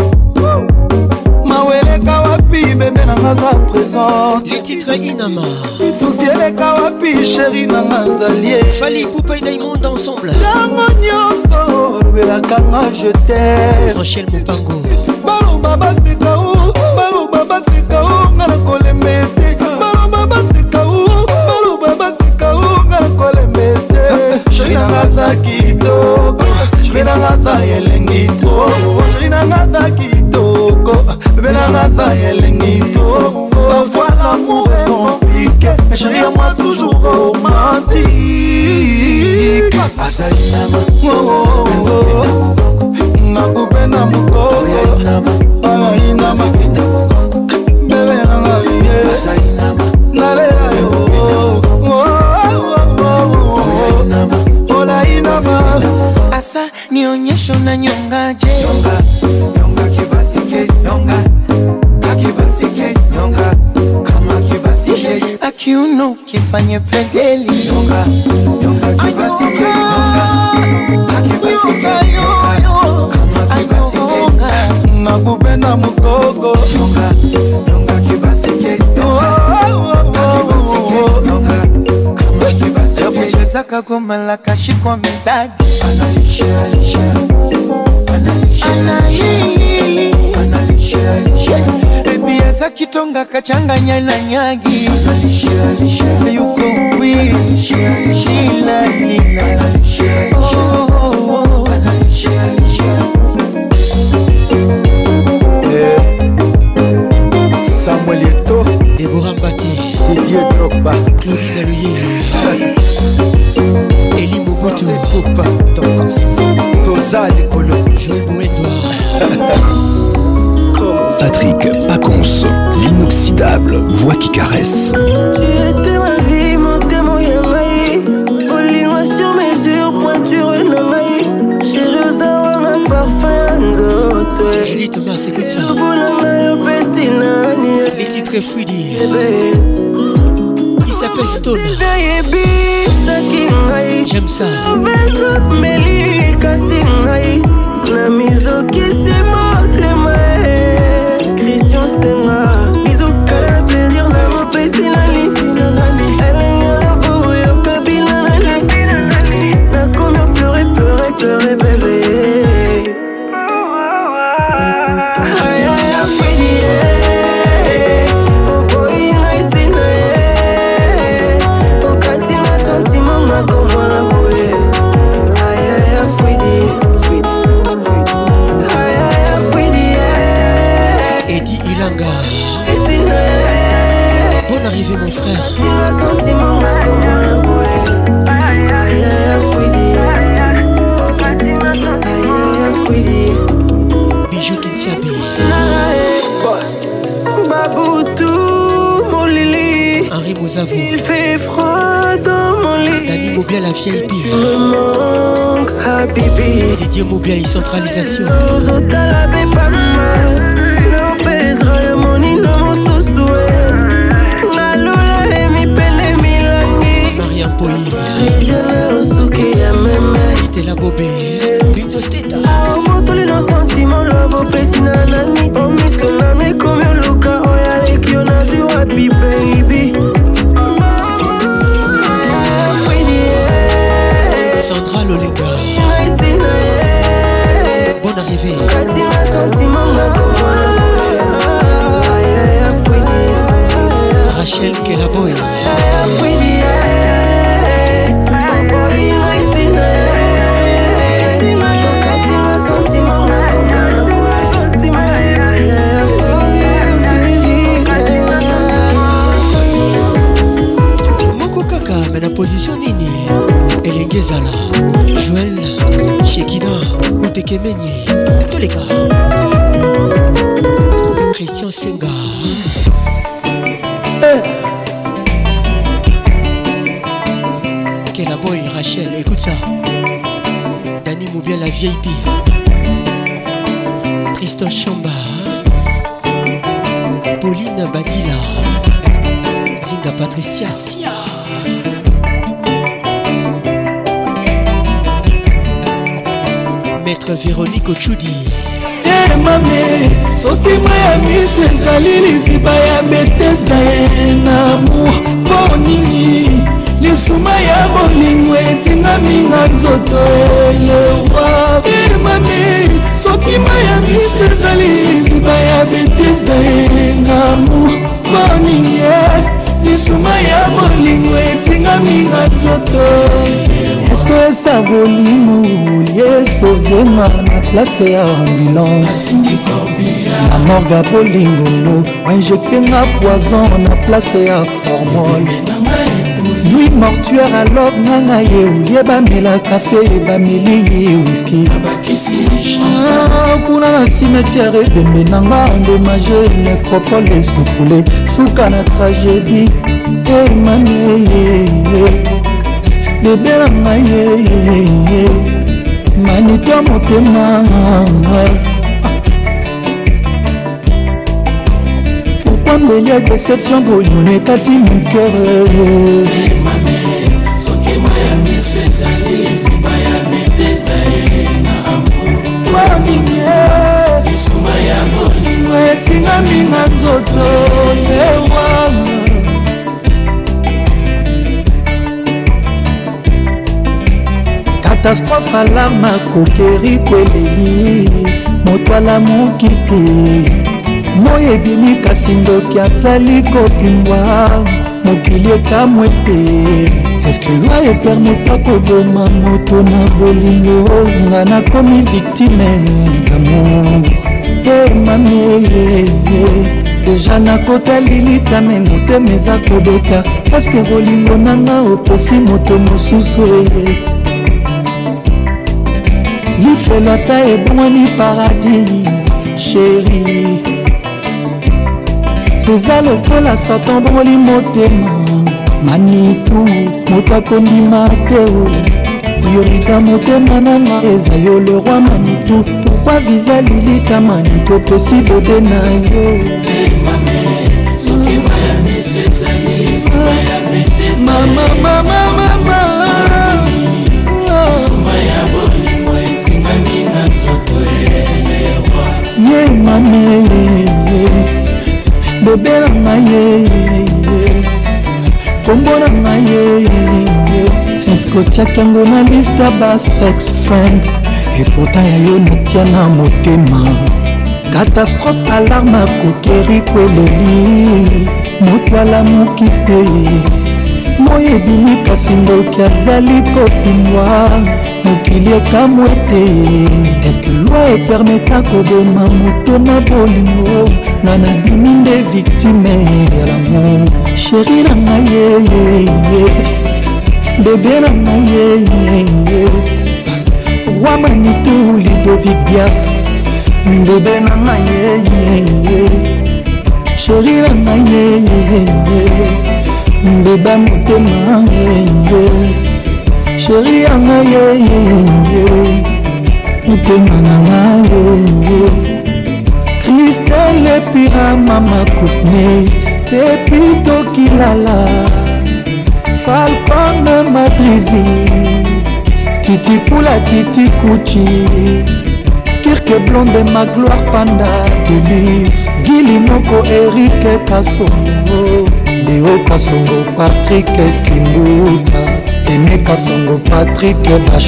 Bébé nanga za présent. Les titres Inama Souciele kawapi chéri nanga zalie. Fali Poupa et Diamond ensemble. Tango nyoso Bela kanga je t'aime. Rachel Mopango. Balo baba fika ou, balo baba fika ou, ngala kole mete. Balo baba fika ou, balo baba fika ou, ngala kole mete. Chéri nanga za kitoko, chéri nanga za yelengi to, chéri nanga za kitoko. Bébé nanga za yelengi to. Parfois l'amour est compliqué, mais chérie à moi toujours romantique. Asainama, oh oh oh, nakupenda mukoko. Aya inama, bébé nanga iye. Asainama, nalela yo. Oh oh oh, ola inama. Asa nionyesho na nyongaje. Nyonga, nyonga kibasike, nyonga. Kakibasike, nyonga. Kama kibasike, akiuno kifanye pedeli. Nyonga, nyonga kibasike, nyonga. Kakibasike, nyonga. Kama kibasike, nakupenda mukoko. Nyonga, nyonga kibasike, nyonga. Kakibasike, nyonga. Kama kibasike, yakucheza kagoma la kashikwa midadi. Analisha, alisha. Analisha, alisha. Analisha, alisha. Biaza kitonga kachanganya na nyagi. Analisha, alisha. Yuko wii Shila nina Analisha, alisha. Analisha, alisha. Samuel Eto'o, Deborah Mbaté, Didier Drogba, Claudine Aloyeli, Eli Mobutu, Poupa, Toza Likolo, Joël Bouendoir, Patrick Pacons, l'inoxydable voix qui caresse. Tu étais ma vie, mon témoin yamaï. Olingo sur mesure, pointure namaï. Chérie Ozawa, ma parfum nzoto. Julie Thomas, écoute ça. Les titres fluides. Il s'appelle Stone. J'aime ça. Christian Senga, bisous, câlin, plaisir, l'amour, pessi, la lisi, la nani. Elle est née à la boue, au cabine, la nani. La combien pleurer, pleurer, pleurer, bébé. Aïe, aïe, aïe, fouidi, oh boy, naïtina, oh katina, sentiment, ma comment la bouée. Aïe, aïe, aïe, fouidi, fouidi, fouidi. Aïe, aïe, aïe, fouidi, Eddie Ilanga. Bonne arrivée mon frère. Bijou Kintiabi. Boss Baboutou, mon Lili. Henri Mouzavou. Il fait froid dans mon lit. Dani Moubia la vieille Tu pire. me manques, Habibi. Didier Moubia et centralisation. Zotalabe pas mal. No pedra ya moni no mo susue. Nalola emi pele milangi. Mariam Poi. Rijana usuki ya meme. Stella Rachel Kelaboy. Moko kaka mais na position nini Elengezala Joël Shekina Otekemenye tous les cas Christian Senga Kelaboy Rachel, écoute ça. Dani Moubia la vieille pire. Tristan Chamba Pauline Badila Zinga Patricia Sia Maître Véronique Ochudi. Hey, mame, soki maya miso ezali liziba ya Bethesda na amour mpo nini lisuma ya bolingo etingami na nzoto elewa. Hey, mame, soki maya miso ezali liziba ya Bethesda na amour mpo nini lisuma ya bolingo etingami na nzoto eso esa bolingo liesovenga na place ya ambulance na morga bolingo wainjectenga poison na place ya formole lui mortuaire alove nanga ye olie bamela kafe bameli whisky kuna na cimetière ebembe nanga endommage nécropole esekoule suka na tragédie emameye bebe nanga ye manito motema. Pourquoi me y a déception bolingo ekati mon cœur. soki moya miso ezali liziba ya Bethesda na amour waninye lisuma ya bolingo etingami na nzoto lewanga. Catastrophe alarme akokeri kweleli moto alamuki te moyo ebimi kasi ndoki azali kopimbwa mokili ekamwe te. Eske loi epermeta koboma moto na bolingo nga nakomi victime d'amour. Ye mame deja nakotali litame motema eza kobeka paske bolingo nanga opesi moto mosusu lifelo ata ebongwani paradis sheri eza lokola satan bongoli motema manitu moto akondima te priorita motema nanga eza yo le roi manitu pourkui viza lilita manitu opesi bebe na yo soki moya miso ezali liziba ya Bethesda mama mama mama lisuma ya bolingo etingami na nzoto elewa. ye mame bebe nanga ye kombo nanga ye eske otiaki yango na liste ba sex friend et pourtant ya yo natia na motema. Catastrophe alarme akokeri kweleli moto alamuki te moyo ebimi kasi ndoki azali kopimbwa mokili ekamwe te. eske loi epermeta koboma moto na bolingo nga nabimi nde victime ya lamour. sheri nanga ye bebe nanga ye roi manitu Ludovic Biat bebe nanga ye sheri nanga ye beba motema ye sheri yanga ye motema nanga ye Christelle epira mama Courtney epi tokilala Falcon Madrizi Titi Kula Titi Kuchi Kirke Blonde ma gloire panda Deluxe Gili Moko Eric Kasongo Deo Kasongo Patrick Kimbuta Aimé Kasongo Patrick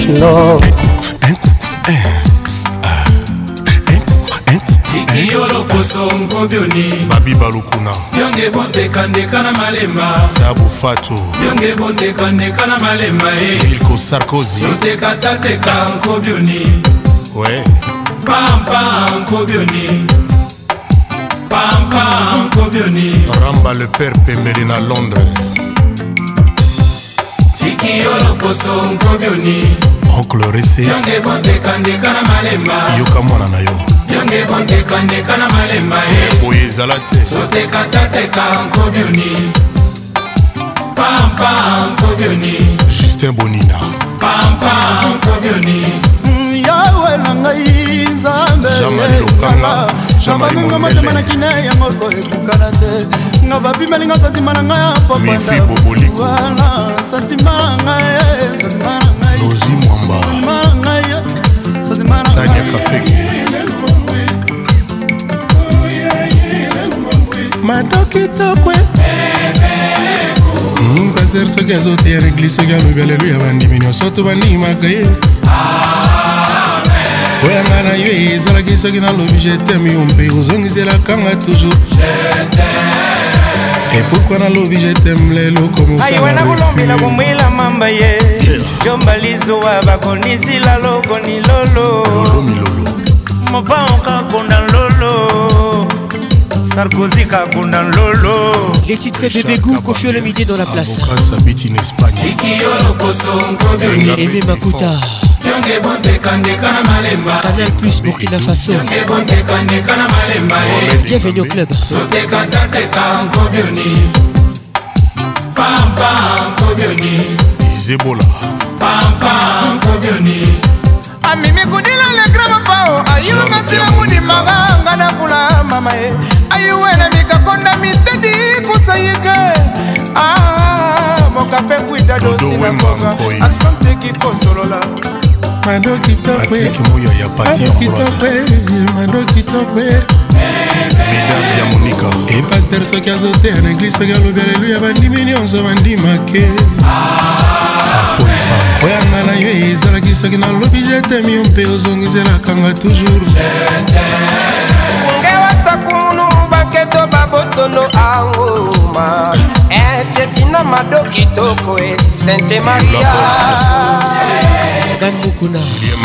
Bachelor Kiki Yolo loposo nkobioni Babi Balukuna Yonge boteka ndeka na malemba Sabu Fatou Yonge boteka ndeka na malemba Milko Sarkozy Soteka tateka nkobioni Ouais Pampa nkobioni Pampa nkobioni Ramba le père Pembele na Londres Tiki loposo nkobioni Oncle Ressé Yonge boteka ndeka na malemba Yoka mwana na yo Yonge boteka ndeka na malemba Oye ezala te Soteka tateka nkobioni Pampa nkobioni Justin Bonina Pampa nkobioni yawe na ngai nzambe ngambaminga motema na kine yango koebukana te nga babimelinga santima na ngai popandwana santima na ngai santima na ngai Lozi Mwamba santima na ngai santima na Tania Kafeke Madokitokwe Pasteur soki azoteya na eglise soki alobi aleluya bandimi nyonso to bandimaka ye oyanga na yo ezalaki soki nalobi jeteme yo mpe ozongiselakanga toujours epokwa nalobi jeteme lelo ayiwana kulombela kumwila mamba ye jombalizuwa bakonisila lokoni lolo mobango kakonda lolo Sarkozy kakunda lolo. Les titres Bébé Gou, Kofi Olomide dans la place. Sabit in Espagne. Aimé Makuta. Canal Plus Burkina Faso. Bienvenue au club. Zebola. Amimi kudila le grama pao ayu matila mudi maganga na kula mama e ayu wena mikakonda mitedi kusayike ah mokape kwida dosi na konga asante kikosolola Madoki tokwe Madoki tokwe Madoki tokwe Mesdames ya Monica Et pasteur soki azote en église soki alobi aleluya bandimi nyonso bandimake oyanga na yo ezalaki soki nalobi jetemi yo mpe ozongiselakanga toujours ngewasakumunu mubaketo babotsolo angoma etetina madoki toko e Sainte Maria Dan Mukuna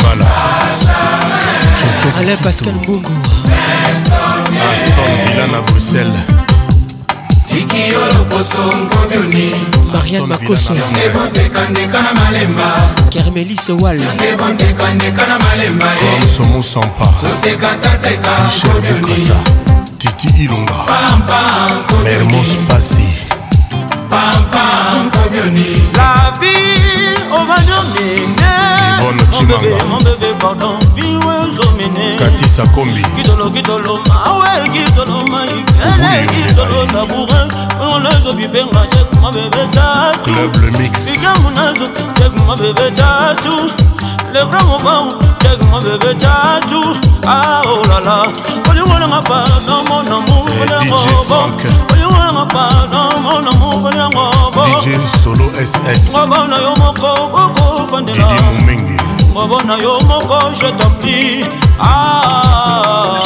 Alain Pascal Mbungu Aston Villa na Bruxelles Tiki yolo poso nkobioni Marianne Makoso Nebondekandeka malemba Kermelis Wall Nebondekandeka na malemba Comme Somo Sampa Sotekateka Michel Bukasa Titi Ilonga Mermos Passi Pampa nkobioni La vie au Manomene Yvonne Chimanga Mon bébé pardon Viwe Zomene Kati Sakombi Kidolo kidolo mawe Kidolo maikele Kidolo tabourin On les obibenga Tek ma bébé tatou Club le mix Ika munazo Tek ma bébé tatou Le grand moment Tek ma bébé tatou Ah oh la la Oli wana nga pardon mon amour D J Frank Oli wana nga pardon mon amour Oli wana nga D J Solo S S Ngabana yo moko boko fandela Didi Moumengi Ngabana yo moko je t'en prie Ah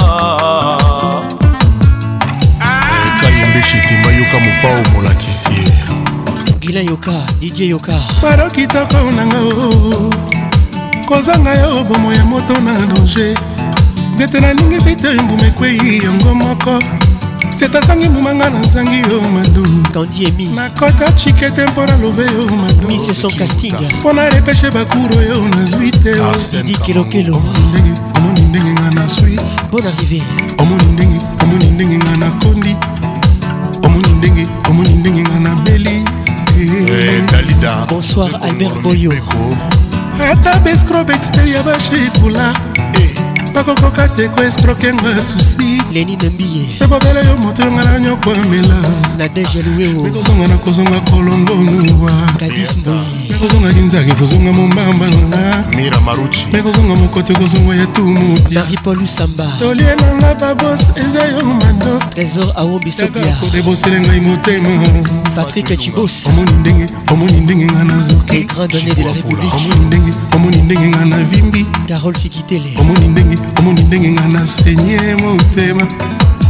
Kayembe Shetima Yoka Mopao Molakisi Guilain Yoka, Didier Yoka Madoki toko nanga o kozanga yo bomo ya moto na danger nzete naningisi te mbuma ekwei yango moko nzete asangi mbumanga nazangi yo madu Kandi Emi nakota chike te mpo na love yo madu Miss son casting mpo na repeshe bakuro yo nazwi te Didi Kelokelo omoni ndenge nga naswi Bonne arrivée omoni ndenge omoni ndenge nga nakondi omoni ndenge omoni ndenge nga nabeli Dalida Bonsoir Albert Boyo ata bescrobe expert ya bashekula bakokoka te koescrokenga susi Leni Nambiye sebobele yo moto yonga na nyokwamela Nadege Louéo mekozonga na kozonga kolongonuwa Kadis Mboyi mekozonga kinzaki kozonga mombamba Mira Maruchi mekozonga mokote kozonga ya tumu Marie-Paul Samba tolie nanga babos eza yo mando Trésor Aombi Sobia kodebosele ngai motema Patrick Chibos omoni ndenge omoni ndenge nga nazoki Les grands donnés de la République omoni ndenge omoni ndenge nga navimbi Carole Sikitele omoni ndenge omoni ndenge nga nasenye motema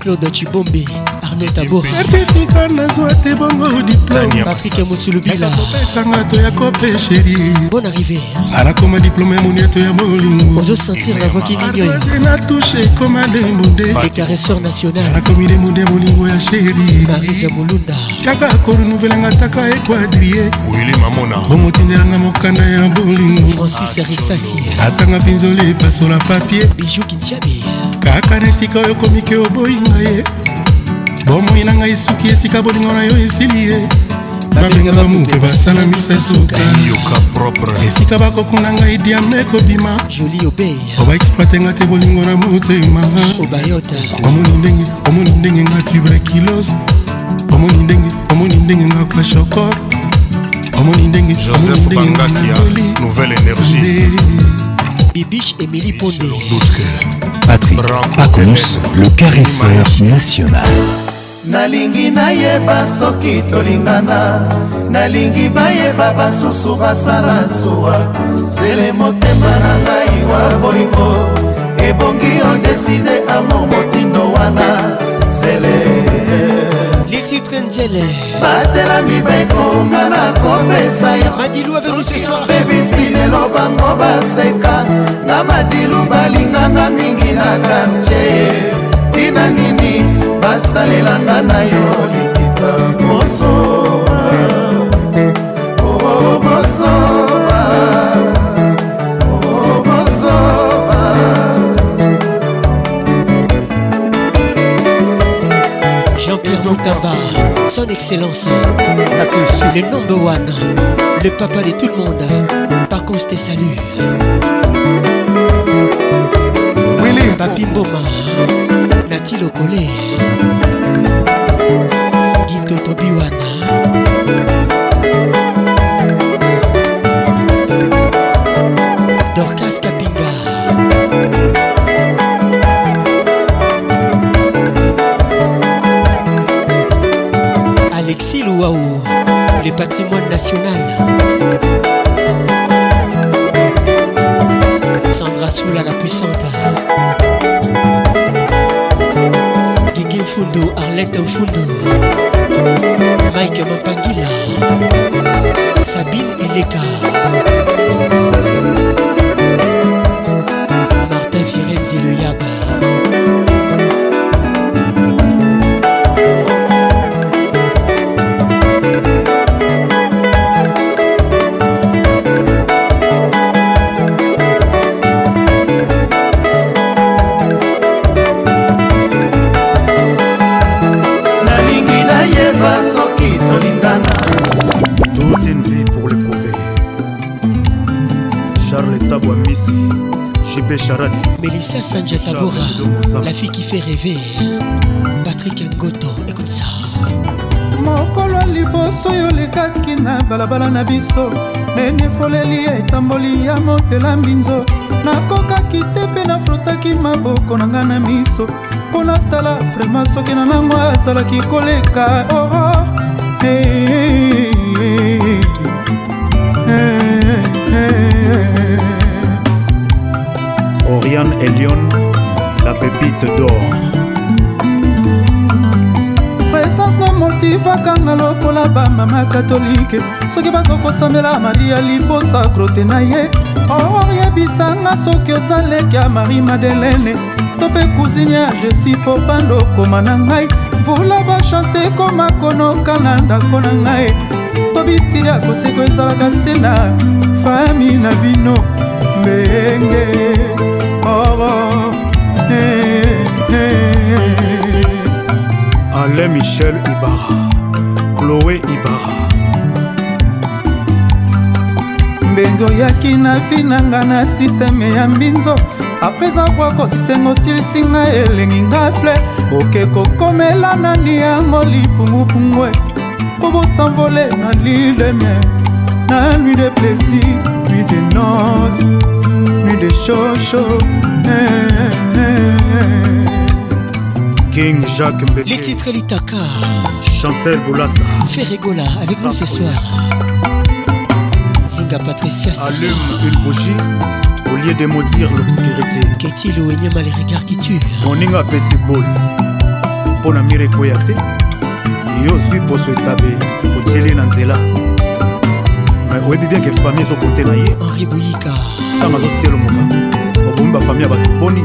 Claude Chibombe, Arnaud Tabora, certificat nazwa te bongo diplôme Patrick Moussoulubila, kopesanga to ya kope chéri. Bonne arrivée. Alakoma diplôme ya monieto ya molingo. Ozo sentir la voix qui n'ignore. Na touché comme un demondé. Les caresseurs nationaux. Alakomi demondé molingo ya chéri. Marisa Mulunda. Kaka ko renouvelanga taka e quadriller. Willy Mamona. Bongo tindelanga mokanda ya bolingo. Francis Rissassi. Atanga pinzole paso la papier. Bijou Kintiabi. Kaka nesika oyo komike oboyinga ye. Bomoi na ngai suki esika bolingo na yo esili ye. Babenga bamuke basala misa suka yoka propre esika bakokuna ngai diamne kobima Jolie Obey oba exploite nga te bolingo na motema Obayota omoni ndenge omoni ndenge nga tuberculose omoni ndenge omoni ndenge nga kwashokor omoni ndenge omoni ndenge nga natoli nouvelle énergie Bibiche Émilie Pondé Patrick Pacons, le caresseur national. nalingi nayeba soki tolingana nalingi bayeba basusu basala zuwa zele motema na ngai wa bolingo ebongi odeside amo motindo wana zele les titres Nzele batelami bekonga na kopesa yo Madilou avec nous ce soir bebisi lelo bango baseka na Madilu balinganga mingi na quartier tina nini basalelanga na yo likita bosoba oh bosoba oh bosoba Jean-Pierre Moutamba, son excellence, le number one, le papa de tout le monde, par contre te salue. Willy Papi Mboma, Nati Lokole, Guito Tobiwana, Dorcas Kapinga, Alexis Louaou, le patrimoine national. Sandra Soula la puissante. Guigui Fundo, Arlette Fundo. Mike Mampangila. Sabine Eleka. Martin Firenze le Yaba. Toute une vie pour le prouver. Charles Tabouamissi, J B Charani, Mélissa Sanjatabora, la fille qui fait rêver. Patrick Ngoto, écoute ça. mokolo liboso yo lekaki na balabala na biso nene foleli etamboli ya motela mbinzo nakokaki te mpe nafrotaki maboko na ngai na miso mpo natala vraimen soki na nango azalaki koleka oro hey, hey, hey, hey. Oriane Elion, la pépite d'or. présence no motivakanga lokola bamama katolike soki bazokosambela maria libosa grote na ye oyebisanga soki oza leki ya marie madelene to mpe cousine ya jesi po bando koma na ngai mvula bachanse ekoma konoka na ndako na ngai to bitili ya koseko ezalaka se na fami na bino mbenge oro hey, hey, hey. Alain Michel Ibarra, Chloé Ibarra. mbenge oyaki na vi nanga na sisteme ya mbinzo apres avoir kosisengo silisinga elengi nga fle oke kokomela nani yango lipungupungwe po bosanvole na lileme na nuit de plaisir nuit de noces nuit de chocho eh, eh, eh. King Jacques Mbeke. Les titres Litaka. Chancel Boulassa. Ferregola avec nous ce soir. Zinga Patricia. Allume une bougie au lieu de maudire l'obscurité. Qu'est-il ou Enyama les regards qui tuent. Moninga Pessibol. mpo na mire ekoya te yo zwi poso etabe otieli na nzela oyebi bien ke famille ezokote na ye Henri Bouyika ntango azosielomoka obomi bafamille ya bato boni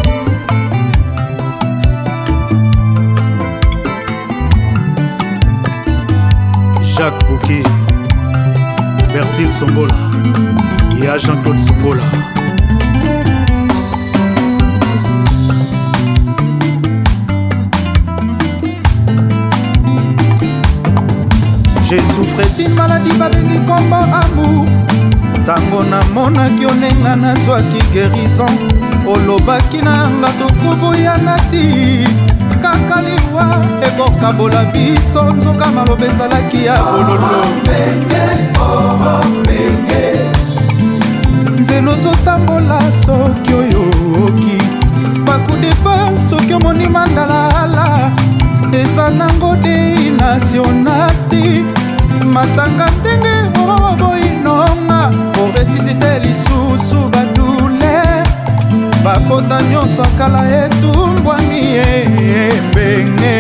Jacques Bouquet, Bertil Songola et à Jean-Claude Songola. J'ai souffert d'une maladie babengi kombo amour ntango namonaki onenga nazwaki guérison olobaki nanga tokoboyana ti kaka liwa ekokabola biso nzoka maloba ezalaki ya bololo nzela ozotambola soki oyoki bakudepa soki omoni mandalaala eza nango dei nationati matanga ndenge oboyinonga oresisite lisusu badouleur bapota nyonso kala etumbwani ebenge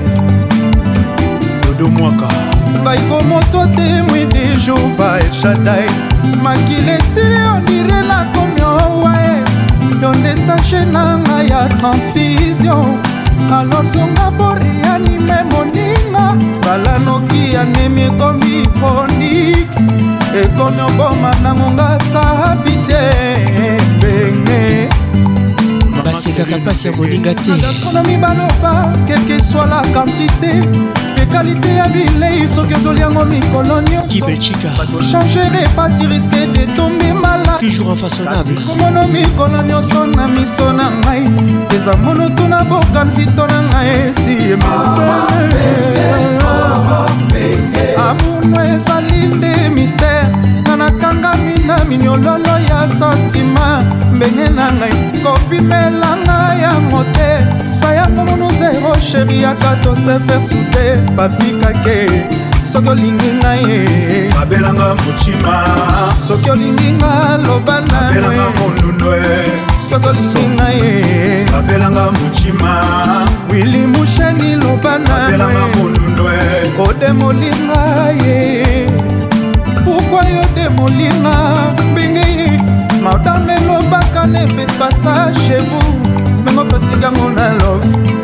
dodomwaka baikomoto temwi de jova elshadai makile esili ondire nakomi owae yo nde sache nanga ya transfusion alors zonga borianime moninga zala noki anemi ekomi chronique ekomi oboma nangonga sabitie ebenge basekaka mpasi ya moninga te gastronomi baloba kelke soit la quantité pe qualité ya bilei soki ozoli yango mikolo nyonso batochange pati riske de tombe mala toujours infaçonnable komono mikolo nyonso na miso na ngai eza monutu na bokan vito na ngai esi emese amono ezali nde mystère nga nakangami na minyololo ya santima mbenge na ngai kopimela ngai yango te sayango mono zero sheri yaka tose faire soude papikake soki olingi ngai abelanga mochima soki olingi nga loba abelanga mondundo soki olingi ngai abelanga mochima wili musheni loba abelanga mondundo odemolinga ye pourquoi yo demolinga mbingi maudane lobaka ne faites pas ça chez vous mengo pratique yango na love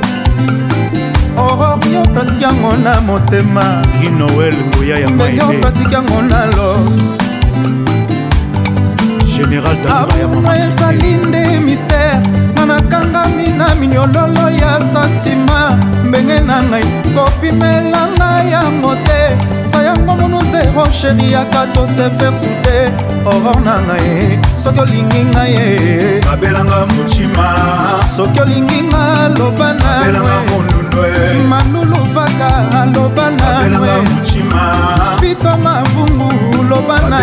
Aurore yo pratique yango na motema Noël Ngoya ya maïde yo pratique yango na love Général Damara ya mama ezali nde mystère nga nakangami na minyololo ya santima mbenge na ngai kopimela ngai yango te sayango mono zero sheri yaka tose faire soude Aurore na ngai soki olingi ngai abelanga mochima soki olingi nga loba na manulu vaka loba na pito mavungu loba na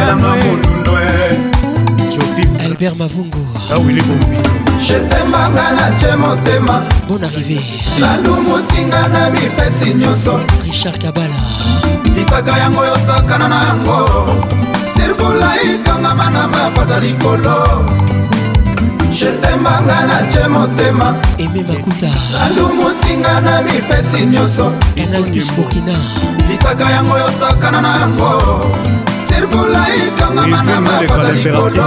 Albert Mavungu Je t'aimanga na tie motema Bonne arrivée nalumusinga na mipesi nyonso Richard Kabala litaka yango yosakana na yango sirvula ikangama na mapata likolo Je t'aimanga na tie motema Aimé Makuta nalumusinga na mipesi nyonso Canal Plus Burkina litaka yango yosakana na yango sirvula ikangama na mapata likolo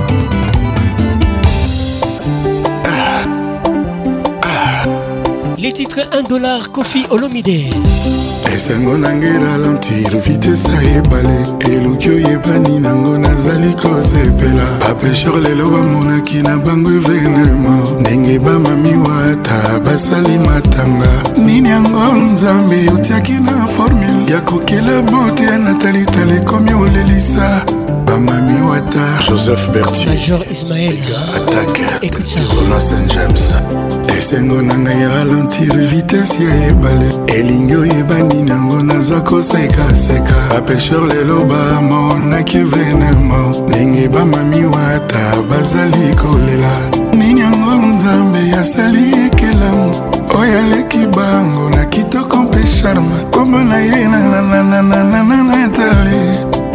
Les titres un dollar Kofi Olomide esengo nange ralentir vitese ayebale eluki oyebani nango nazali kosepela bapesheur lelo bamonaki na bango evenema ndenge bamami wata basali matanga nini yango nzambe otiaki na formule ya kokela bote ya natalitala ekomi olelisa bamami wata Joseph Bertier Major Ismaël attaque écoute ça Rona Saint James esengo na ngai ralentir vitese ya ebale elingi oyebani nango naza kosekaseka bapesheur lelo bamonaki venema ndenge bamami wata bazali kolela nini yango nzambe asali ekelamu oyo aleki bango na kitoko mpe charme kombo na ye nananananananatali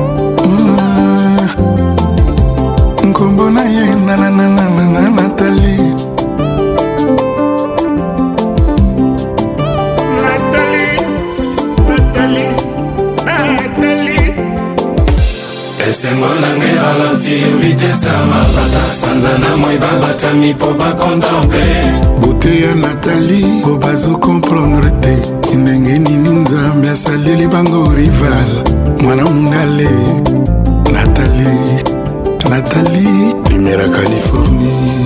nkombo na ye nanananananatali esengo nanga eralentir vitese ya mabata sanza na moi babatami mpo bakontemple bote ya Nathalie po bazokomprendre te ndenge nini nzambe asaleli bango rival mwana mungale Nathalie Nathalie Primera Californie.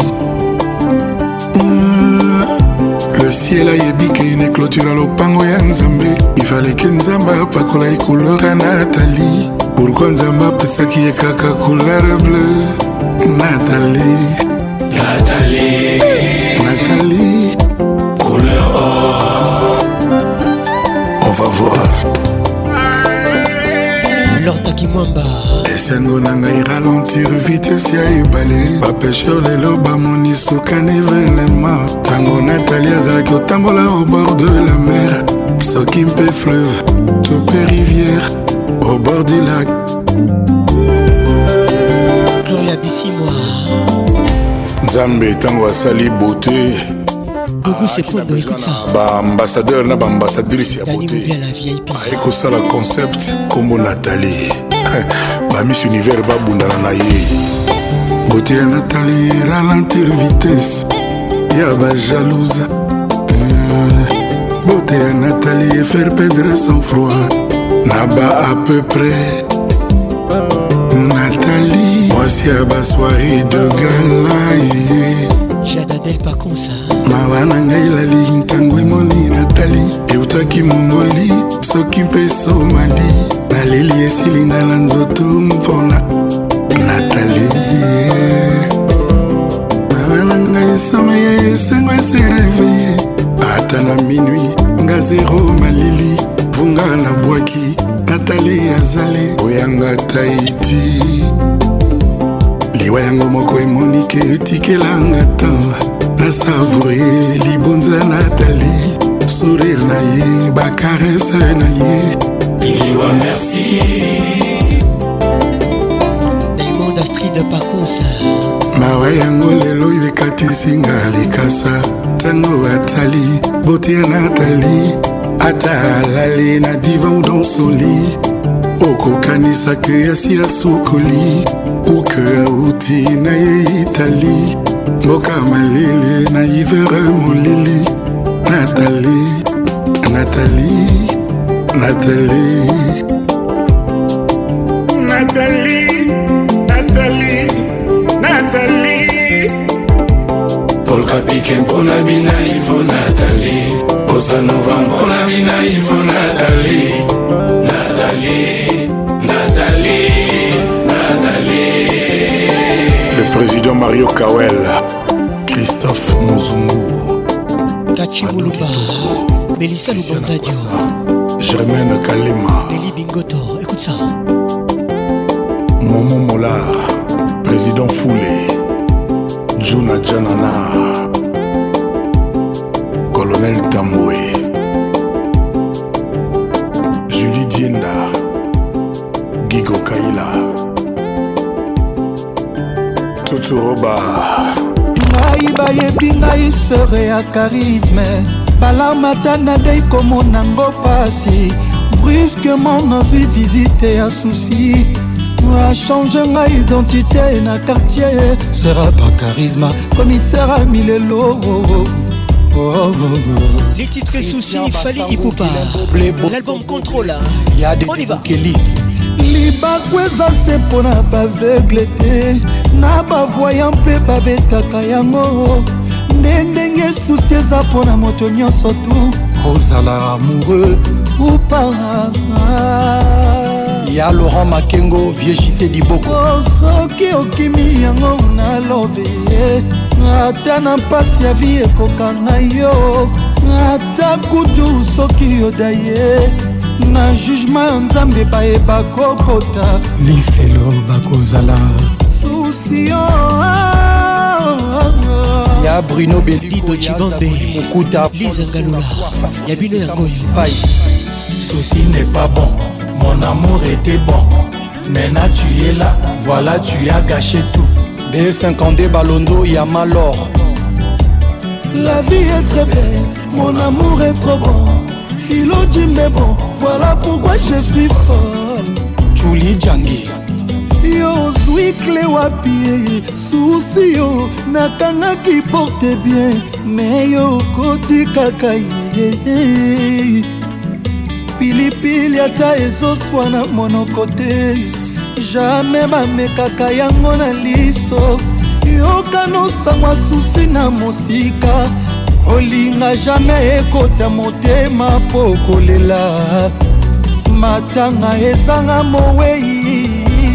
Mmh. Le ciel a yebi que une clôture à l'opango ya Nzambe. Il fallait que Nzamba pakola y couleur à Nathalie. Pourquoi Nzamba pesaki ye kaka couleur bleue? Nathalie Nathalie Nathalie couleur or. On va voir. Lorta Kimwamba esengo na ngai ralentir vitesse ya ebale bapêcheur lelo bamoni sokani evenema tango Nathalie azalaki otambola au bord de la mer soki mpe fleuve to mpe rivière au bord du lac Gloria Bissimwa Nzambe tango asali beauté Dogo Sepondo, écoute ça. Ba ambassadeur na ba ambassadrice ya beauté. Eko sala concept kombo Nathalie. Ba Miss Univers ba bundana na ye. Beauté ya Nathalie ralentir vitesse. Ya ba jalouse. Beauté ya Nathalie faire perdre son froid. Na ba à peu près. Nathalie, voici à ba soirée de gala. Jadadel pas comme ça. Mawana ngai lali ntango emoni Nathalie eutaki mongoli soki mpe somali naleli esilinga na nzoto mpona Nathalie mawana ngai esomeye esengo esereveye ata na minui nga zero malili vunga na bwaki Nathalie azale oyanga Tahiti liwa yango moko emonike etikelanga tan na savourer libonza Nathalie sourire na ye bakarese na ye liwa merci Diamond Astrid Pacos mawa yango lelo ekatisinga likasa tango atali beauté ya Nathalie ata alali na diva ou dans son lit okokanisa ke yasi asukoli uke auti na ye Italie mboka malele na ivere molili Nathalie Nathalie Nathalie Nathalie Nathalie Nathalie Paul Kapike mpona bina ifo Nathalie Bossa Nova mpona bina ifo Nathalie Nathalie Nathalie Nathalie Le président Mario Kawel Christophe Mozungu Tachi Muluba Melissa Lubanzadio Germaine Kalema Nelly Bingoto, écoute ça Momo Molar Président Foulé Juna Janana Colonel Tamboué Julie Dienda Gigo Kaila Tuturoba ngai bayebi ngai sere ya charisme balamata na dei komona ngo pasi brusquement nazwi visite ya souci achange ngai identité na quartier sera ba charisme commissaire à Milelo les titres soucis Fali Ipupa l'album Contrôle on y va libako eza se mpona baveugle te na bavoya mpe babetaka yango nde ndenge susi eza mpona moto nyonso tu ozala amoureux ou pas ya Laurent Makengo viejise diboko soki okimi yango na love ata na mpasi ya vi ekokanga yo ata kutu soki yoda ye na jugement ya nzambe bayeba kokota lifelo bakozala susio ya Bruno Lido Chibambe Lisa Ngalula ya bino yango Souci n'est pas bon, mon amour était bon. Maintenant tu es là, voilà tu as gâché tout. B cinquante Balondo Yamalor. La vie est très belle, mon amour est trop bon. Philo dit mais bon, voilà pourquoi je suis folle. Julie Djangi. ozwi kle wapi susi yo nakangaki porte bien me yo koti kaka ye pilipili ata ezoswana monoko te jamais bamekaka yango na liso yokanosangwa susi na mosika kolinga jamais ekota motema po kolela matanga ezanga mowei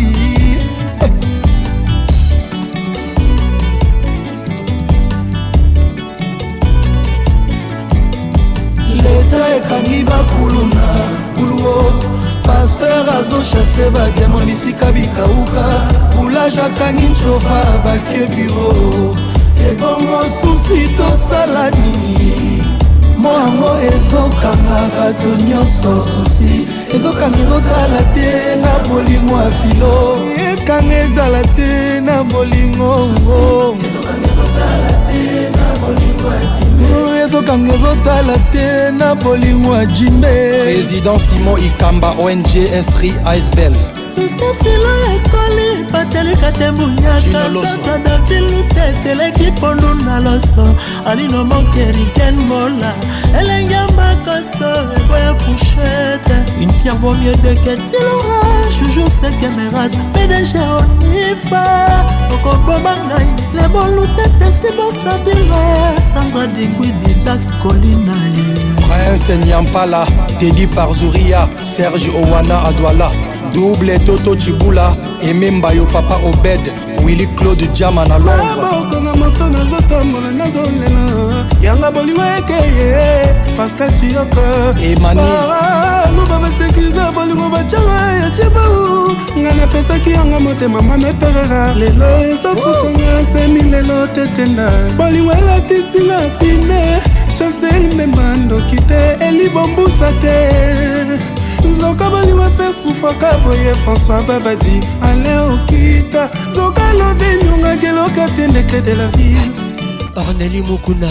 leta ekangi bakuluna kuluo paster azochase bademo bisika bikauka boulage akangi ncova bake biro ebongo susi tosala nini moango ezokanga bato nyonso susi ezokanga ezotala te na bolingo ya filo ekanga ezala te na bolingo ezokanga ezotala te na bolingo ya timbe ezokanga ezotala te na bolingo ya jimbe. Président Simon Ikamba O N G Esri Aisbel susi filo ekoli batelika te bunyaka davilu teteleki pondu na loso alino mokeriken mola elenge makoso eboya fouchette une pierre vaut mieux de que tu l'auras toujours celle que me rase P D G onifa okoboma ngai le bolutete si bosabila Sandra Digwidi Dax Colina Prince Nyampala Teddy Parzouria Serge Owana Adwala Double Toto Chibula Ememba yo Papa Obed Willy Claude Diama na Londres Konga moto nazotambola nazolela yanga bolingo ekeye Pascal Chiyoko Emani luba basekiza bolingo bacanga ya chibu nga napesaki yanga motema mameperera lelo ezofukonga semi lelo tetenda bolingo elatisinga pine Chancel Membandoki te elibombusa te Zoka bolingo fe soufaka boye François Babadi ale okita Zoka love nyonga geloka te ndeke de la ville Orneli Mukuna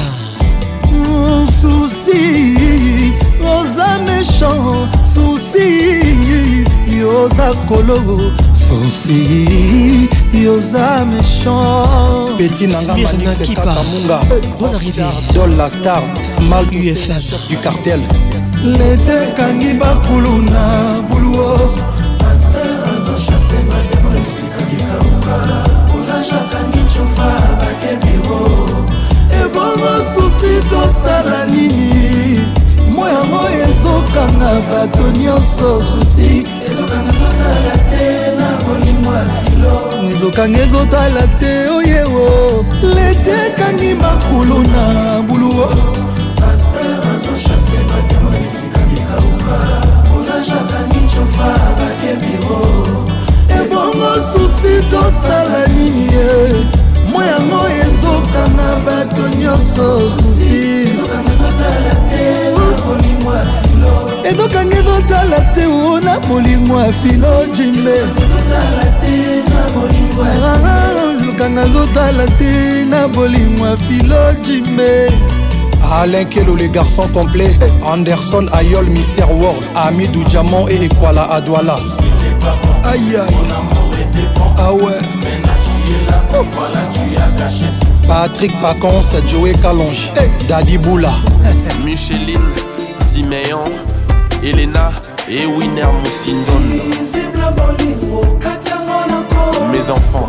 Souci Oza méchant Souci Yoza kolo Souci Yoza méchant Petit Nanga Manix Kakamunga Bonne arrivée Dol la star Small U F M du cartel Lete kangi bakuluna buluo Pasteur azo chasse bademo Sika dikauka Ulaja kangi chofa bakebiro Ebongo susi tosala nini Moya moya ezokanga bato nyonso susi Ezokanga ezotala te na bolingo ya filo Ezokanga ezotala te oyewo Lete kangi bakuluna buluo Pasteur azo chasse bademo Sika dikauka Ulaja kangi chofa bakebiro Ebongo susi tosala nini moya moya ezokanga bato nyonso susi ezokanga ezotala te na bolingo ya filo jimbe ezokanga ezotala te na bolingo ya filo jimbe Alain Kelo, les garçons complets. Anderson Ayol, Mister World. Amidou Diamant et Ekwala Adwala. Aïe aïe. Ah ouais. Oh. Voilà, tu as gâché. Patrick Pacons, Joey Kalonge. Hey. Daddy Boula. Micheline, Siméon, Elena et Winner Moussindon. Mes enfants.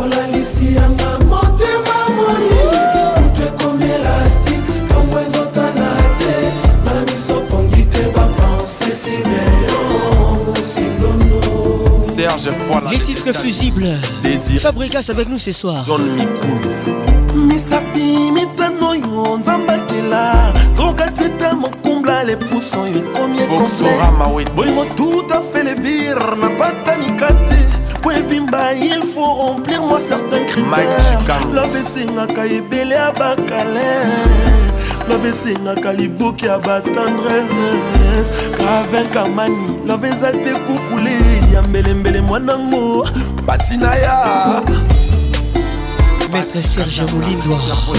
Les titres fusibles. Désir. Fabrikas avec nous ce soir. John Mikoul. Misapi mitano yo nzambakela zoka tita mokumbla les poussons yo combien complet bolingo tout à fait les vires n'a pas ta mikate Bimba, il faut remplir moi certains critères. La vesinga ka ebele abakale. La vesinga ka liboki abatendresse. Avec Kamani, la vezate kukule yambele mbele mwanango Batinaya. Maître Serge Moulindo.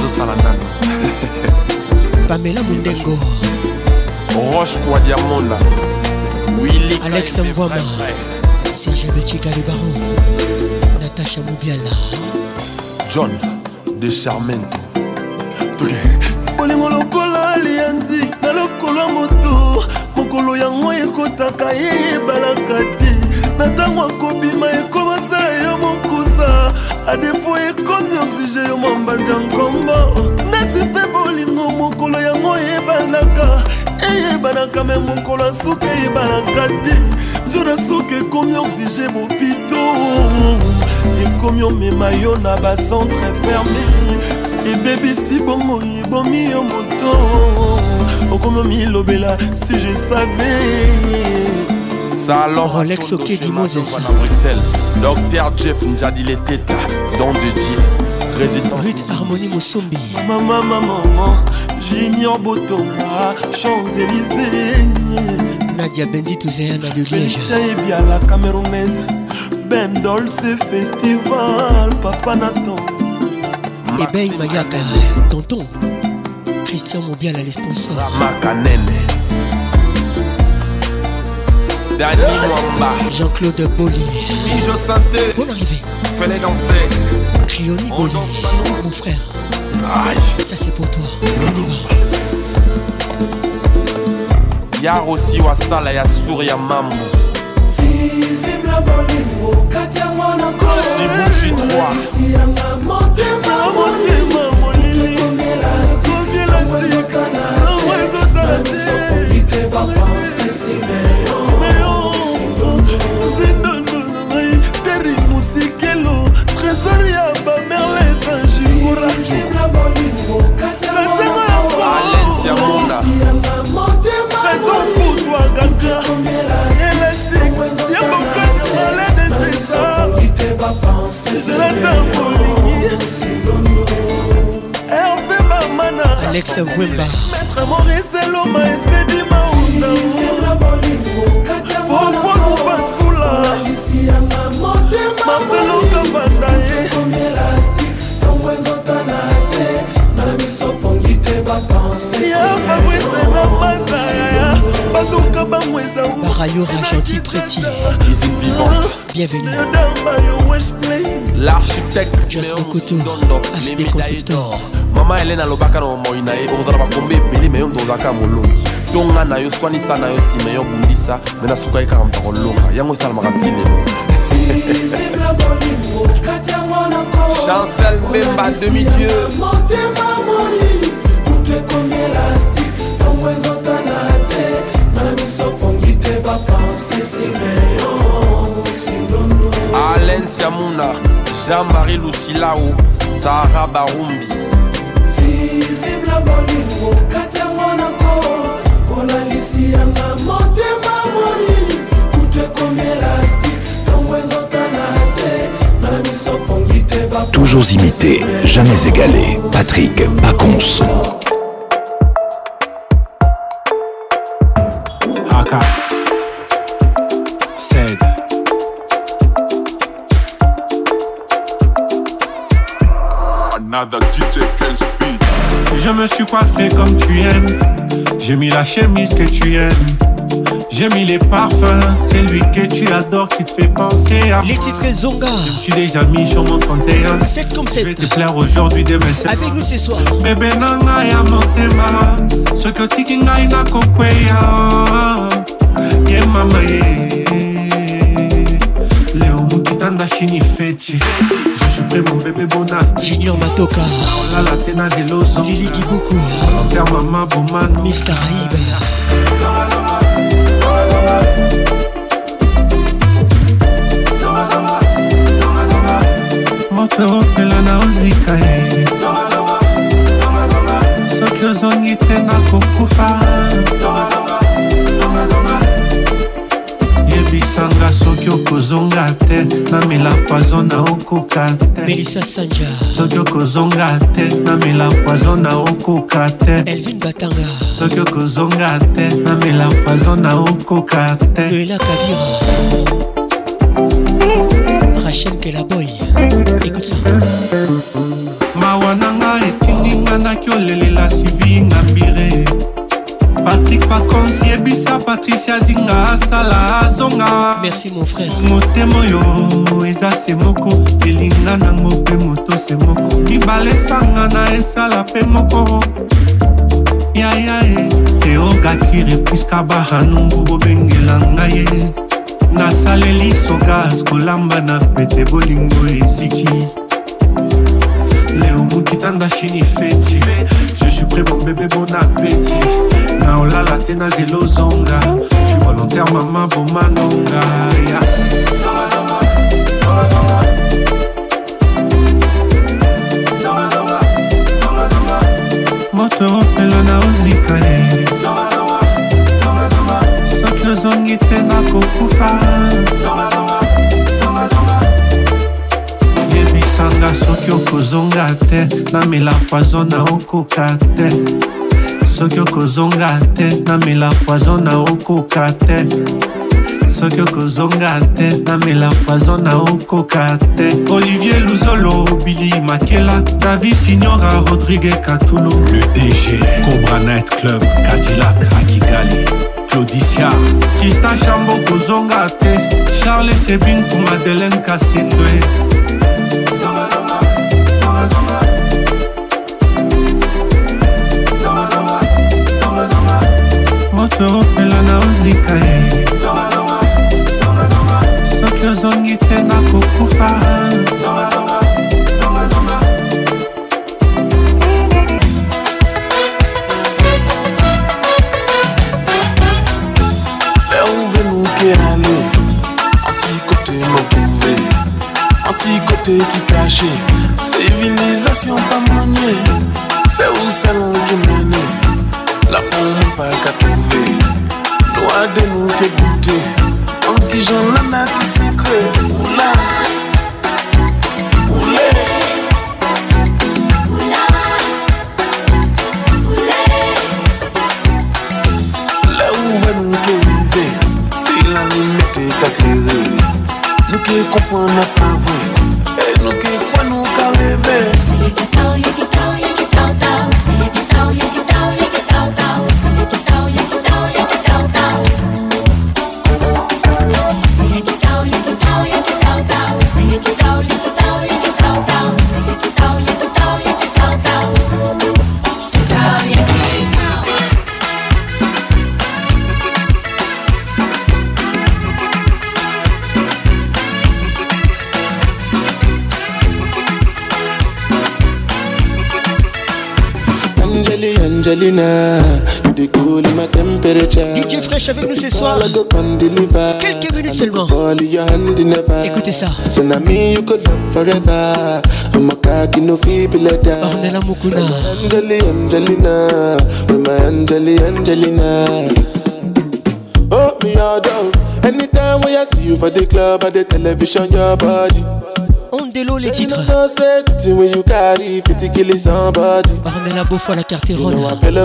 Pamela Mundengo. Roche Kwa Diamonda. Willy Alex Mvoma. Serge Betika le baron. Sacha Mobiala John de Charmento bolingo lokola alianzi na lokolo moto mokolo yango ekotaka ye ebalaka te na ntango akobima ekomasa yo mokusa adefo ekomi oblige yo mombanzi ya nkombo neti mpe bolingo mokolo yango eyebanaka eyebanaka me mokolo asuka eyebanaka te nzora asuka ekomi oblige mopito ekomi omema yo na bacentre fermé ebebisi bongo ebomi yo moto okomi omilobela si je savais Salon Rolex ok di Moses à Bruxelles Docteur Jeff Njadi les têtes Don de Dieu Résident Ruth Harmonie Mosombi Maman maman Junior Botonga Champs-Élysées Nadia Bendi Touzéana de Liège Félicien bien la Camerounaise Ben Dolce Festival Papa Nathan Ebey Mayaka Tonton Christian Mobiala les sponsors Makanene Dani Mwamba Jean-Claude Boli Bijo Santé Bonne arrivée Fallait danser Rioni Boli Mon frère Aïe Ça c'est pour toi Yar aussi Wasala ya Souria Mambo Shibushi trois Terry Musikelo Trésor ya ba merle Jigura Valencia Mona Trésor pour toi Ganga Elastique ya bokanya malade de ça Je l'attends Hervé Bamana Alex Vwemba Maître Maurice Loma Espedi Maunda Pourquoi nous passons là Marcelo Kabandaye Ya Fabrice na Mazaya Baduka Bamweza Barayora gentil prêti Usine vivante Bienvenue L'architecte Just Mokoto H B Conceptor Mama Elena Lobaka no moina e bozala bakombe beli meyo ndozaka molongi tonga na yo swanisa na yo si meyo bundisa mena suka eka mtako longa yango isala makatine Chancel Mbemba demi-dieu Alain Tiamouna Jean-Marie Lucilao Sarah Barumbi Toujours imité, jamais égalé. Patrick Pacons. Haka Said Another D J Prince Beats. Je me suis coiffé comme tu aimes. J'ai mis la chemise que tu aimes. J'ai mis les parfums, c'est lui que tu adores qui te fait penser à les titres Zonga. Je me suis déjà mis sur mon trente et un. sept comme sept. Je vais te plaire aujourd'hui, demain c'est avec nous ce soir. Bébé nanga ya motema. Ce que tiki ngai na kokweya. Ye mama ye. Léo mukitanda shini feti. Je suis prêt mon bébé bona. Junior Matoka. La la tena zeloso. Lili Gibuku. Volontaire maman bomano. Miss Caraïbe. Zonga zonga. Zonga zonga. Zonga zonga. Zonga zonga. Mope opela na ozika ye. Zonga zonga. Zonga zonga. Soki ozongi te na kokufa. Zonga zonga. Zonga zonga. Yebisanga soki okozonga te namela poison na okoka te. Melissa Sanja. Soki okozonga te namela poison na okoka te. Elvin Batanga. Soki okozonga te namela poison na okoka te. Loela Kavira. Rachel Kelaboy. Écoute ça. Mawananga etinginga nakiolelela sivinga mbire. Patrick Pacons yebisa Patricia Zinga asala zonga. merci mon frère. Motemo yo eza se moko elinga nango pe moto se moko mibale sanga na esala pe moko ya ya e teogakire puiska bahanungu bobengela ngai nasaleli sogas kolamba na pete bolingo eziki Léo Moukitanda chini feti. Je suis prêt mon bébé, bon appétit. Naola la tena zelo zonga. Je suis volontaire maman bon manonga. Yeah. Zanga zanga, zanga zanga. Zanga zanga, zanga zanga. Moto opela na uzika ye. Zanga zanga, zanga zanga. Sokyo zongi tena kokufa. Zanga zanga, zanga zanga. Sanga soki okozonga te namela poison na okoka te soki okozonga te namela poison na okoka te soki okozonga te namela poison na okoka te Olivier Luzolo Billy Makela David Signora Rodrigue Katulo le D G Cobra Night Club Cadillac à Kigali Claudicia Tristan Chambo kozonga te Charles Sebin pour Madeleine Kassindwe Zanga zanga, zanga zanga. Zanga zanga, zanga zanga. Moto opela na uzika ye. Zanga zanga, zanga zanga. Soki ozongi tena kokufa. Zanga zanga, zanga zanga. Là où veut nous aller, anti-côté m'opouver. Anti-côté qui caché, civilisation pas maniée. C'est où salon qui mène, la pompe pas qu'à trouver. Noir de nous qui goûter, en qui j'en la nati secret. Oula, oulé, oula, oulé. Là où va nous qui vivre, c'est la limite qu'à créer. Nous qui comprenons pas vrai, et nous qui croyons qu'à rêver. C'est qui tao, y'a qui tao, y'a qui tao tao. C'est qui tao, y'a qui tao, y'a qui tao tao. C'est qui tao, y'a qui tao, y'a qui tao tao. C'est qui tao, y'a qui tao, y'a qui tao tao. C'est qui tao, y'a qui tao, y'a qui tao tao. C'est qui tao, y'a qui tao, y'a qui tao tao. C'est tao, y'a qui tao. Angelina, you the cool in my temperature. D J Fresh avec nous ce soir. Quelques minutes seulement. Écoutez ça. Me you could love forever. I'm a cocky no feeble letter. Ornella Mukuna. Angeli, Angelina, with my Angeli, Angelina. Oh me all down. Anytime when I see you for the club or the television, your body. Ondelo les titres. Ornella Beaufoy la carte ronde.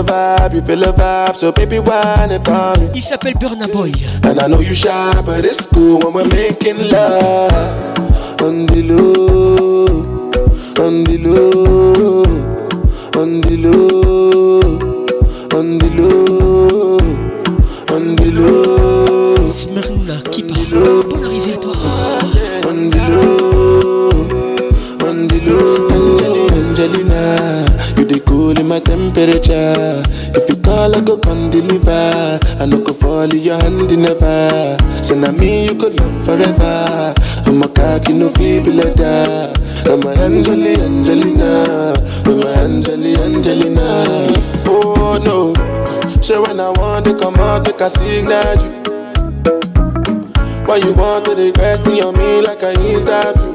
Il s'appelle Burna Boy. And I know you shy, but it's cool when we're making love. On the low, on the low, on the low, on the low, on the low. Smyrna Kipa, bonne arrivée à toi. On the low. Angelina, you the cool in my temperature. If you call, I go come deliver. I no go fall in your hand never. So now me you could love forever. I'm a cocky no feeble letter. I'm a Angeli, Angelina. I'm a Angeli, Angelina. Oh no, so when I want to come out, make a signal you. Why you want to the question on me like I interview?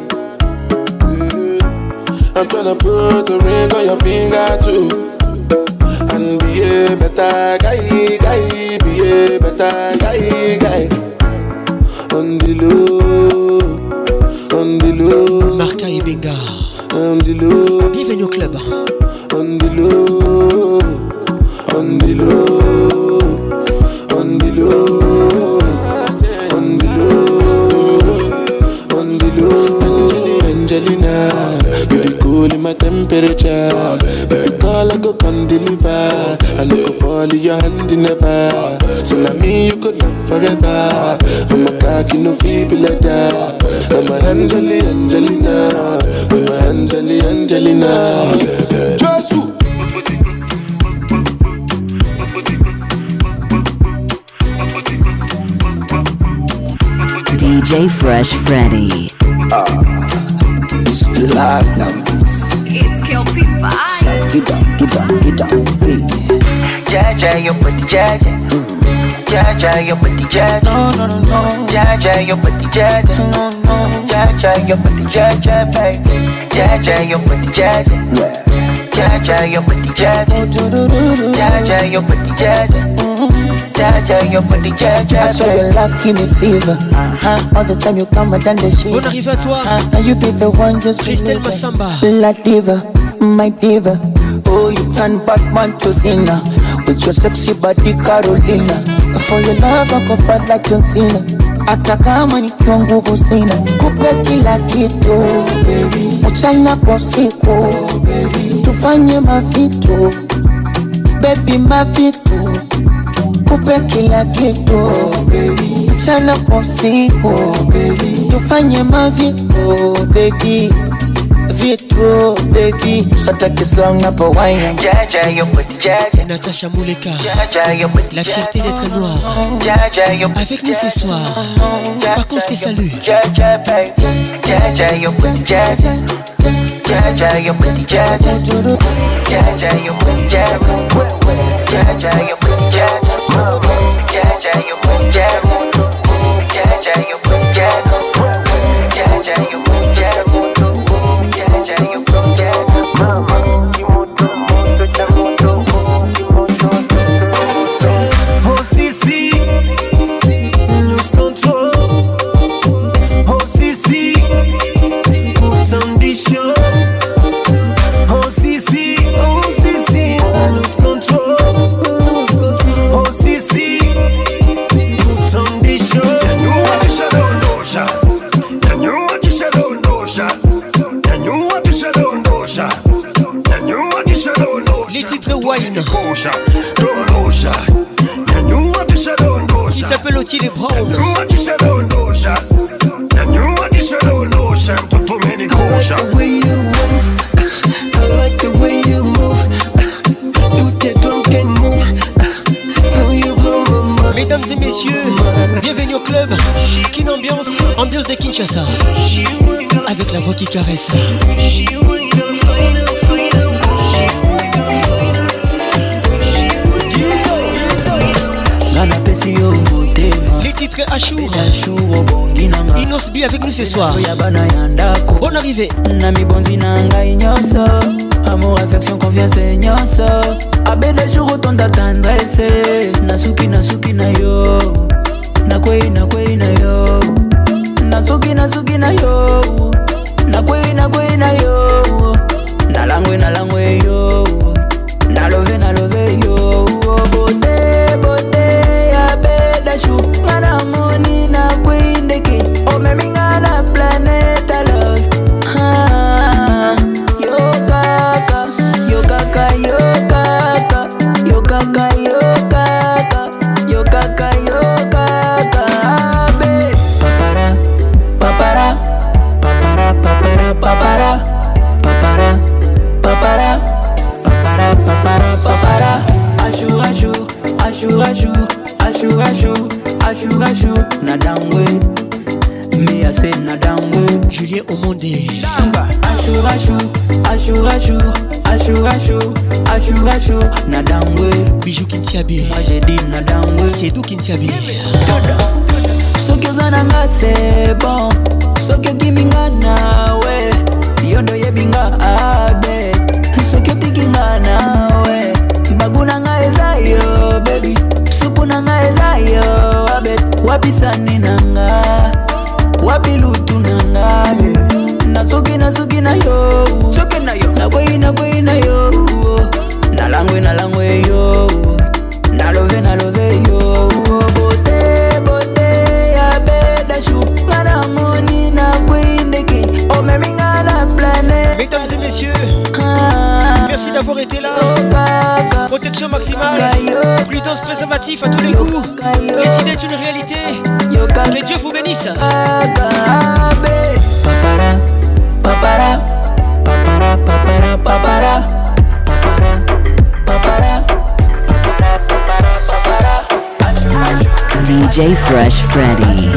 I'm tryna put a ring on your finger too. And be a better guy, guy. Be a better guy, guy. On the low, on the low. Marca et Benga. On the low. Bienvenue au club. On the low, on the low, on the low, on the low, on the low. Angelina, you the cool in my temperature. If you call, I go come deliver. I no go fall in your hand never. So now me you could love forever. I'm a cocky no feel be like that. I'm a Angeli, Angelina. I'm a Angeli, Angelina. Josu. D J Fresh Freddy. Ah, Platinums. It's Kelpie Vibes. Get down, get down, get down, hey. Jaja, your body, Jaja. Jaja, your body, Jaja. No, no, no, no. Jaja, your body, Jaja. No, no. Jaja, your body, Jaja, baby. Jaja, your body, Jaja. Jaja, your body, Jaja. Jaja, your body, Jaja. Jaja, your body, Jaja. I swear your love give me fever. Uh-huh. All the time you come and done the shit. Bonne arrivée à toi. Uh-huh. Now you be the one just Christelle Massamba. La diva, my diva. Oh, you turn Batman to Cena with your sexy body, Carolina. For your love, I go fight like John Cena. Hata kama nikiwa nguvu sina, kupe kila kitu baby, mchana kwa usiku baby, tufanye mavitu baby, mavitu, kupe kila kitu baby, mchana kwa usiku baby, tufanye mavitu baby, vitu baby, sataki slang na pa wine. Jaja, your body, Jaja. Natacha Mouleka, Jaja, your body, la fierté d'être noire. Jaja, your body, avec nous ce soir. Par contre, je te salue. Jaja, baby. Jaja, your body, Jaja. Jaja, your body, Jaja. Jaja, your body, Jaja. Jaja, your body, Jaja. Jaja, your body, Jaja. Jaja, your body, Jaja. Jaja, your body, Jaja. Oh Sisi, lose control. Oh Sisi, put on the show. Oh Sisi, oh Sisi, lose control, lose control. Oh Sisi, put on the show. And you want to shut down Dosha. And you want to shut down Dosha. And you want to shut down Dosha. And you want to shut down Dosha. Les titres Wine. Qui s'appelle Otile Brown. And you want to shut down Dosha. And you want to shut down Dosha. To too many Dosha. I like the way you move. I like the way you move. Do the drunken move. How you blow my mind. Mesdames et messieurs, bienvenue au club. Kin Ambiance, ambiance de Kinshasa. Avec la voix qui caresse. Les titres Achour. Inos B avec nous ce soir. Bonne arrivée. Nami bonzi nanga inyoso. Amour, affection, confiance et nyoso. Abe de jour autant tendresse. Nasuki, nasuki na yo. Nakwei, nakwei na yo. Nasuki, nasuki na yo. Nakwei, nakwei na yo. Nalangwe, nalangwe yo. Nalove, nalove yo. Bote, bote. Chou, ngana moni na kwindeki. O me mingana planet love. Ah, yo kaka, yo kaka, yo kaka, yo kaka, yo kaka, yo kaka, yo kaka. Abe, papara, papara, papara, papara, papara, papara, papara, papara, papara, papara. Ashu, ashu, ashu, ashu. Ashu, ashu, ashu, ashu, nadangwe. Me I say nadangwe. Julien Omonde. Ashu, ashu, ashu, ashu, ashu, ashu, ashu, ashu, nadangwe. Bijou Kintiabi. Moi j'ai dit nadangwe. C'est d'où Kintiabi. Soki ozananga c'est bon. Soki okiminga nawe. Yondo yebinga abe. Soki otikinga nawe. Bagunanga ezayo baby. Supunanga ezayo abe. Wapisani nanga. Wapilutu nanga. Nasuki nasuki na yo. Soki na yo. Nakwe nakwe na yo. Nalangwe nalangwe yo. Nalove nalove yo. Bote bote ya beda chou. Ngana moni na kwindeki. O memi ngana plane. Mesdames et messieurs, merci d'avoir été là. Protection maximale, prudence préservatif à tous les coups. Les idées est une réalité. Que Dieu vous bénisse. Papara, papara, papara, papara, papara, D J Fresh Freddy.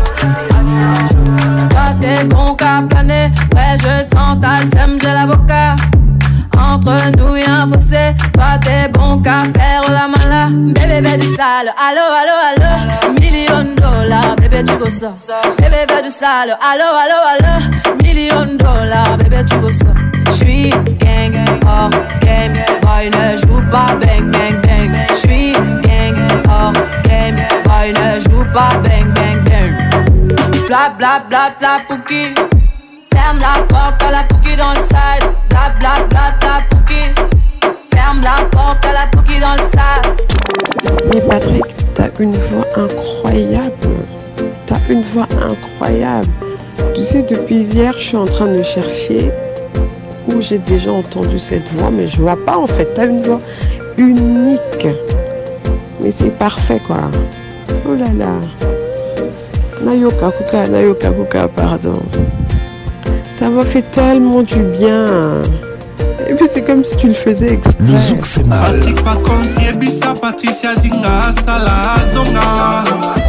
Toi t'es bon qu'à planer, ouais je sens ta sème, j'ai l'avocat. Entre nous y'a un fossé, toi t'es bon qu'à faire la mala. Bébé fais du sale, allo allo allo. Million dollars, bébé tu veux ça. Bébé fais du sale, allo allo allo. Million dollars, bébé tu veux ça. J'suis gang, hors game, boy ne joue pas bang bang bang. J'suis gang, hors game, boy ne joue pas bang bang bang. Bla bla bla bla pouki. Ferme la porte à la pouki dans le side. Bla bla bla bla pouki. Ferme la porte à la pouki dans le sas. Mais Patrick, t'as une voix incroyable. T'as une voix incroyable. Tu sais, depuis hier, je suis en train de chercher où j'ai déjà entendu cette voix, mais je vois pas en fait. T'as une voix unique. Mais c'est parfait quoi. Oh là là. Nayoka Kuka, Nayoka Kuka, pardon. Ta voix fait tellement du bien. Et puis c'est comme si tu le faisais exprès. Le zouk fait mal. Patrick Pacons, Yebissa, Patricia Zinga, Salah, Zonga.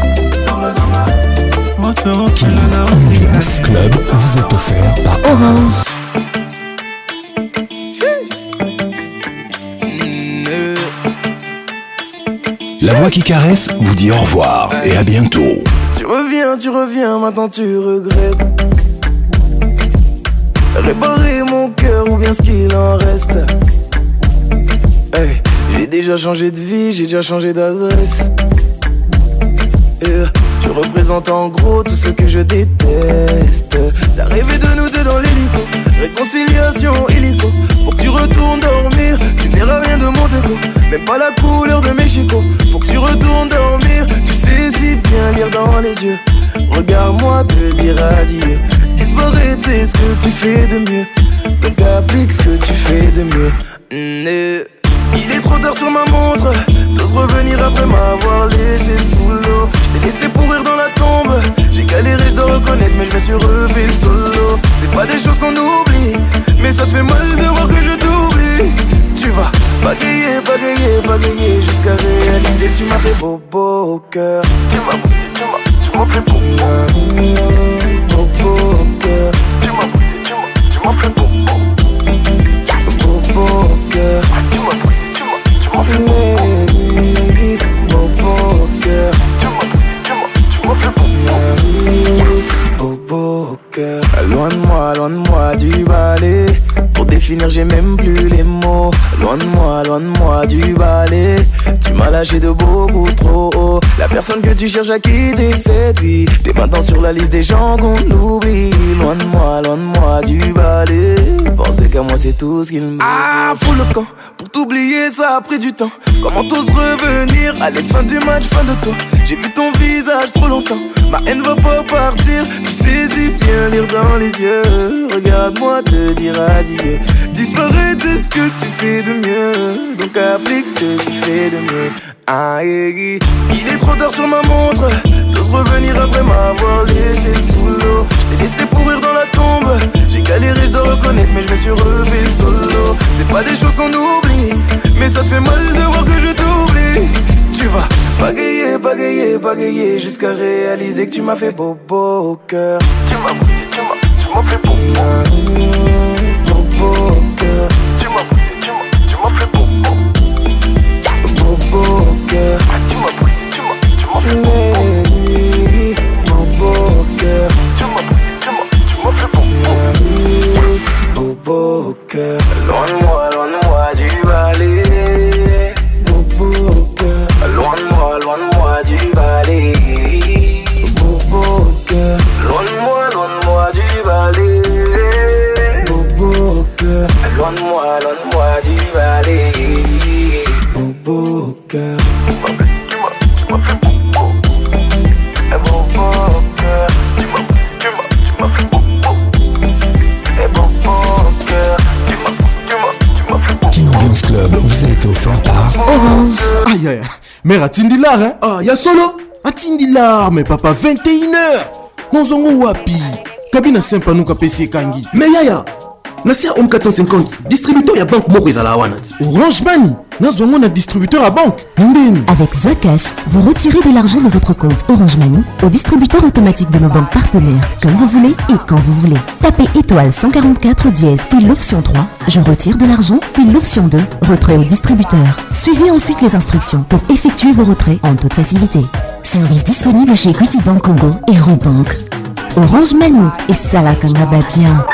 King Ambiance Club vous est offert par Orange. La voix qui caresse vous dit au revoir et à bientôt. Tu reviens, tu reviens, maintenant tu regrettes. Réparer mon cœur ou bien ce qu'il en reste. Hey, j'ai déjà changé de vie, j'ai déjà changé d'adresse. Yeah, tu représentes en gros tout ce que je déteste. T'as rêvé de nous deux dans l'hélico. Réconciliation illico. Faut que tu retournes dormir. Tu verras rien de mon déco. Même pas la couleur de mes chicots. Faut que tu retournes dormir. Tu sais si bien lire dans les yeux. Regarde-moi te dire adieu. Disparaître c'est ce que tu fais de mieux. Donc applique ce que tu fais de mieux. Mmh, il est trop tard sur ma montre. T'oses revenir après m'avoir laissé sous l'eau. Je t'ai laissé pourrir dans la tombe. J'ai galéré, je dois reconnaître, mais je me suis relevé solo. C'est pas des choses qu'on oublie, mais ça te fait mal de voir que je t'oublie. Tu vas bagayer, bagayer, bagayer jusqu'à réaliser que tu m'as fait bobo au cœur. Tu m'as bougé, tu m'as, tu m'as fait bobo, bobo au cœur. Tu m'as bougé, tu m'as, tu m'as fait bobo, bobo au cœur. Tu m'as bougé, tu m'as, tu m'as fait bobo, bobo au cœur. Tu m'as bougé, tu m'as, tu m'as fait bobo, bobo au cœur. Loin de moi, loin de moi du balai. Pour définir j'ai même plus les mots. Loin de moi, loin de moi du balai. Tu m'as lâché de beaucoup trop haut. La personne que tu cherches à quitter séduit. T'es maintenant sur la liste des gens qu'on oublie. Loin de moi, loin de moi du balai. Penser qu'à moi c'est tout ce qu'il me. Ah, fous le camp. Pour t'oublier ça a pris du temps. Comment t'oses revenir? Allez, fin du match, fin de toi. J'ai vu ton visage trop longtemps. Ma haine va pas partir. Tu sais si bien lire dans les yeux. Regarde-moi te dire adieu. Disparaître c'est ce que tu fais de mieux. Donc applique ce que tu fais de mieux. Ah, yeah. Il est trop tard sur ma montre. T'oses revenir après m'avoir laissé sous l'eau. Je t'ai laissé pourrir dans la tombe. J'ai galéré, je dois reconnaître, mais je me suis relevé solo. C'est pas des choses qu'on oublie, mais ça te fait mal de voir que je t'oublie. Tu vas bagayer, bagayer, bagayer jusqu'à réaliser que tu m'as fait bobo au cœur. Tu m'as bougé, tu m'as, tu m'as fait bobo, bobo au cœur. Tu m'as bougé, tu m'as, tu m'as fait bobo, bobo au cœur. Tu m'as bougé, tu m'as, tu m'as fait bobo, bobo au cœur. Tu m'as bougé, tu m'as, tu m'as fait bobo, bobo au cœur. Loin de moi, loin de moi du balai. Bobo au cœur. Loin de moi, loin de moi du balai. Bobo au cœur. Loin de moi, loin de moi du balai. Bobo au cœur. Loin de moi, loin de moi du balai. Bobo au cœur. Tu m'as, tu m'as fait bobo. Bobo au cœur. Tu m'as, tu m'as, tu m'as fait bobo. Bobo au cœur. Tu m'as, tu m'as, tu m'as fait bobo. King Ambiance Club vous a été offert par Orange. Aïe aïe, mais Ratindi là, hein? Ah, y'a solo. atindila mais papa vingt et une heures nozongo wapi kabina sempa nuka pesi kangi mais yaya nasi ya Home quatre cent cinquante distributeur ya banque moko ezala wana ti Orange Money nazongo na distributeur à banque ndeni. Avec Zocash, vous retirez de l'argent de votre compte Orange Money au distributeur automatique de nos banques partenaires comme vous voulez et quand vous voulez. Tapez étoile cent quarante-quatre dièse puis l'option trois, je retire de l'argent, puis l'option deux, retrait au distributeur. Suivez ensuite les instructions pour effectuer vos retraits en toute facilité. Service disponible chez Equity Bank Congo et Robank. Orange Money et Salah Kangaba bien.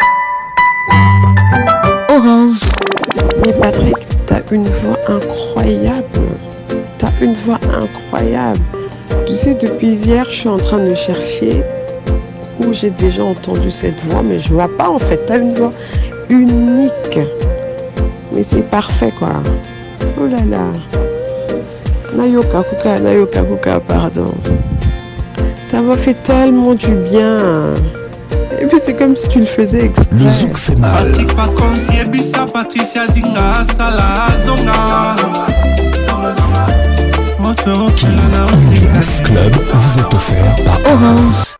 Orange. Mais Patrick, t'as une voix incroyable. T'as une voix incroyable. Tu sais, depuis hier, je suis en train de chercher où j'ai déjà entendu cette voix, mais je vois pas en fait. T'as une voix unique. Mais c'est parfait quoi. Oh là là. Nayoka Kuka, Nayoka Kuka, pardon. Ta voix fait tellement du bien. Et puis c'est comme si tu le faisais exprès. Le zouk fait mal. King Ambiance Club vous est offert par Orange.